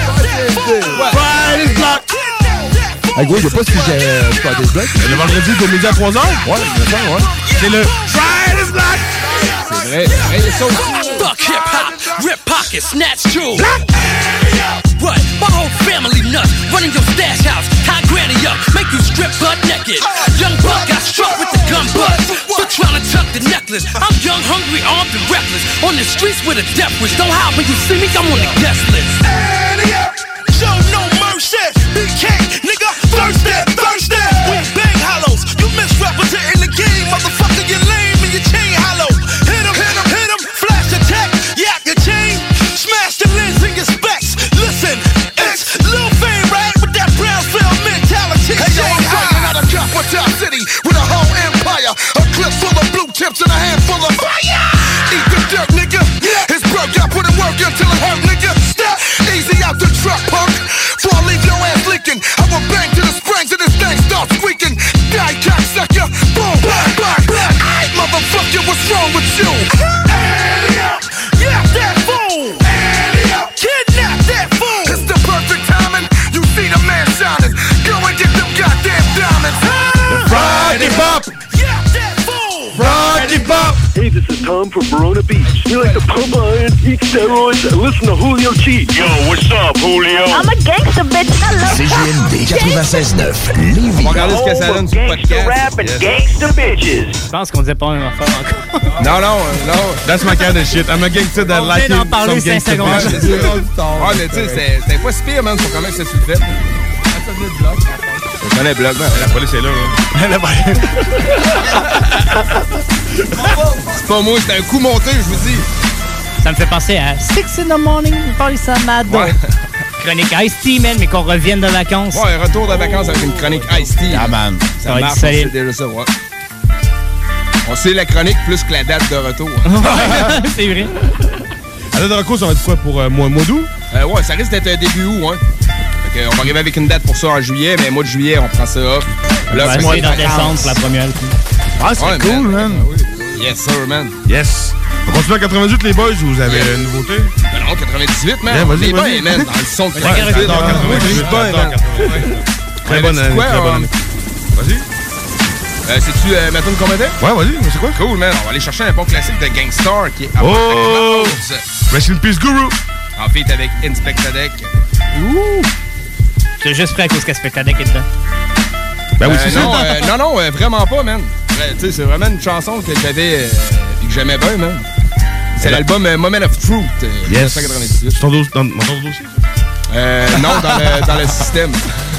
Friday's Block. Ah, gros, il n'y a pas ce sujet Friday's Block. Le vendredi de midi à 3h? Ouais, ouais. C'est le Friday's Block. C'est vrai. Hey, ça aussi. Fuck hip-hop, rip pockets, snatch jewels. What? My whole family nuts. Running your stash house, tie granny up, make you strip butt naked. Young buck got struck with the gun butt. So trying to tuck the necklace. I'm young, hungry, armed, and reckless. On the streets with a death wish. Don't hide when you see me, I'm on the guest list. Show no mercy. BK, nigga, thirsty. We bang hollows. You misrepresenting the game, motherfucker. You lame and your chain hollow. Hit him, flash attack. Yap your chain, smash the lens in your specs. Listen, it's Lil Fame, right? With that brown cell mentality. Hey, yo, I'm fighting out of Capital City with a whole empire. A clip full of blue tips and a handful of fire. Eat the dirt, nigga. It's broke, I put in work until it hurt, nigga. Step easy out the truck, punk. Before I leave your ass leaking, I will bang to the springs and this thing starts squeaking. Die, cocksucker. Boom, bang, bang, bang. Aight, motherfucker, what's wrong with you? Yeah, that fool. Kidnap that fool. It's the perfect timing. You see the man shining. Go and get them goddamn diamonds. The Friday Bop. Yeah, that fool. Friday Bop. Hey, this is Tom from Verona Beach. We like to pump iron, eat steroids, and listen to Julio G. Yo, what's up, Julio? I'm a gangster, bitch. I love CJMD 96.9 Lévis. On va regarder ce que ça donne sur le podcast. Rap and gangster bitches. Je pense qu'on disait pas la même affaire encore. Non. That's my kind of shit. I'm a gangster that like it. On vient d'en parler 5 secondes. Ouais, mais tu sais, c'était pas si pire, man, pour quand même que ça se fait. Je connais Block, man. La police est là, C'est pas moi, c'était un coup monté, je vous dis. Ça me fait penser à 6 in the morning, police à Mad Dog. Ouais. Chronique Ice-T, man, mais qu'on revienne de vacances. Ouais, retour de vacances avec une chronique Ice-T. Ah, man. Ça marche, c'est déjà ça, ouais. On sait la chronique plus que la date de retour. C'est vrai. La date de retour, ça va être quoi pour mois d'août? Ouais, ça risque d'être début août, hein. Fait on va arriver avec une date pour ça en juillet, mais mois de juillet, on prend ça off. Là, c'est moi dans décembre pour la première. Ah, c'est cool, man. Yes, sir, man. Yes. On continue à 98, les boys, vous avez une nouveauté? Ben non, 98, man. Yeah, vas-y, les vas-y. boys, man, dans le son de 98. Dans 98, man. Très bonne année, très bonne année. Vas-y. C'est-tu Maton Combattant? Ouais, vas-y, c'est quoi? Cool, man. On va aller chercher un bon classique de Gangstar qui est Oh! Rest in Peace Guru. En fait, avec Inspector Deck. Ouh! C'est juste prêt à cause qu'Inspector Deck est dedans. Ben oui, c'est ça. Non, vraiment pas, man. Tu sais, c'est vraiment une chanson que j'avais et que j'aimais bien, man. C'est l'album Moment of Truth, 1998. C'est ton dossier? Non, dans le système.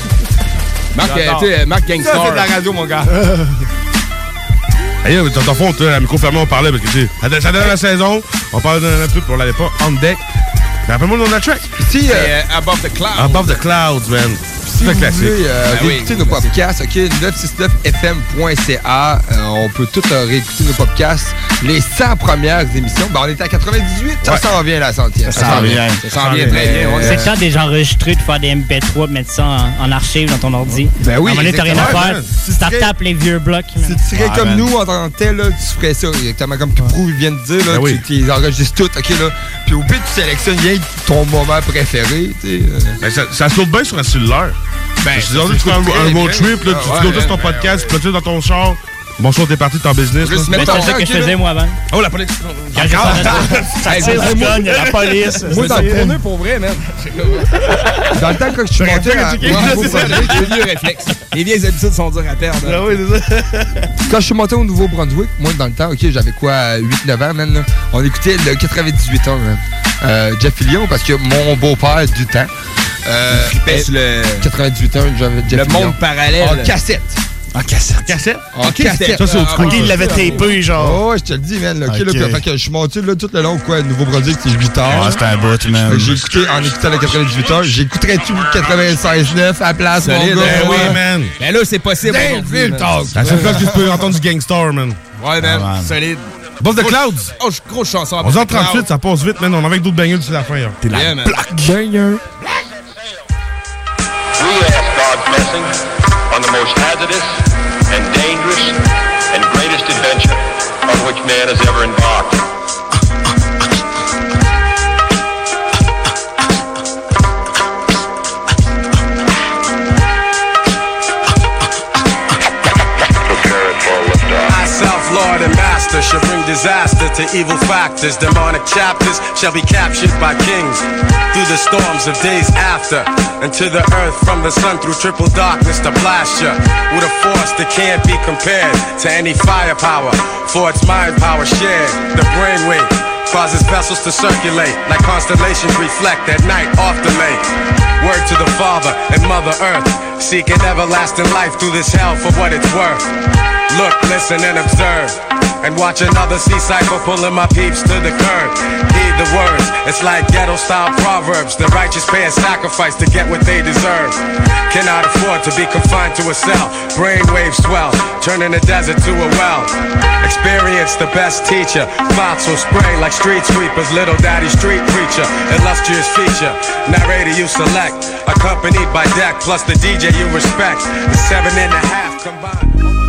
Marc Gangstar. Ça, c'est de la radio, mon gars. Hey, dans ton fond, à micro fermé, on parlait parce que, tu sais, ça donne la saison, on parlait d'un truc, puis on l'avait pas on deck. Mais rappelle-moi le nom de la track. C'est Above the Clouds. Above the Clouds, man. Si vous classique. voulez réécouter nos podcasts, OK, 969fm.ca, on peut tout réécouter nos podcasts. Les 100 premières émissions, ben on était à 98, ça s'en vient la centième. Ça s'en vient. Ça s'en vient très bien. C'est le temps déjà enregistré de faire des MP3, de mettre ça en archive dans ton ordi. Ben oui, à un moment donné, t'as rien à faire. Tu tapes les vieux blocs. Si tu serais comme nous en tant que tel, là, tu ferais ça. Exactement comme Prou vient de dire, là, tu les enregistres toutes, OK, là. Puis au pire, tu sélectionnes bien ton moment préféré, tu sais. Ça saute bien sur un cellulaire. Ben, tu fais un road trip, là, tu notes ton podcast, tu peux dans ton char. Bonsoir, t'es parti de ton business. C'est ça que je faisais, moi, avant. Oh, la police. Quand ça tire du gun, il y a la police. Moi, dans le tourneur, pour vrai, man. Dans le temps que je suis monté à... Les vieux réflexes. Les vieilles habitudes sont dures à perdre. Ah oui, c'est ça. Quand je suis monté au Nouveau-Brunswick, moi, dans le temps, OK, j'avais quoi, 8-9 ans, man, là. On écoutait le 98 ans, man. Jeff Fillion, parce que mon beau-père du temps... sur le 98 ans, j'avais Jeff Le monde parallèle. En cassette. En cassette? En cassette. Ça, c'est au OK, il l'avait tapé, genre. Oh, ouais, je te le dis, man. OK, là, fait que je suis monté là, tout le long, quoi, Nouveau-Brunswick, c'était 8 heures. Ah, c'était un bout, man. J'ai écouté, en écoutant le 98 heures, j'écouterais tout le 96.9 à la place, mon Solide, gars. Ben oui, man. Ben là, c'est possible. La seule fois que tu peux entendre du Gangstar, man. Ouais, man. Solide. Boss the Clouds. Oh, grosse chanson. 11h38, ça passe vite, man. On a avec d'autres bangers sur la fin. T'es la Black banger. God's blessing on the most hazardous and dangerous and greatest adventure on which man has ever embarked. Lord and Master shall bring disaster to evil factors. Demonic chapters shall be captured by kings through the storms of days after, and to the earth from the sun through triple darkness to blast ya with a force that can't be compared to any firepower. For its mind power shared, the brainwave causes vessels to circulate like constellations reflect at night off the lake. Word to the Father and Mother Earth, seeking everlasting life through this hell for what it's worth. Look, listen, and observe, and watch another sea cycle pulling my peeps to the curb. Heed the words, it's like ghetto-style proverbs. The righteous pay a sacrifice to get what they deserve. Cannot afford to be confined to a cell. Brainwaves swell, turning the desert to a well. Experience the best teacher. Thoughts will spray like street sweepers. Little daddy street preacher, illustrious feature. Narrator you select, accompanied by deck plus the DJ you respect. The 7.5 combined.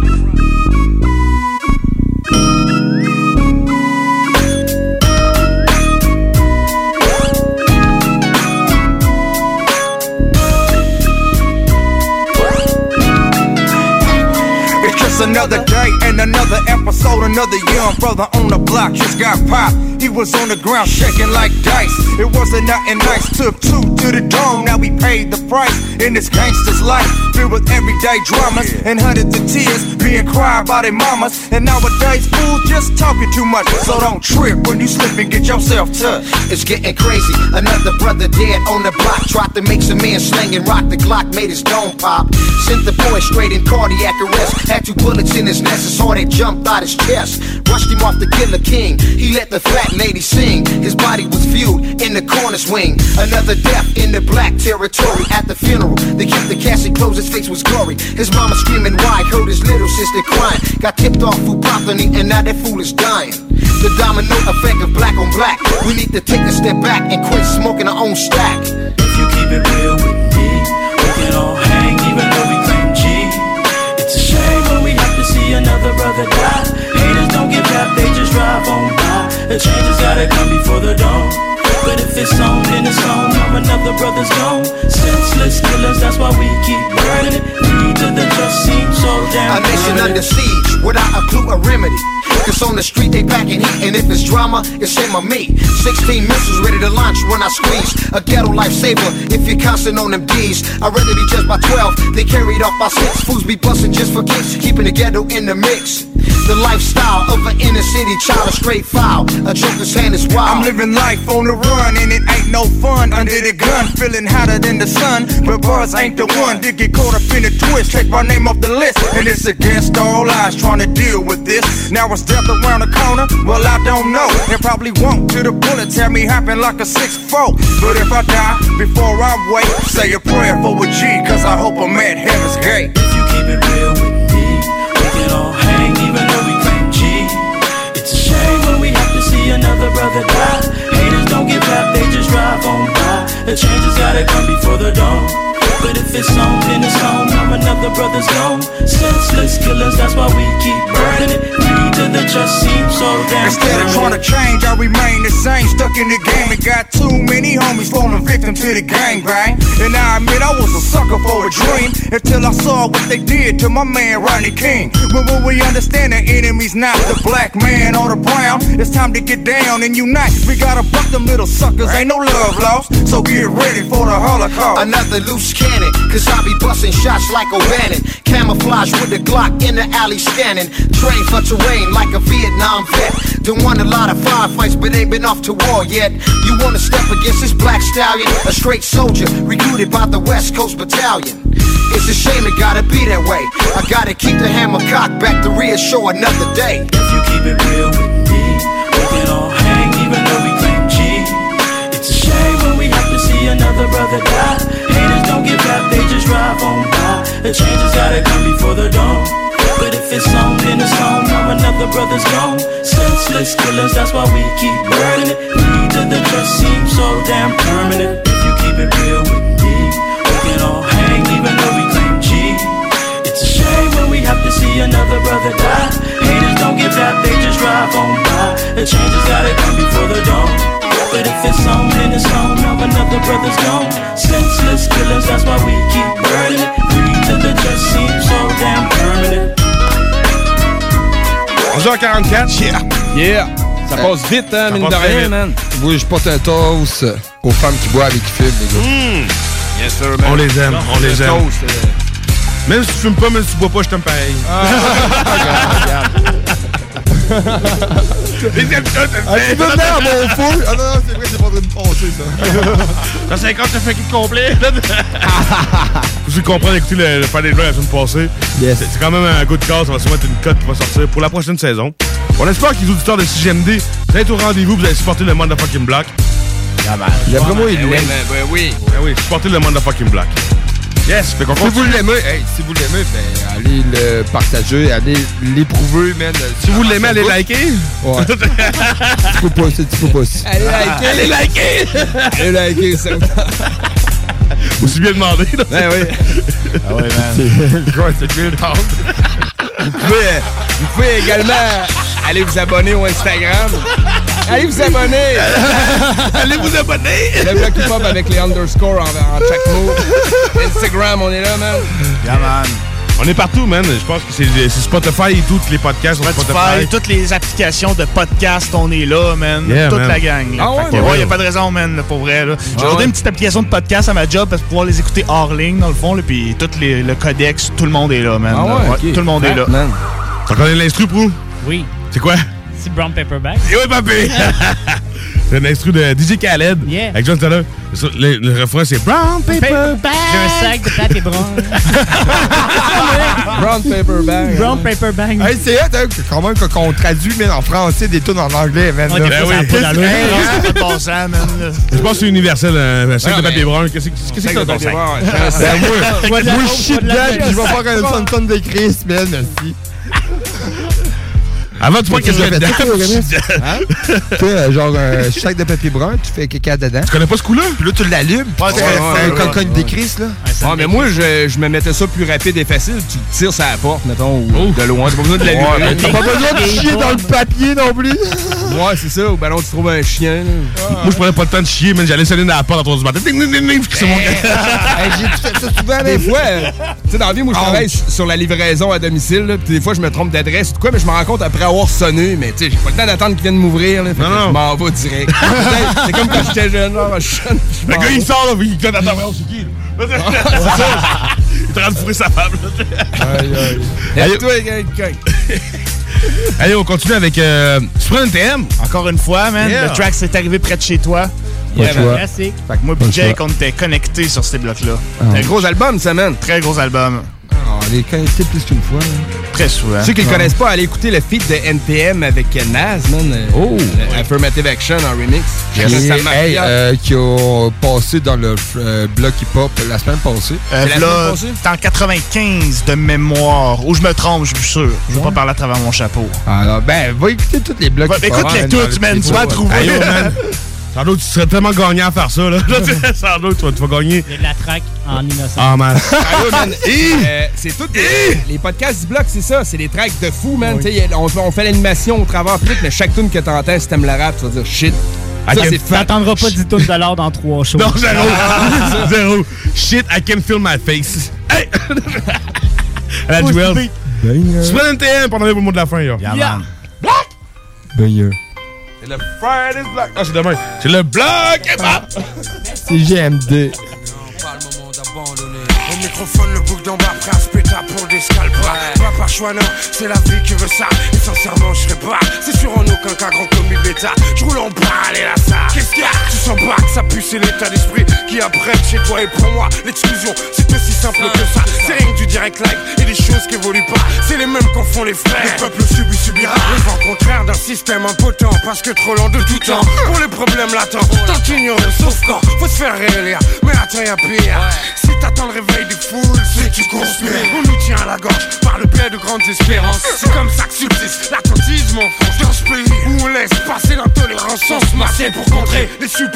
Another day and another episode, another young brother on the block just got popped. He was on the ground shaking like dice. It wasn't nothing nice. Took 2 to the dome, now we paid the price. In this gangster's life, filled with everyday dramas and hundreds of tears being cried by their mamas. And nowadays, fools just talking too much. So don't trip when you slip and get yourself touched. It's getting crazy. Another brother dead on the block. Tried to make some man slang and rock the Glock, made his dome pop. Sent the boy straight in cardiac arrest. Had 2 bullets in his nest, his heart had jumped out his chest. Rushed him off the Killer King. He let the fat lady sing. His body was viewed in the corner swing. Another death in the black territory. At the funeral, they kept the casket closed, his face was gory. His mama screaming why, heard his little sister crying. Got tipped off food property and now that fool is dying. The domino effect of black on black. We need to take a step back and quit smoking our own stack. If you keep it real with me, we can all hang even though we claim G. It's a shame when we have to see another brother die. Haters don't give up, they just drive on by. The change has gotta come before the dawn. But if it's on, then it's on. Now another brother's gone. Senseless killers, that's why we keep burning it. Greed to the just seems so damn. A nation under siege without a clue or remedy. Cause on the street they packing heat, and if it's drama, it's him or me. 16 missiles ready to launch when I squeeze. A ghetto lifesaver if you're constant on them D's. I'd rather be judged by 12, they carried off by 6. Fools be busting just for kicks, keeping the ghetto in the mix. The lifestyle of an inner city child, a straight foul. A joker's hand is wild. I'm living life on the run, and it ain't no fun under the gun. Feeling hotter than the sun, but buzz ain't the one. Did get caught up in a twist, take my name off the list. And it's against all odds trying to deal with this. Now it's death around the corner, well I don't know. It probably won't till the bullet tear me happen like a 6-4. But if I die before I wait, say a prayer for a G, cause I hope I'm at heaven's gate. If you keep it real with me, we can all hang even though we claim G. It's a shame when we have to see another brother die. Haters don't give up, they just drive on by. The change has gotta come before the dawn. But if it's on, then it's on. Now another brother's gone. Senseless killers, that's why we keep burning it. Greed to the just seems so damn. Instead of trying to change, I remain the same. Stuck in the game and got too many homies falling victim to the gangbang. And I admit I was a sucker for a dream until I saw what they did to my man Rodney King. When we understand the enemy's not the black man or the brown, it's time to get down and unite. We gotta buck them little suckers, ain't no love lost. So get ready for the Holocaust. Another loose cannon, cause I be busting shots like O'Bannon. Camouflage with the Glock in the alley scanning. Train for terrain like a Vietnam vet. Done won a lot of firefights but ain't been off to war yet. You wanna step against this black stallion, a straight soldier recruited by the West Coast Battalion. It's a shame it gotta be that way. I gotta keep the hammer cocked back to reassure another day. If you keep it real with me, we can all hang even though we claim G. It's a shame when we have to see another brother die. Haters don't give up, they just drive on by. The change has gotta come before the dawn. But if it's on, then it's on. Now another brother's gone. Senseless killers, that's why we keep burning it. Greed to the trust seems so damn permanent. If you keep it real with me, we can all hang even though we brother die. Haters don't give up, they just drive on by. The change has gotta come before the dawn. But if it's on, then it's on. Now another brother's gone. Senseless killers, that's why we keep burning it. Free till it just seems so damn permanent. 11h44. Yeah. Ça passe vite, hein, mine de rien, man. Oui, je porte un toast aux femmes qui boivent et qui filment, les gars. Yes, sir, man. On les aime, on les aime. Même si tu fumes pas, même si tu bois pas, je t'aime pareil. Tu peux venir à mon fou? Ah non, c'est vrai, c'est pas en train de passer, ça. Dans 50, t'as fait un kit complet. Vous allez comprendre, écoutez le Friday Night la semaine passée. Yes. C'est quand même un good call, ça va sûrement être une cote qui va sortir pour la prochaine saison. On espère que les auditeurs de CGMD, vous êtes au rendez-vous, vous allez supporter le Motherfucking Block. D'après moi, il l'aime. Oui. Oui, supporter le Motherfucking Block. Yes, fait qu'on si vous l'aimez, si vous l'aimez, ben, allez le partager, allez l'éprouver, man. Si vous l'aimez, allez liker. Ouais. Tu peux pas aussi. Allez liker. Allez liker, ça. Aussi bien demandé, là. Ben oui. Ah ouais, man. C'est bien le temps. Vous pouvez également aller vous abonner au Instagram. Allez vous abonner. Allez vous abonner. Le bloc hip-hop avec les underscores en chaque mot. Instagram, on est là, man. Yeah, man. On est partout, man. Je pense que c'est Spotify et tous les podcasts sur Spotify. Toutes les applications de podcast, on est là, man. Yeah, toute man. la gang. Là. Ah ouais, Y a pas de raison, man, là, pour vrai. J'ai ordonné une petite application de podcast à ma job pour pouvoir les écouter hors ligne, dans le fond. Là, puis le codex, tout le monde est là, man. Ah ouais, okay. Tout le monde est là. Man. T'en connais l'instru, Prou? Oui. C'est quoi? C'est Brown Paper Bag. Et oui, papé! C'est un instru de DJ Khaled. Yeah. Avec John Taylor. Le refrain, c'est Brown Paper Bag. J'ai un sac de papier brun. Brown Paper Bag. Brown Paper Bag. Hey, c'est hot, hein, quand même qu'on traduit, mais en français, des tunes en anglais, man. Ouais, Là. Ben oui. C'est pas ça, man. Je pense que c'est universel, un sac de papier brun. Qu'est-ce que c'est que ton sac? Moi, je chie dedans, puis je vais faire un tonne de Chris, man, merci. Avant, tu vois qu'est-ce qu'il y a dedans? Tu sais, genre un sac de papier brun, tu fais caca dedans. Tu connais pas ce coup-là? Puis là, tu l'allumes, puis tu fais un cogne des Chris, là. Ah, mais moi, je me mettais ça plus rapide et facile. Tu tires sur la porte, mettons, ou de loin. T'as pas besoin de l'allumer. T'as pas besoin de chier dans le papier non plus. Ouais, c'est ça. Ou ben non, tu trouves un chien. Moi, je prenais pas le temps de chier, mais j'allais sonner dans la porte à 3 du matin. J'ai fait ça souvent, des fois, tu sais, dans la vie, moi, je travaille sur la livraison à domicile. Là, puis des fois, je me trompe d'adresse ou de quoi, mais je me rends compte après avoir sonné. Mais tu sais, j'ai pas le temps d'attendre qu'ils viennent m'ouvrir. Là, fait que je m'en vais direct. C'est comme quand j'étais jeune. Genre, le gars, il sort, là, il donne à ta main, c'est qui, là? C'est ça. Il est en train de fourrer sa femme, là. Allez, toi, quelqu'un. Allez, on continue avec Super NTM. Encore une fois, man. Yeah. Le track s'est arrivé près de chez toi. Classique. Fait que moi et Jake, on était connectés sur ces blocs-là. C'est un gros album, ça, man. Très gros album. On est connectés plus qu'une fois. Très souvent. Ceux qui ne le connaissent pas, allez écouter le feat de NTM avec Nas, man. Affirmative Action en remix. Qui a passé dans le bloc hip-hop la semaine passée. Là, c'est en 95 de mémoire. Ou je me trompe, je suis sûr. Je vais pas parler à travers mon chapeau. Alors, ben, va écouter tous les blocs hip-hop. Écoute-les toutes, man. Tu vas trouver. Ayo, man. Sans doute, tu serais tellement gagnant à faire ça, là. Sans doute, tu vas gagner. Il y a de la track en innocent. Ah, man. C'est tout. Les podcasts du bloc, c'est ça. C'est des tracks de fou, man. Oui. On fait l'animation au travers de tout, mais chaque tune que t'entends, si t'aimes le rap, tu vas dire shit. Ça, c'est fait. T'attendras pas 10 tonnes $ dans 3 shows. Non, zéro. Zéro. Shit, I can feel my face. Hey! À la duel. Super NTM pour le mot de la fin, yo. Yeah, man. Banger. C'est le Friday's Block. Ah, c'est demain. C'est le bloc hip-hop. C'est GMD. Au microphone, le bouc d'en bas, prêt à se péter pour des scalpras. Pas par choix, non, c'est la vie qui veut ça. Et sincèrement, je serais pas. C'est sûr en aucun cas grand comme une bêta. Je roule en balle et là ça. Qu'est-ce qu'il y a? Tu sens pas que ça pue, c'est l'état d'esprit qui apprête chez toi. Et pour moi, l'exclusion, c'est aussi simple que ça. C'est rien que du direct live et des choses qui évoluent pas. C'est les mêmes qu'en font les frères. Le peuple subira le vent contraire d'un système impotent. Parce que trop lent de tout temps. Pour les problèmes latents, tant ignoré, sauf quand faut se faire réélire. Mais attends, y'a pire. Si t'attends le réveil des foules, c'est que tu conspires. On nous tient à la gorge par le biais de grandes espérances. C'est comme ça que subsiste l'attentisme en France. Dans ce pays où on laisse passer l'intolérance sans se masser pour contrer les suppôts, des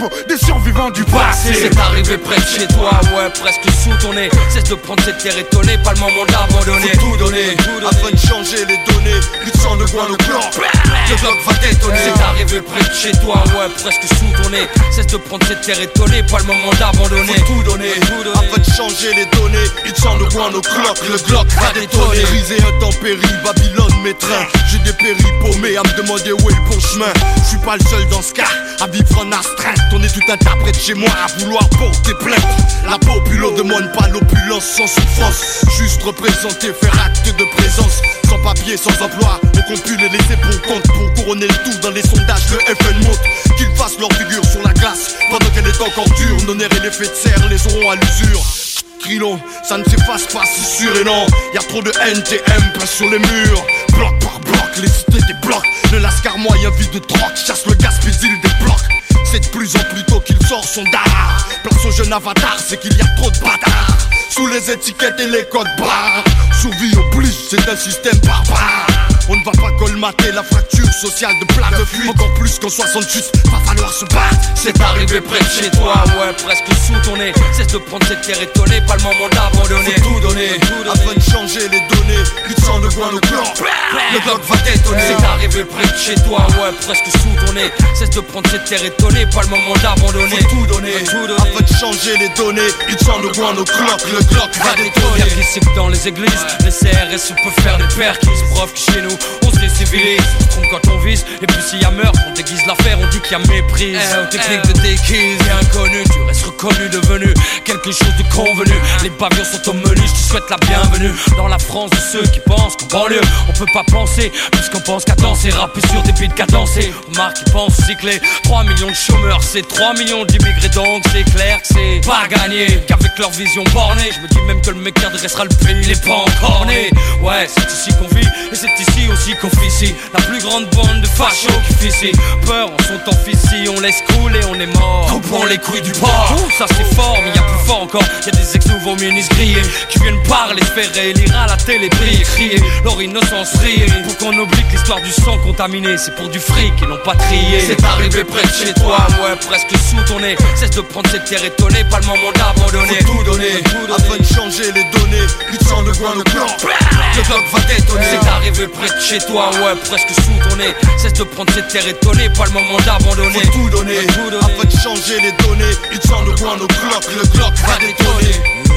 survivant du passé. C'est arrivé près de chez toi, ouais, presque sous ton nez. Cesse de prendre cette terre étonnée, pas le moment d'abandonner. Faut tout donner, afin de changer les données. Plus de sang de guano blanc, le bloc va détonner. C'est arrivé près de chez toi, ouais, presque sous ton nez. Cesse de prendre cette terre étonnée, pas le moment d'abandonner. Faut tout donner, afin de changer les données. Il te sent le guano clock, le Glock va détonner. Brisé intempérie, Babylone mes trains. J'ai des péris paumés à me demander où est le bon chemin. Je suis pas le seul dans ce cas à vivre en astreinte. On est tout un tas près de chez moi à vouloir porter plainte. La populo demande pas l'opulence sans souffrance. Juste représenter, faire acte de présence. Sans papier, sans emploi, on compte plus les laisser pour compte. Pour couronner le tout dans les sondages, le FN monte. Qu'ils fassent leur figure sur la glace pendant qu'elle est encore dure. Nos nerfs et l'effet de serre les auront à l'usure. Krilon, ça ne s'efface pas, c'est sûr et non. Y'a trop de NTM peint sur les murs. Bloc par bloc, les cités débloquent. Le lascar moyen vide de troc, chasse le gaspille des blocs. C'est de plus en plus tôt qu'il sort son dard. Place au jeune avatar, c'est qu'il y a trop de bâtards. Sous les étiquettes et les codes barres. Survie oblige, c'est un système barbare. On ne va pas colmater la fracture sociale de plat de fuite. Encore plus qu'en 68, va falloir se battre. C'est arrivé près de chez toi, ouais, presque sous ton nez. Cesse de prendre cette terre étonnée, pas le moment d'abandonner. Faut tout donner, afin de changer les données. Plus de sang de guano blanc, le bloc va détonner. C'est arrivé près de chez toi, ouais, presque sous ton nez. Cesse de prendre cette terre étonnée, pas le moment d'abandonner. Faut tout donner, afin de changer les données. Il sent le guano clock, le Glock va détonner. Y'a qui que dans les églises, les CRS peuvent faire des perquis. Preuve que chez nous, on se décivilise, on se trompe quand on vise. Et puis s'il y a meurtre, on déguise l'affaire, on dit qu'il y a méprise. Technique de déguise, et inconnu, tu restes reconnu, devenu quelque chose de convenu. Les pavillons sont au menu, je te souhaite la bienvenue. Dans la France de ceux qui pensent qu'en banlieue, on peut pas penser, puisqu'on pense qu'à danser, rapper sur des beats cadencés. Remarque, ils pensent cycler, 3 millions de chômeurs, c'est 3 millions d'immigrés, donc c'est clair que c'est pas gagné. Qu'avec leur vision bornée, je me dis même que le mec qui adressera le pays, il est pas encore né. Ouais, c'est ici qu'on vit, et c'est ici aussi qu'on officie. La plus grande bande de fachos qui fait ses peurs en sont en fissile. On laisse couler, on est mort. Coupons les couilles du porc. Ça c'est fort, mais y'a plus fort encore. Y'a des ex-nouveaux ministres grillés qui viennent parler, faire élire à la télé, briller, crier leur innocence rire. Pour qu'on oublie que l'histoire du sang contaminé, c'est pour du fric et non pas trié. C'est arrivé près de chez toi, ouais, presque sous ton nez. Cesse de prendre cette terre étonnée, pas le moment d'abandonner. Faut tout donner, afin de changer les données. Plus de sang de guano blanc, le bloc va détonner. C'est arrivé près de chez toi, ouais, presque sous ton nez. Cesse de prendre cette terre étonnée, pas le moment d'abandonner. Faut tout donner, afin de changer les données. Plus de sang de guano blanc, le bloc va détonner.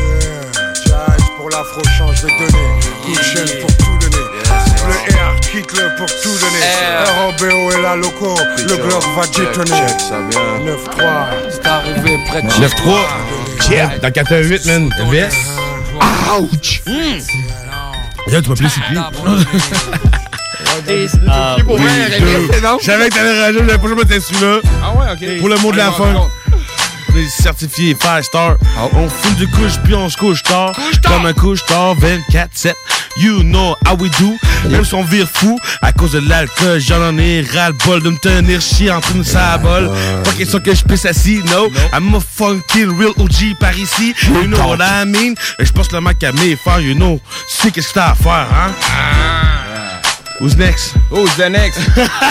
Jazz pour l'afro change, je vais donner. Chaîne pour tout donner. Le R, quitte-le pour tout donner. ROBO est là, loco. Le bloc va détonner. 9-3. C'est arrivé près de chez 9-3. Yeah. Dans 4-8, man. VS. Ouch. Là, tu m'as appelé CP. Je savais que t'allais réagir, j'avais pas joué à celui-là. Ah ouais, ok. Pour le mot de la fin. On est certifié 5 star. On fume du couche puis on se couche tard. Comme un couche tard 24/7. You know how we do. Même si on vire fou à cause de l'alcool, j'en ai ras-le-bol de me tenir chier en train de sabol. Pas question que je pisse assis, no. I'm a funky real OG par ici. You know what I mean? Je passe le mic à mes frères, you know. Tu sais qu'est-ce que t'as à faire, hein? Who's next? Who's the next?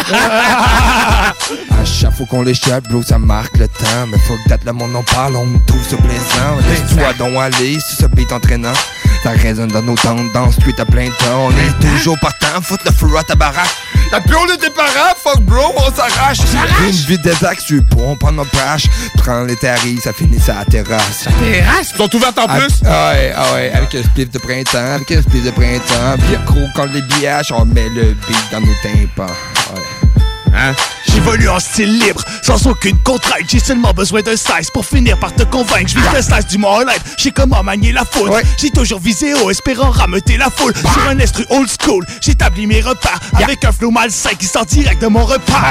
À chaque fois qu'on les chatte, bro, ça marque le temps. Mais faut que date le monde en parle, on me trouve ça plaisant. Laisse-toi donc aller, si ce beat entraînant. Ça résonne dans nos tendances, street à plein temps. On est toujours partant, foutre le feu à ta baraque. La pion de tes parents, fuck bro, on s'arrache. Une vie des axes, tu pompe en opache. Prends les tarifs, ça finit sa terrasse. Sa terrasse? Ils sont ouvertes en plus? Ah ouais, avec un spliff de printemps, avec un spliff de printemps. Puis gros, quand les billages, on met le beat dans nos tympans. Ouais. Hein? J'évolue en style libre, sans aucune contrainte. J'ai seulement besoin d'un slice pour finir par te convaincre. J'vis le slice du More Life, j'sais comment manier la foule. J'ai toujours visé haut, espérant rameuter la foule. Sur un instru old school, j'établis mes repas avec un flow malsain qui sort direct de mon repas.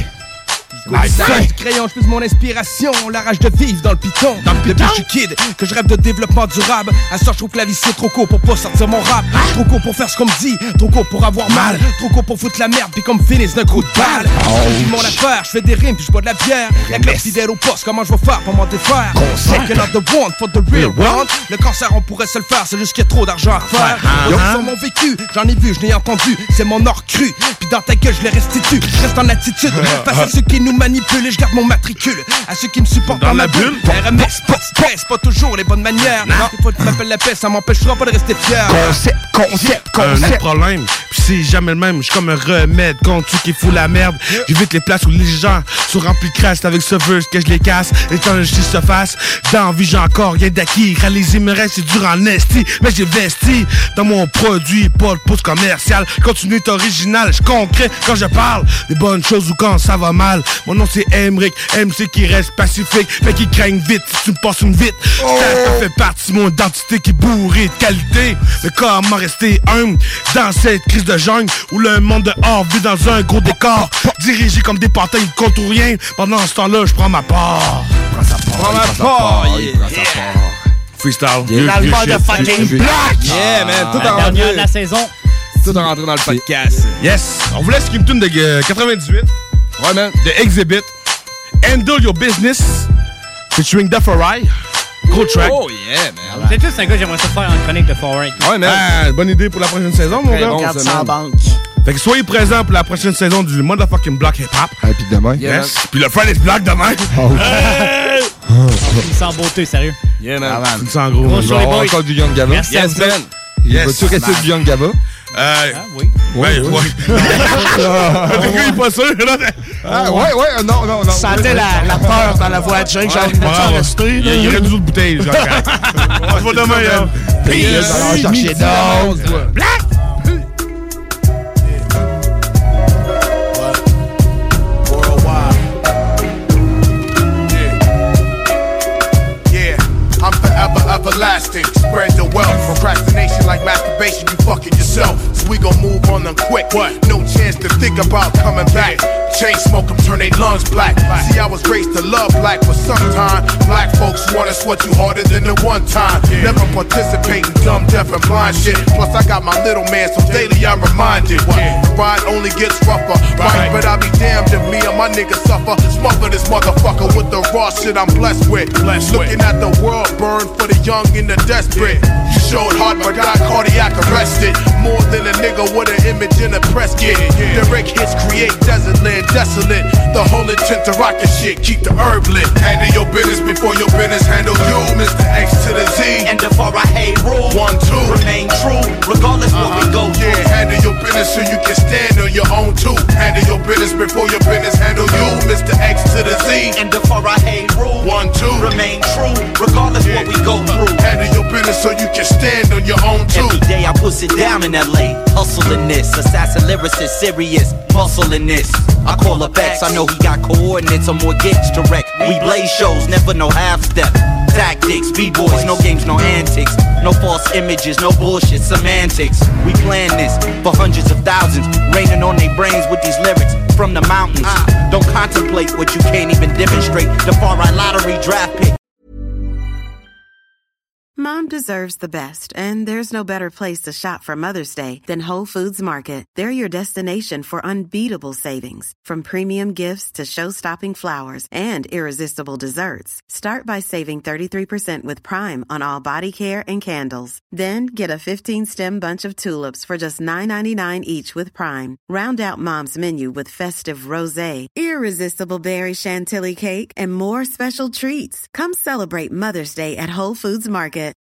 Du crayon, je fais mon inspiration, la rage de vivre dans le piton. Depuis que je suis kid, que je rêve de développement durable. À ça, je trouve que la vie c'est trop court pour pas sortir mon rap. Trop court pour faire ce qu'on me dit, trop court pour avoir mal. Trop court pour foutre la merde, puis comme finisse d'un coup de balle. Je vis mon affaire, je fais des rimes, puis je bois de la bière. Y'a que la fidèle au poste, comment je vais faire pour m'en défaire? Second of the one for the real one. Le cancer, on pourrait se le faire, c'est juste qu'il y a trop d'argent à faire. Yo, sur mon vécu, j'en ai vu, je n'ai entendu. C'est mon or cru, puis dans ta gueule, je les restitue. Je reste en attitude, face à ceux qui nous manipuler, je garde mon matricule. À ceux qui me supportent dans ma bulle. RMS, pas de stress, pas toujours les bonnes manières. Non, des fois tu m'appelles la paix, ça m'empêchera pas de rester fier. Concept. Un autre problème, pis c'est jamais le même. J'suis comme un remède contre ceux qui foutent la merde. J'évite les places où les gens sont remplis de crasse. Avec ce verse que je les casse. Et quand je se fasse, dans vie j'ai encore rien d'acquis. Réaliser me reste, c'est dur en esti. Mais j'ai vesti dans mon produit, pas de pouce commercial. Continue est original, je concret quand je parle des bonnes choses ou quand ça va mal. Mon nom c'est Emric, MC qui reste pacifique, mais qui craigne vite si tu me passes une vite. Ça fait partie de mon identité qui est bourrée de qualité. Mais comment rester humble dans cette crise de jungle où le monde dehors vit dans un gros décor, dirigé comme des pantins contre rien. Pendant ce temps-là, je prends ma part. Prends ma part. Freestyle. L'album de fucking Black. Yeah, man. Tout La dernière de la saison. Tout rentré dans le podcast. Yes. On vous laisse une tune de 98. Ouais, man. De Exhibit. Handle Your Business. Featuring Defarai. Gros track. Oh, yeah, man. C'est juste un gars, j'aimerais ça faire en chronique de Forêt. Ouais, man. Ah, bonne idée pour la prochaine saison, mon gars. 400 banques. Fait que soyez présents pour la prochaine saison du motherfucking Block Hip Hop. Et puis demain. Yes. Puis le Friday's Block demain. Il sent beauté, sérieux. Yeah, man. Il sent gros. On va avoir encore du Young Gaba. Merci à vous. man. Vas-tu rester du Young Gaba? Oui. Ouais. Il est pas sûr, là. Ouais, non. Je sentais la peur dans la voix de Jake. J'ai envie de rester. Il y aurait des autres bouteilles, genre. On se voit demain, là. Peace. Chercher d'autres. Black. I'm forever everlasting. Spread the wealth. Procrastination like masturbation, you fucking yourself. So we gon' move on them quick. No chance to think about coming back. Chain smoke them, turn they lungs black. See, I was raised to love black, but sometimes black folks wanna sweat you harder than the one time. Never participate in dumb, deaf, and blind shit. Plus, I got my little man, so daily I'm reminded. The ride only gets rougher. Right, but I'll be damned if me and my niggas suffer. Smother this motherfucker with the raw shit I'm blessed with. Looking at the world burn for the young and the desperate. You showed heart, but got cardiac arrested. More than a nigga with an image in a press kit. Direct hits create desert land desolate. The whole intent to rock your shit, keep the herb lit. Handle your business before your business handle you. Mr. X to the Z. And before I hate rule, 1, 2. remain true, regardless what we go through. Yeah, handle your business so you can stand on your own too. Handle your business before your business handle you. Mr. X to the Z. And before I hate rule, 1, 2. remain true, regardless what we go through. Handle your business so you can stand on your own too. Every day I push it down in LA, hustling this. Assassin lyricist, serious, muscle in this. I call up X, I know he got coordinates or more gigs to wreck. We blaze shows, never no half step. Tactics, B-boys, no games, no antics. No false images, no bullshit, semantics. We plan this for hundreds of thousands, raining on their brains with these lyrics from the mountains. Don't contemplate what you can't even demonstrate. The far right lottery draft pick. Mom deserves the best, and there's no better place to shop for Mother's Day than Whole Foods Market. They're your destination for unbeatable savings, from premium gifts to show-stopping flowers and irresistible desserts. Start by saving 33% with Prime on all body care and candles. Then get a 15-stem bunch of tulips for just $9.99 each with Prime. Round out Mom's menu with festive rosé, irresistible berry chantilly cake, and more special treats. Come celebrate Mother's Day at Whole Foods Market.